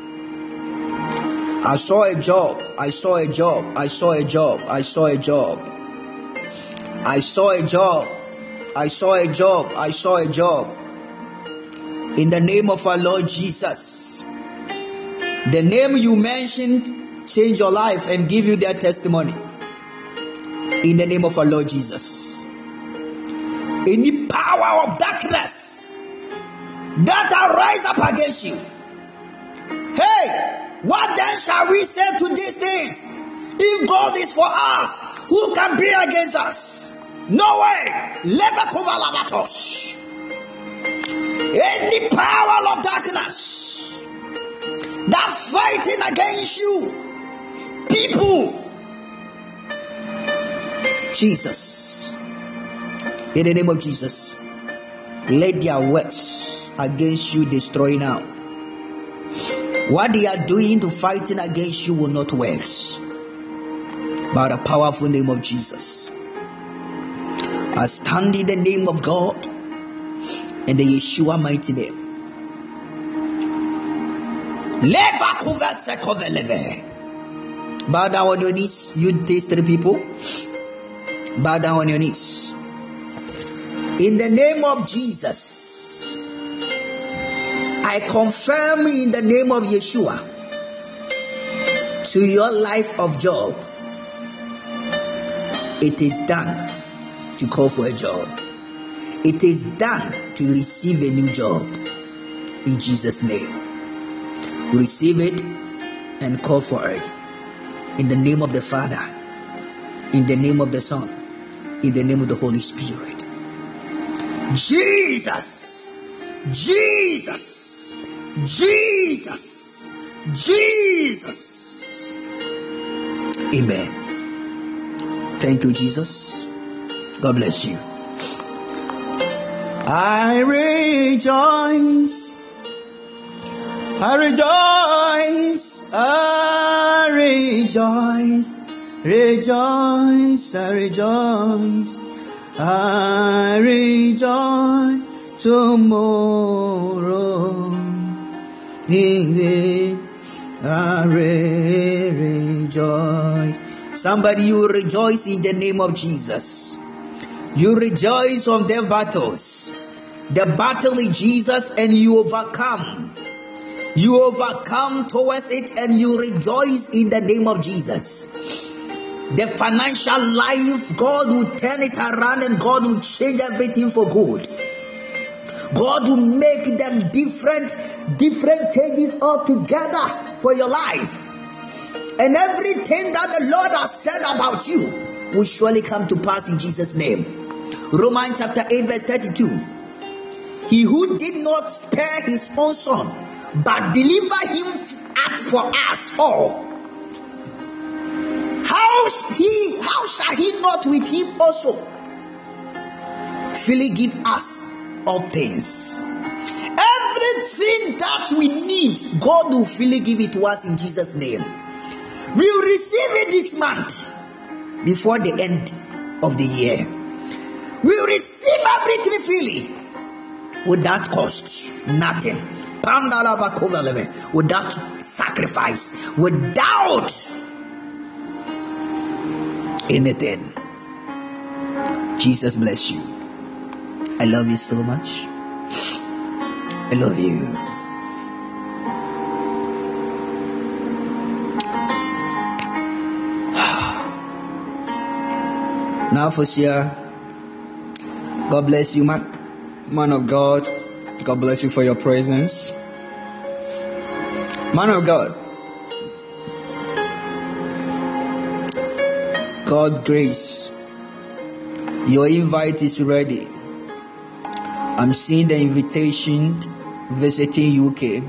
I saw a job. I saw a job. I saw a job. I saw a job. I saw a job. I saw a job. I saw a job. In the name of our Lord Jesus. The name you mentioned change your life and give you their testimony. In the name of our Lord Jesus. Any power of darkness that arise up against you. Hey, what then shall we say to these things? If God is for us, who can be against us? No way. Any power of darkness that fighting against you, people, Jesus, in the name of Jesus, let their works against you destroy now. What they are doing to fighting against you will not work. By the powerful name of Jesus, I stand in the name of God and the Yeshua mighty name. Bow down on your knees, you these three people. Bow down on your knees. In the name of Jesus, I confirm in the name of Yeshua to your life of job. It is done to call for a job. It is done to receive a new job. In Jesus' name. Receive it and call for it. In the name of the Father, in the name of the Son, in the name of the Holy Spirit. Jesus, Jesus, Jesus, Jesus. Amen. Thank you, Jesus. God bless you. I rejoice. I rejoice. I rejoice. Rejoice. I rejoice. I rejoice tomorrow. I rejoice. Somebody, you rejoice in the name of Jesus. You rejoice on their battles. The battle is Jesus, and you overcome. You overcome towards it, and you rejoice in the name of Jesus. The financial life, God will turn it around, and God will change everything for good. God will make them different changes altogether for your life. And everything that the Lord has said about you will surely come to pass in Jesus' name. Romans chapter 8 verse 32. He who did not spare his own son, but delivered him up for us all, how shall he not with him also freely give us all things? Everything that we need, God will freely give it to us in Jesus' name. We will receive it this month before the end of the year. We will receive everything freely without cost, nothing. Without sacrifice, without anything. Jesus bless you. I love you so much. I love you. Now for sure, God bless you, man of God. God bless you for your presence. Man of God, God grace, your invite is ready. I'm seeing the invitation visiting UK.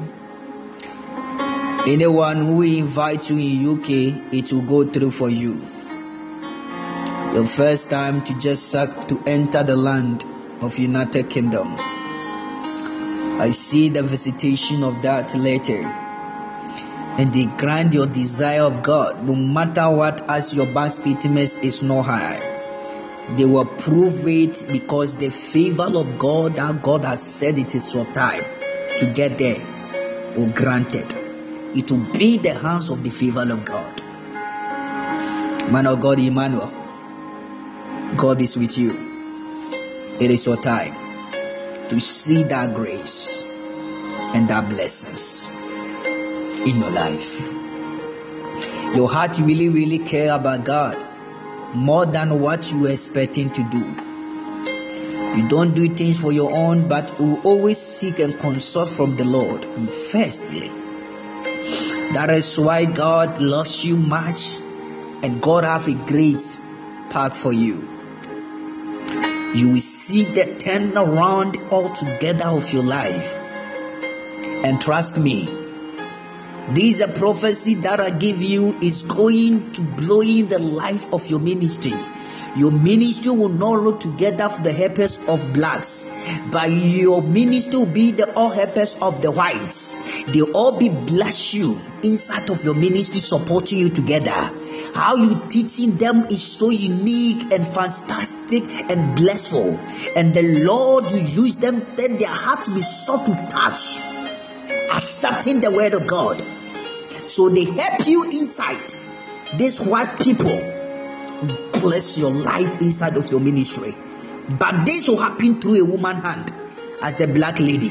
Anyone who invites you in UK, it will go through for you. The first time to enter the land of United Kingdom. I see the visitation of that letter, and they grant your desire of God, no matter what, as your bank statement is not high. They will prove it because the favor of God that God has said it is your time to get there will grant it. It will be the hands of the favor of God. Man of God, Emmanuel, God is with you. It is your time to see that grace and that blessings in your life. Your heart really, really care about God more than what you are expecting to do. You don't do things for your own, but you always seek and consult from the Lord firstly. That is why God loves you much, and God have a great path for you. You will see the turnaround altogether of your life. And trust me, this is a prophecy that I give you is going to blow in the life of your ministry. Your ministry will not look together for the helpers of blacks, but your ministry will be the all helpers of the whites. They all be bless you inside of your ministry, supporting you together. How you teaching them is so unique and fantastic and blissful. And the Lord will use them, then their heart will be soft to touch, accepting the word of God. So they help you inside. These white people bless your life inside of your ministry. But this will happen through a woman's hand, as the black lady.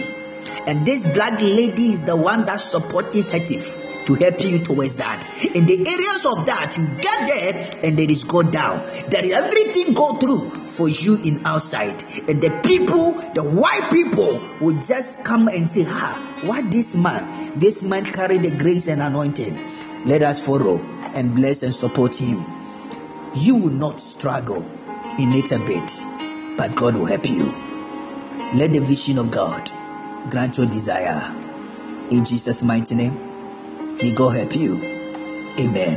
And this black lady is the one that's supporting Hetif to help you towards that. In the areas of that, you get there and there is go down. There is everything go through for you in outside. And the people, the white people, will just come and say, what this man carry the grace and anointing. Let us follow and bless and support him. You will not struggle in it a bit, but God will help you. Let the vision of God grant your desire. In Jesus' mighty name, may God help you. Amen.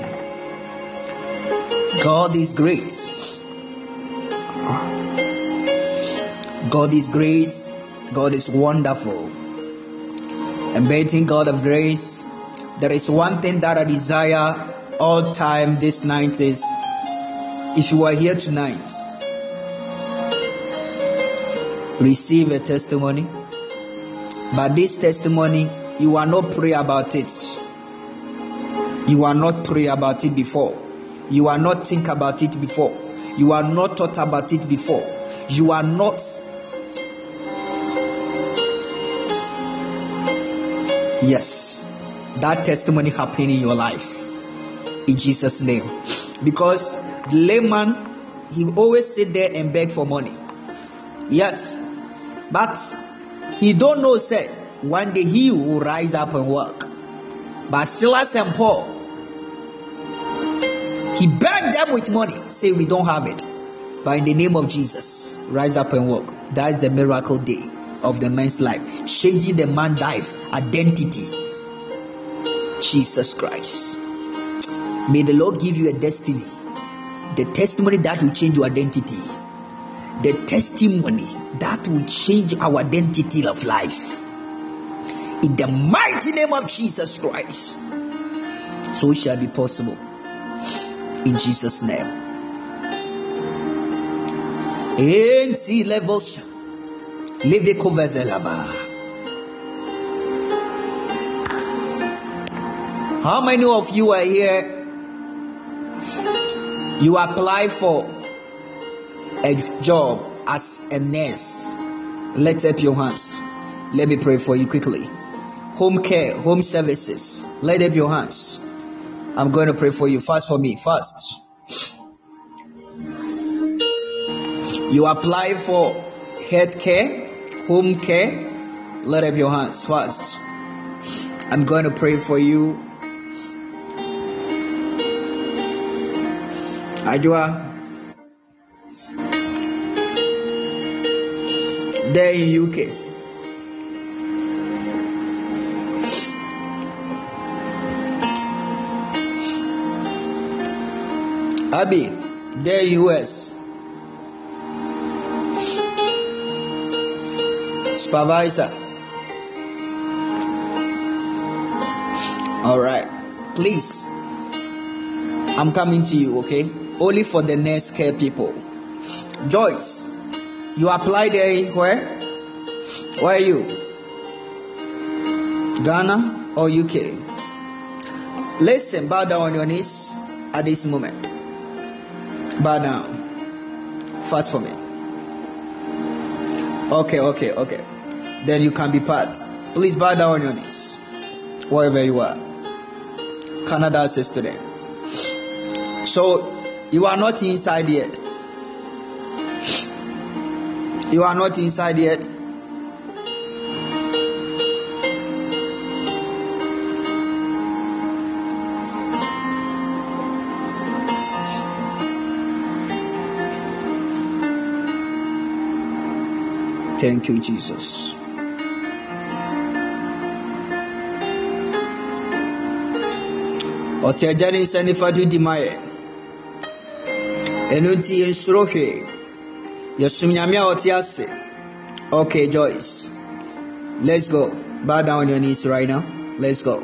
God is great. God is great. God is wonderful. Amazing God of grace. There is one thing that I desire all time this night is, if you are here tonight, receive a testimony. But this testimony, you are not pray about it. You are not pray about it before. You are not think about it before. You are not thought about it before. You are not. Yes, that testimony happened in your life. In Jesus' name. Because the layman, he always sit there and beg for money. Yes, but he don't know, say, one day he will rise up and work. But Silas and Paul, he begged them with money, say we don't have it. But in the name of Jesus, rise up and walk. That is the miracle day of the man's life. Changing the man's life, identity. Jesus Christ. May the Lord give you a destiny. The testimony that will change your identity. The testimony that will change our identity of life. In the mighty name of Jesus Christ. So it shall be possible. In Jesus' name. How many of you are here? You apply for a job as a nurse. Let's up your hands. Let me pray for you quickly. Home care, home services. Let up your hands. I'm going to pray for you. Fast for me. Fast. You apply for health care, home care. Let up your hands. Fast. I'm going to pray for you. Ajua. There in UK. Abby, there in US. Supervisor. All right. Please. I'm coming to you, okay? Only for the next care people. Joyce, you apply there in where? Where are you? Ghana or UK? Listen, bow down on your knees at this moment. Bow down. Fast for me. Okay. Then you can be part. Please bow down on your knees. Wherever you are. Canada as a student. So, you are not inside yet. You are not inside yet. Thank you, Jesus. Otiajani sanifadu dimaye. Enunti ensrohe. Yasumnyamia otiase. Okay, Joyce. Let's go. Bow down on your knees right now. Let's go.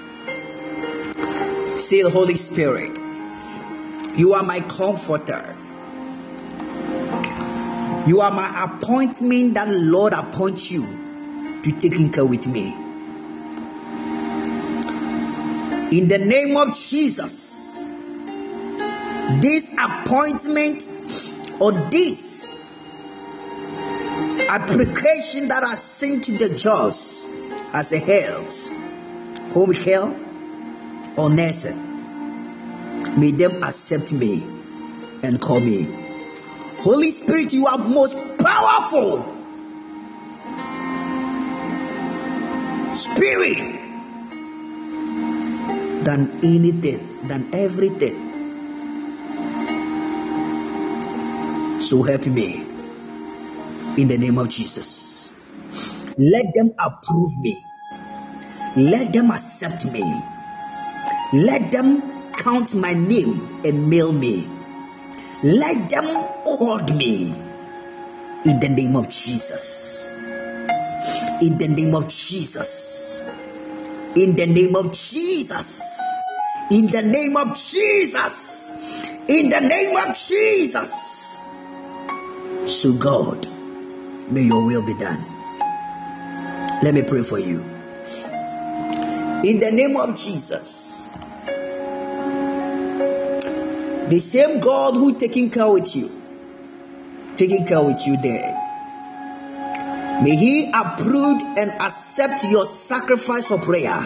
Say the Holy Spirit. You are my comforter. You are my appointment that the Lord appoints you to take care with me. In the name of Jesus, this appointment or this application that are sent to the jobs as a health, home care, or nursing, may them accept me and call me. Holy Spirit, you are most powerful Spirit than anything, than everything. So help me in the name of Jesus. Let them approve me. Let them accept me. Let them count my name and mail me. Let them hold me in the name of Jesus. In the name of Jesus. In the name of Jesus. In the name of Jesus. In the name of Jesus. So God, may your will be done. Let me pray for you. In the name of Jesus, the same God who taking care with you there, may He approve and accept your sacrifice of prayer.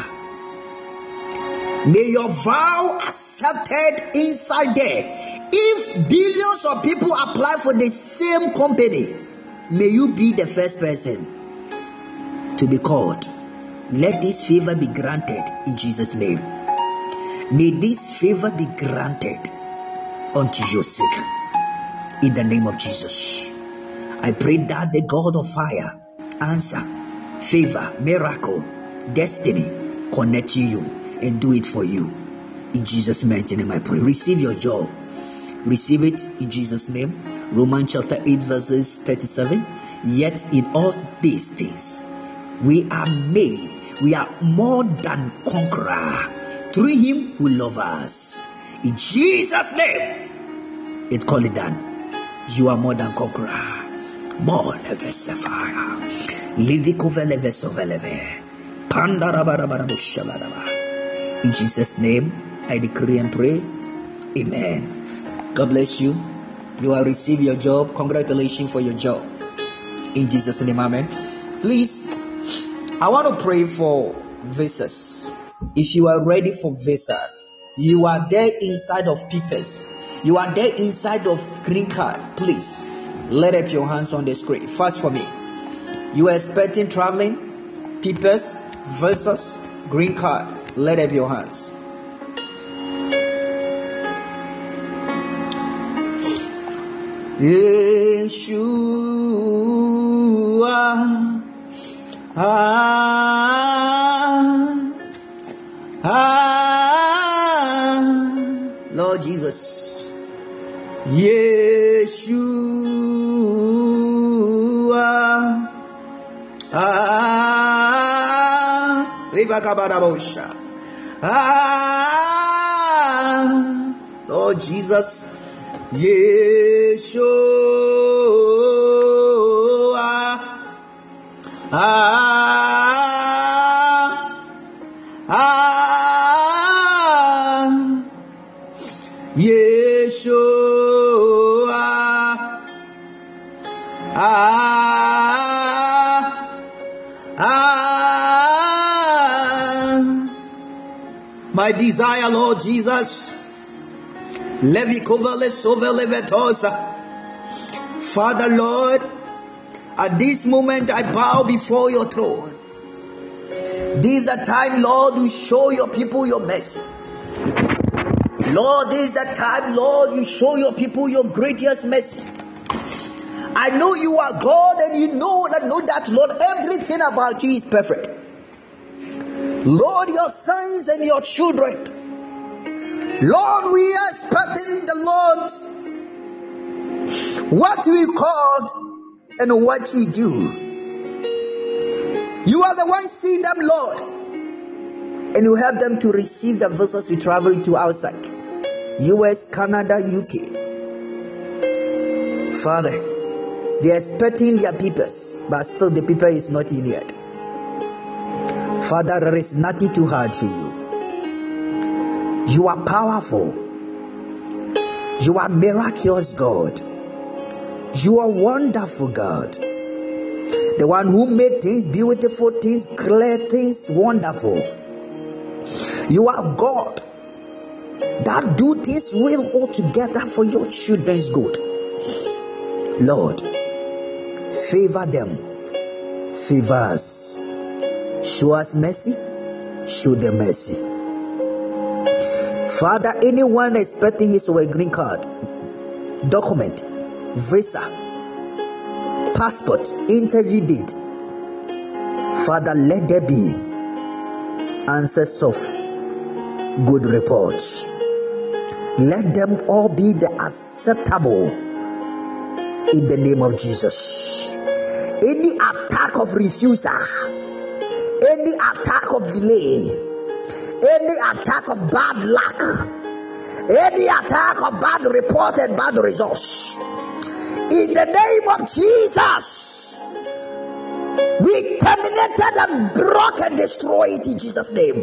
May your vow accepted inside there. If billions of people apply for the same company, may you be the first person to be called. Let this favor be granted in Jesus' name. May this favor be granted unto your sake in the name of Jesus. I pray that the God of fire, answer, favor, miracle, destiny, connect to you and do it for you. In Jesus' mighty name I pray. Receive your job. Receive it in Jesus' name. Romans chapter 8 verses 37. Yet in all these things we are more than conqueror through Him who loves us. In Jesus' name, it call it done. You are more than conqueror. More than Vesafara. In Jesus' name, I decree and pray. Amen. God bless you. You will receive your job. Congratulations for your job. In Jesus' name, amen. Please, I want to pray for visas. If you are ready for visa, you are there inside of papers. You are there inside of green card. Please, let up your hands on the screen. Fast for me. You are expecting traveling, papers, visas, green card. Let up your hands. Yeshua, Lord Jesus, Yeshua, Lord Jesus, Yeshua, Yeshua, my desire, Lord Jesus. Father, Lord, at this moment I bow before your throne. This is the time, Lord, you show your people your mercy. Lord, this is the time, Lord, you show your people your greatest mercy. I know you are God, and you know that, Lord, everything about you is perfect. Lord, your sons and your children, Lord, we are expecting the Lord what we called and what we do. You are the one seeing them, Lord, and you help them to receive the visas we travel to outside US, Canada, UK. Father, they are expecting their papers, but still the paper is not in yet. Father, there is nothing too hard for you. You are powerful. You are miraculous God. You are wonderful God. the one who made things beautiful, things clear, things wonderful. You are God that do things well altogether for your children's good. Lord, favor them, favor us, show us mercy, show them mercy. Father, anyone expecting his or a green card, document, visa, passport, interview date, Father, let there be answers of good reports. Let them all be the acceptable in the name of Jesus. Any attack of refusal, any attack of delay, any attack of bad luck, any attack of bad report and bad results, in the name of Jesus, we terminated and broke and destroyed it in Jesus' name.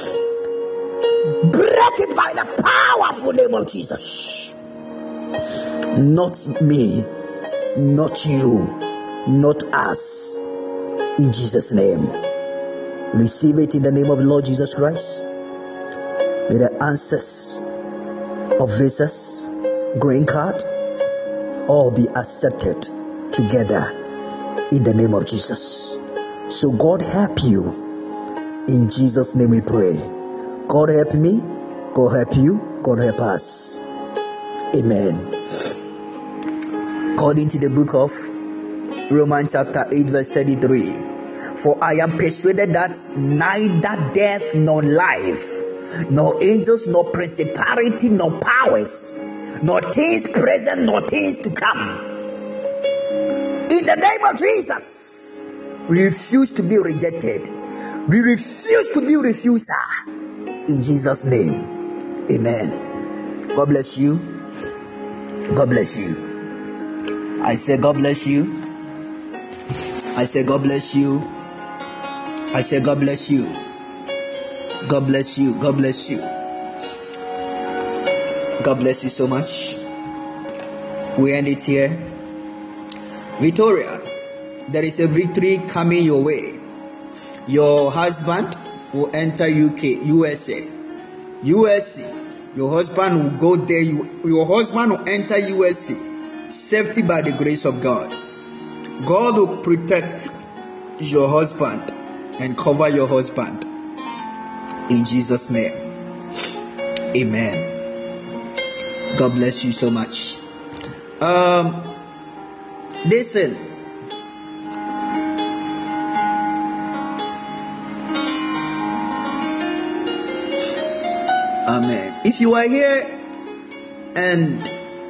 Break it by the powerful name of Jesus. Not me, not you, not us. In Jesus' name. Receive it in the name of the Lord Jesus Christ. May the answers of visas, green card, all be accepted together in the name of Jesus. So God help you. In Jesus' name we pray. God help me, God help you, God help us. Amen. According to the book of Romans chapter 8 verse 33, for I am persuaded that neither death nor life, nor angels, nor principality, nor powers, nor things present, nor things to come, in the name of Jesus, we refuse to be rejected. We refuse to be refuser. In Jesus' name, amen. God bless you. God bless you. I say God bless you. I say God bless you. I say God bless you. God bless you. God bless you. God bless you so much. We end it here. Victoria, there is a victory coming your way. Your husband will enter USA. Your husband will go there. Your husband will enter USA. Safety by the grace of God. God will protect your husband and cover your husband. In Jesus' name. Amen. God bless you so much. Listen. Amen. If you are here and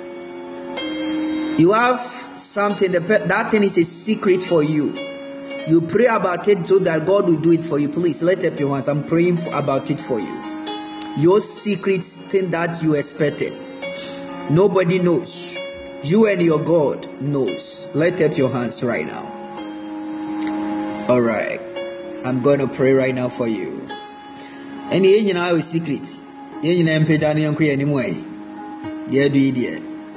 you have something, that thing is a secret for you. You pray about it so that God will do it for you. Please lift up your hands. I'm praying about it for you. Your secret thing that you expected. Nobody knows. You and your God knows. Lift up your hands right now. All right. I'm going to pray right now for you. And you know a secret. You know anymore. Yeah, do it.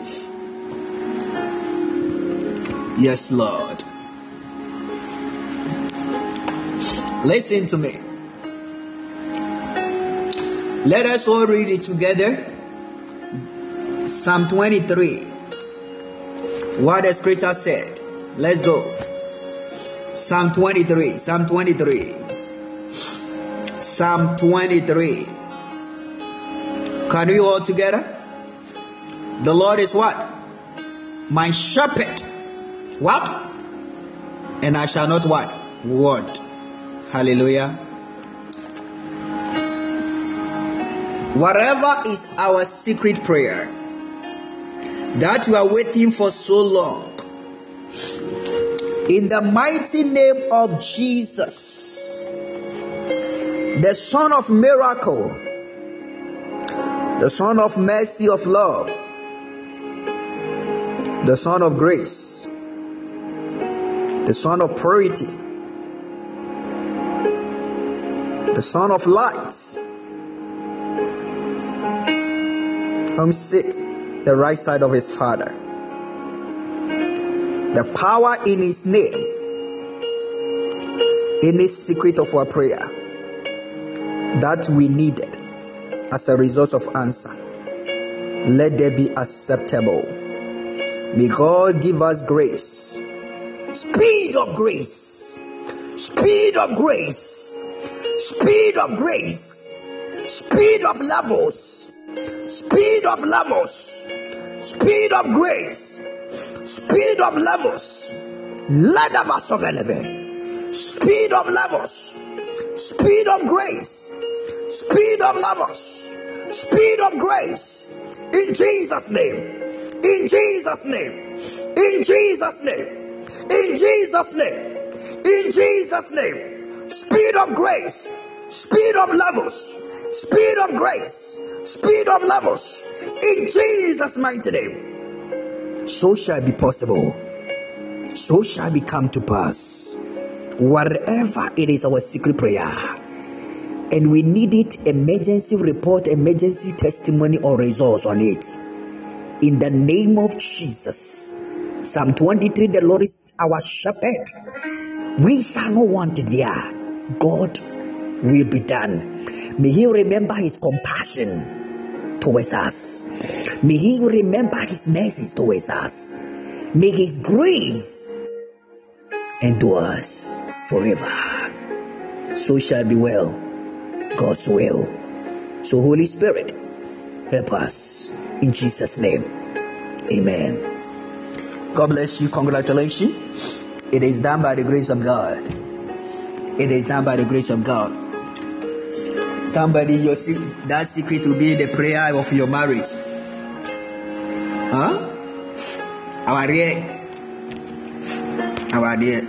Yes, Lord. Listen to me. Let us all read it together. Psalm 23. What the scripture said. Let's go. Psalm 23. Psalm 23. Psalm 23. Can we all together? The Lord is what? My shepherd. What? And I shall not what? Want. Hallelujah. Whatever is our secret prayer that you are waiting for so long, in the mighty name of Jesus, the Son of miracle, the Son of mercy, of love, the Son of grace, the Son of purity, the Son of light, whom sit the right side of his Father. The power in his name Any secret of our prayer that we needed as a result of answer, let there be acceptable. May God give us grace, speed of grace, speed of grace, speed of grace, speed of levels, speed of levels, speed of grace, speed of levels. Let them available. Speed of levels, speed of grace, speed of levels, speed of grace. In Jesus' name, in Jesus' name, in Jesus' name, in Jesus' name, in Jesus' name. Speed of grace, speed of levels, speed of grace, speed of levels. In Jesus' mighty name. So shall it be possible. So shall it come to pass. Whatever it is, our secret prayer, and we need it, emergency report, emergency testimony or results on it. In the name of Jesus. Psalm 23, the Lord is our shepherd. We shall not want it there. God will be done. May He remember His compassion towards us. May He remember His mercies towards us. May His grace endures forever. So shall it be well. God's will. So Holy Spirit, help us in Jesus' name. Amen. God bless you. Congratulations. It is done by the grace of God. It is done by the grace of God. Somebody, you see, that secret will be the prayer of your marriage. Huh? Our dear.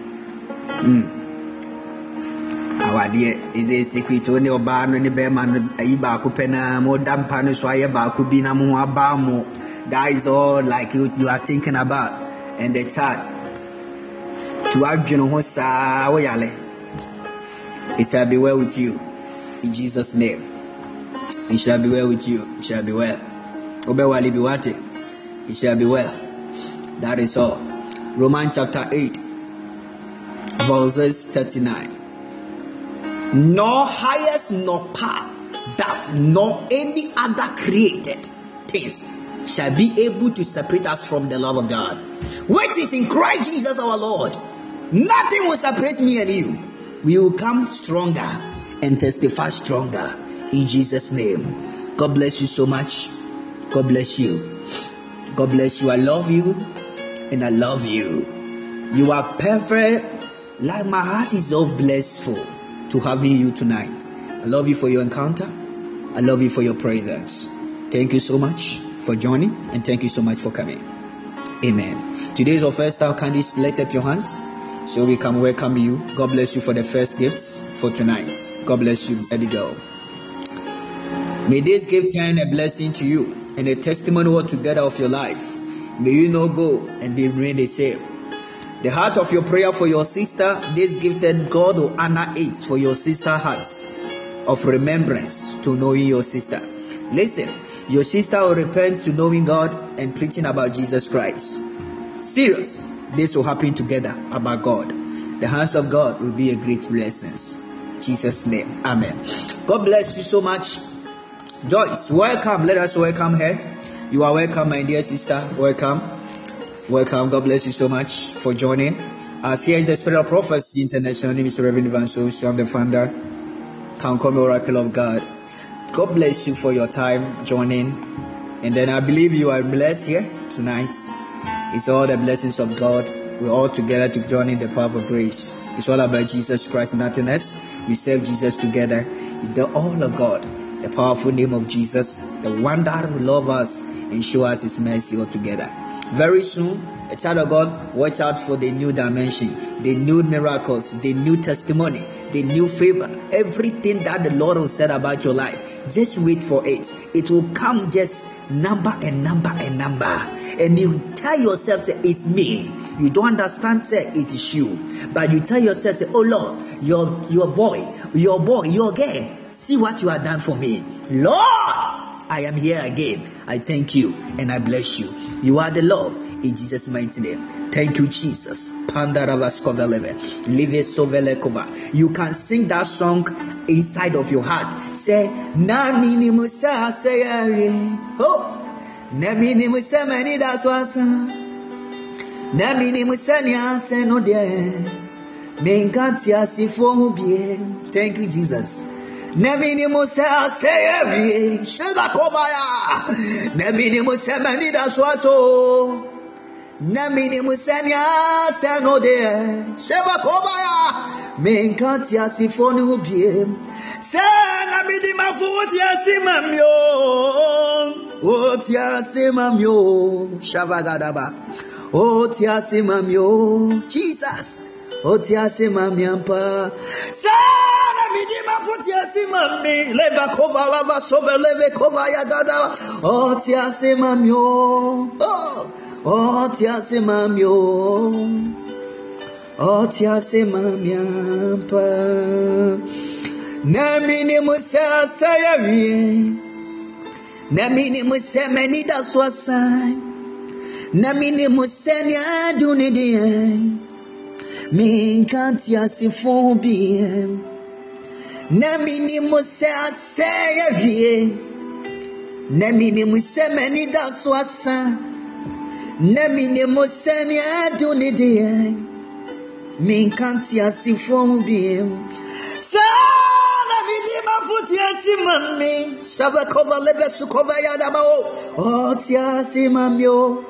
Our dear is a secret only oba no ne be man ayi ba ko pena mo dampa no so aye ba ko bi na mo aba mo. That is all like you are thinking about, and the chat to adwene ho saa wo yale. It shall be well with you in Jesus' name. It shall be well with you. It shall be well. Obewali biwate. It shall be well. That is all. Romans chapter 8 verses 39. Nor highest nor power that nor any other created things shall be able to separate us from the love of God, which is in Christ Jesus our Lord. Nothing will separate me and you. We will come stronger and testify stronger in Jesus' name. God bless you so much. God bless you. God bless you. I love you and I love you. You are perfect. Like my heart is so blissful to having you tonight. I love you for your encounter. I love you for your presence. Thank you so much for joining, and thank you so much for coming. Amen. Today is our first time. Kindly lift up your hands so we can welcome you. God bless you for the first gifts for tonight. God bless you, baby girl. May this gift turn a blessing to you and a testimony altogether of your life. May you not go and be remain the same. The heart of your prayer for your sister, this gifted God will honor it for your sister hearts of remembrance to knowing your sister. Listen, your sister will repent to knowing God and preaching about Jesus Christ. Serious, this will happen together about God. The hands of God will be a great blessing. In Jesus' name, amen. God bless you so much. Joyce, welcome. Let us welcome her. You are welcome, my dear sister. Welcome. Welcome. God bless you so much for joining us here in the Spirit of Prophecy International. My name is Reverend Evangelos. I'm the founder, Count Oracle of God. God bless you for your time joining. And then I believe you are blessed here tonight. It's all the blessings of God. We're all together to join in the power of grace. It's all about Jesus Christ and nothing else. We serve Jesus together. The all of God. The powerful name of Jesus. The one that will love us and show us His mercy altogether. Very soon, a child of God, watch out for the new dimension, the new miracles, the new testimony, the new favor, everything that the Lord will say about your life. Just wait for it. It will come just number and number and number. And you tell yourself, say, it's me. You don't understand, say, it is you. But you tell yourself, say, oh Lord, your boy, your girl, see what you have done for me. Lord, I am here again. I thank you and I bless you. You are the love in Jesus' mighty name. Thank you, Jesus. You can sing that song inside of your heart. Say, Nami Musa say, oh, Nami Musa many that's what's Nami Musa say no dear. Thank you, Jesus. Nemini Musa say Shega Kobaya. Nemini Musa many that's so. Nemini Musania say no dear. Sheba Kobaya. Menkatia Sifonu Bie. Say Namidi Mafutia Simamio. Otia Simamio. Shavagadaba. Otia Simamio. Jesus. Otia Simamiampa. Sana midima futia simami. Leva kova lava sobe leve kova yagada. Otia Simamio. Otia Simamio. Otia Simamiampa. Namini Musa sayavi. Namini Musa many das wasai. Namini Musa nya dunidi. Min kantia sifobie. Namini Musa sayavi. Namini Musa many das wasai. Namini Musa nya dunidi. Min kantia sifobie. Sana midima futia simami. Shabakova lebesukova yadabao. Otia simamio.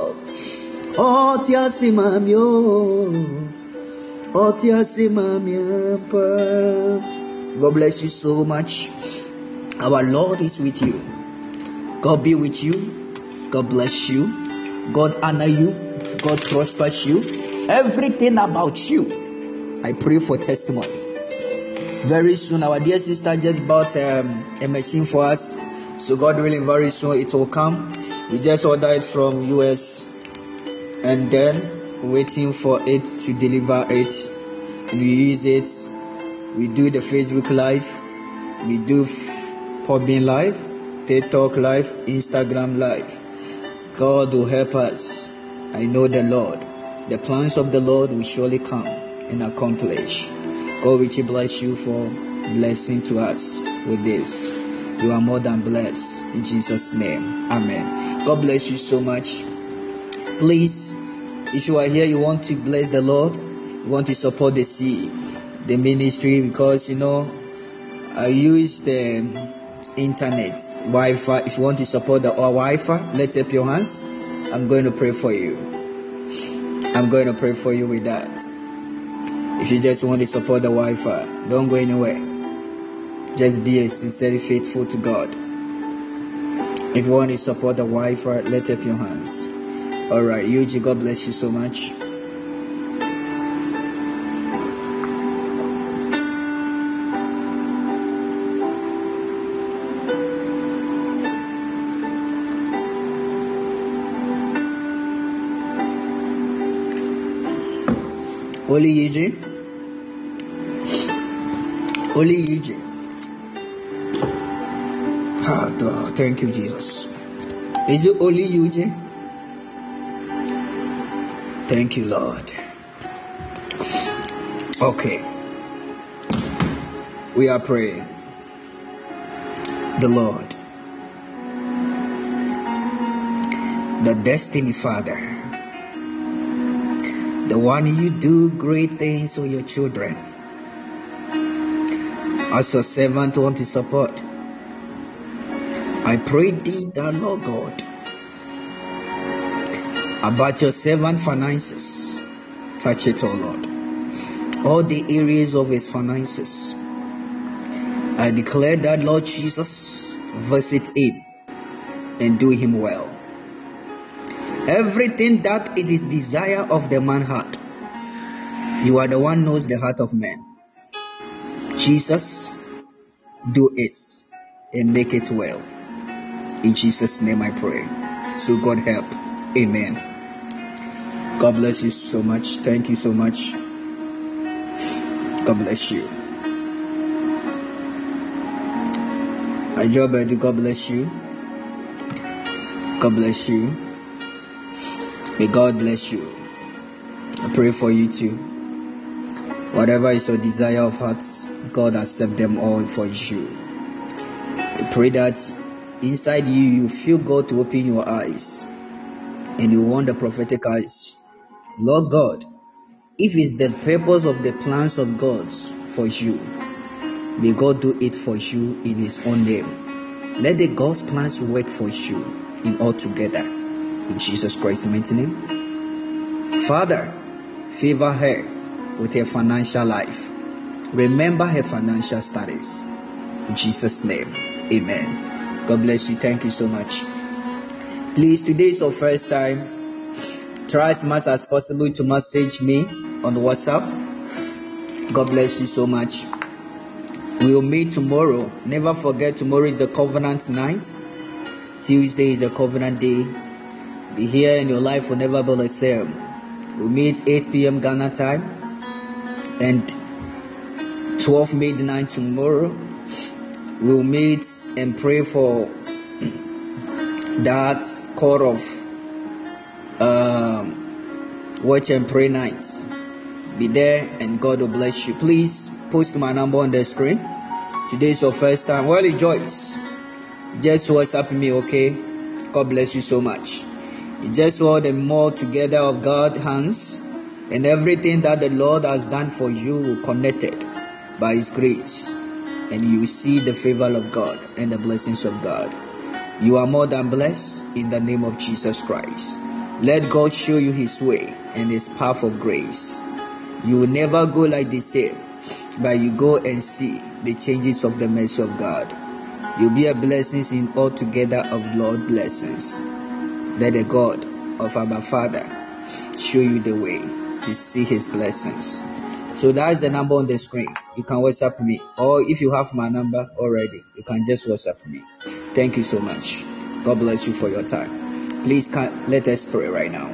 Otia simamio. Otia simamio. God bless you so much. Our Lord is with you. God be with you. God bless you. God honor you. God prospers you. Everything about you. I pray for testimony. Very soon, our dear sister just bought a machine for us. So God willing, very soon it will come. We just ordered it from US, and then waiting for it to deliver it. We use it. We do the Facebook Live. We do Podbean Live, TikTok Live, Instagram Live. God will help us. I know the Lord. The plans of the Lord will surely come and accomplish. God richly bless you for blessing to us with this. You are more than blessed. In Jesus' name. Amen. God bless you so much. Please, if you are here, you want to bless the Lord, you want to support the ministry, because I use the internet, Wi-Fi. If you want to support our Wi-Fi, lift up your hands. I'm going to pray for you. I'm going to pray for you with that. If you just want to support the Wi-Fi, don't go anywhere. Just be sincerely faithful to God. If you want to support the Wi-Fi, lift up your hands. Alright, Yuji, God bless you so much. Oli Yuji. Thank you, Jesus. Is it only Yuji? Thank you, Lord. Okay. We are praying. The Lord, the Destiny Father, the one you do great things for your children. As your servant want to support, I pray thee that, Lord God, about your servant finances, touch it, oh Lord. All the areas of his finances, I declare that, Lord Jesus, visit him and do him well. Everything that it is desire of the man heart, you are the one knows the heart of man. Jesus, do it and make it well. In Jesus' name I pray. So God help. Amen. God bless you so much. Thank you so much. God bless you. Ajobedi, God bless you. God bless you. May God bless you. I pray for you too. Whatever is your desire of hearts, God accept them all for you. I pray that inside you feel God to open your eyes, and you want the prophetic eyes. Lord God, if it's the purpose of the plans of God for you, may God do it for you in His own name. Let the God's plans work for you in all together. In Jesus Christ's mighty name. Father, favor her with her financial life. Remember her financial status. In Jesus' name. Amen. God bless you. Thank you so much. Please, today is your first time. Try as much as possible to message me on WhatsApp. God bless you so much. We will meet tomorrow. Never forget, tomorrow is the covenant night. Tuesday is the covenant day. Be here and your life will never be the same. We'll meet 8 p.m. Ghana time and 12 midnight tomorrow. We'll meet and pray for that core of watch and pray nights. Be there and God will bless you. Please post my number on the screen. Today is your first time. Well, Joyce, just WhatsApp me, okay? God bless you so much. You just hold the more together of God's hands, and everything that the Lord has done for you will connected by His grace, and you will see the favor of God and the blessings of God. You are more than blessed in the name of Jesus Christ. Let God show you His way and His path of grace. You will never go like the same, but you go and see the changes of the mercy of God. You'll be a blessing in all together of Lord blessings. Let the God of our Father show you the way to see His blessings. So that's the number on the screen. You can WhatsApp me, or if you have my number already, you can just WhatsApp me. Thank you so much. God bless you for your time. Please let us pray right now.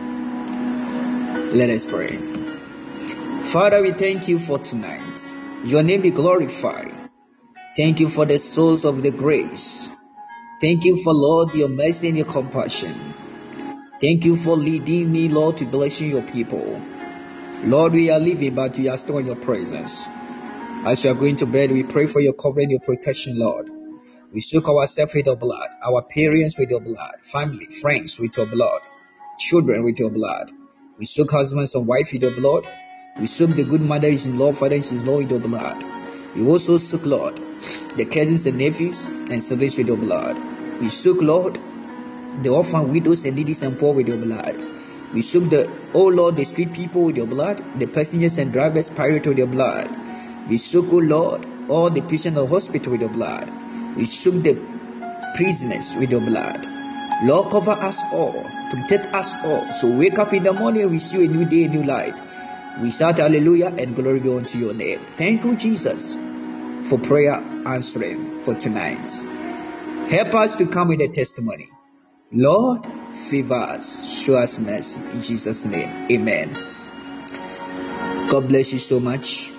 Let us pray. Father, we thank you for tonight. Your name be glorified. Thank you for the souls of the grace. Thank you for, Lord, your mercy and your compassion. Thank you for leading me, Lord, to blessing your people. Lord, we are living, but we are still in your presence. As we are going to bed, we pray for your covering, your protection, Lord. We soak ourselves with your blood, our parents with your blood, family, friends with your blood, children with your blood. We soak husbands and wives with your blood. We soak the good mothers-in-law, fathers-in-law with your blood. We also soak, Lord, the cousins and nephews and siblings with your blood. We soak, Lord, the orphan, widows and needy and poor with your blood. We soak the street people with your blood, the passengers and drivers, pirates with your blood. We soak, oh Lord, all the patients in the hospital with your blood. We soak the prisoners with your blood. Lord, cover us all, protect us all. So wake up in the morning, we see a new day, a new light. We shout hallelujah and glory be unto your name. Thank you, Jesus, for prayer answering for tonight. Help us to come with a testimony. Lord, favor us, show us mercy. In Jesus' name, amen. God bless you so much.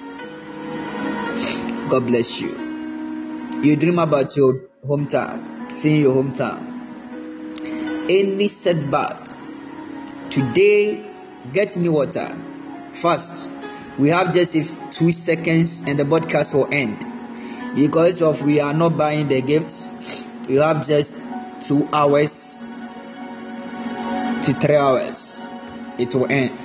God bless you. You dream about your hometown, seeing your hometown. Any setback, today, get me water. Fast. We have just 2 seconds and the broadcast will end. Because of we are not buying the gifts, we have just 2 hours to 3 hours. It will end.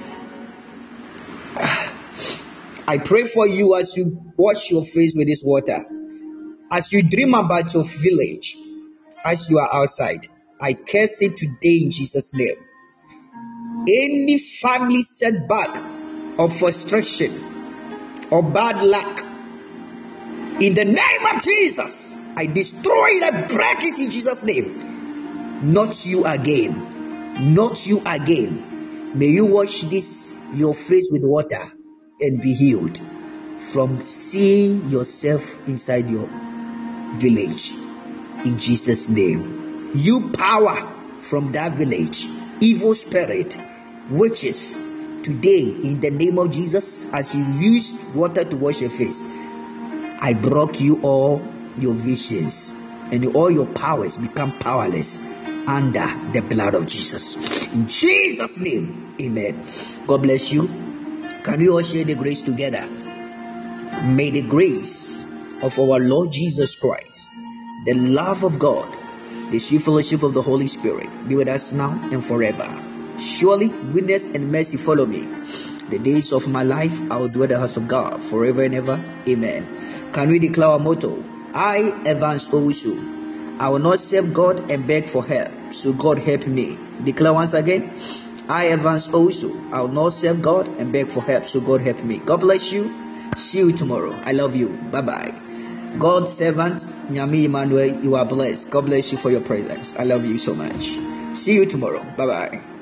I pray for you as you wash your face with this water. As you dream about your village, as you are outside, I curse it today in Jesus' name. Any family setback of frustration or bad luck, in the name of Jesus, I destroy it, I break it in Jesus' name. Not you again. Not you again. May you wash your face with water and be healed from seeing yourself inside your village. In Jesus' name. You power from that village, evil spirit, witches, today in the name of Jesus, as you used water to wash your face, I broke you all your visions. and all your powers become powerless under the blood of Jesus. In Jesus' name, amen. God bless you. Can we all share the grace together? May the grace of our Lord Jesus Christ, the love of God, the sweet fellowship of the Holy Spirit be with us now and forever. Surely goodness and mercy follow me. The days of my life I will dwell in the house of God forever and ever. Amen. Can we declare our motto? I, Evans Owusu, I will not serve God and beg for help, so God help me. Declare once again. I, Evans Owusu, I will not serve God and beg for help, so God help me. God bless you. See you tomorrow. I love you. Bye-bye. God's servant, Nyami Emmanuel, you are blessed. God bless you for your presence. I love you so much. See you tomorrow. Bye-bye.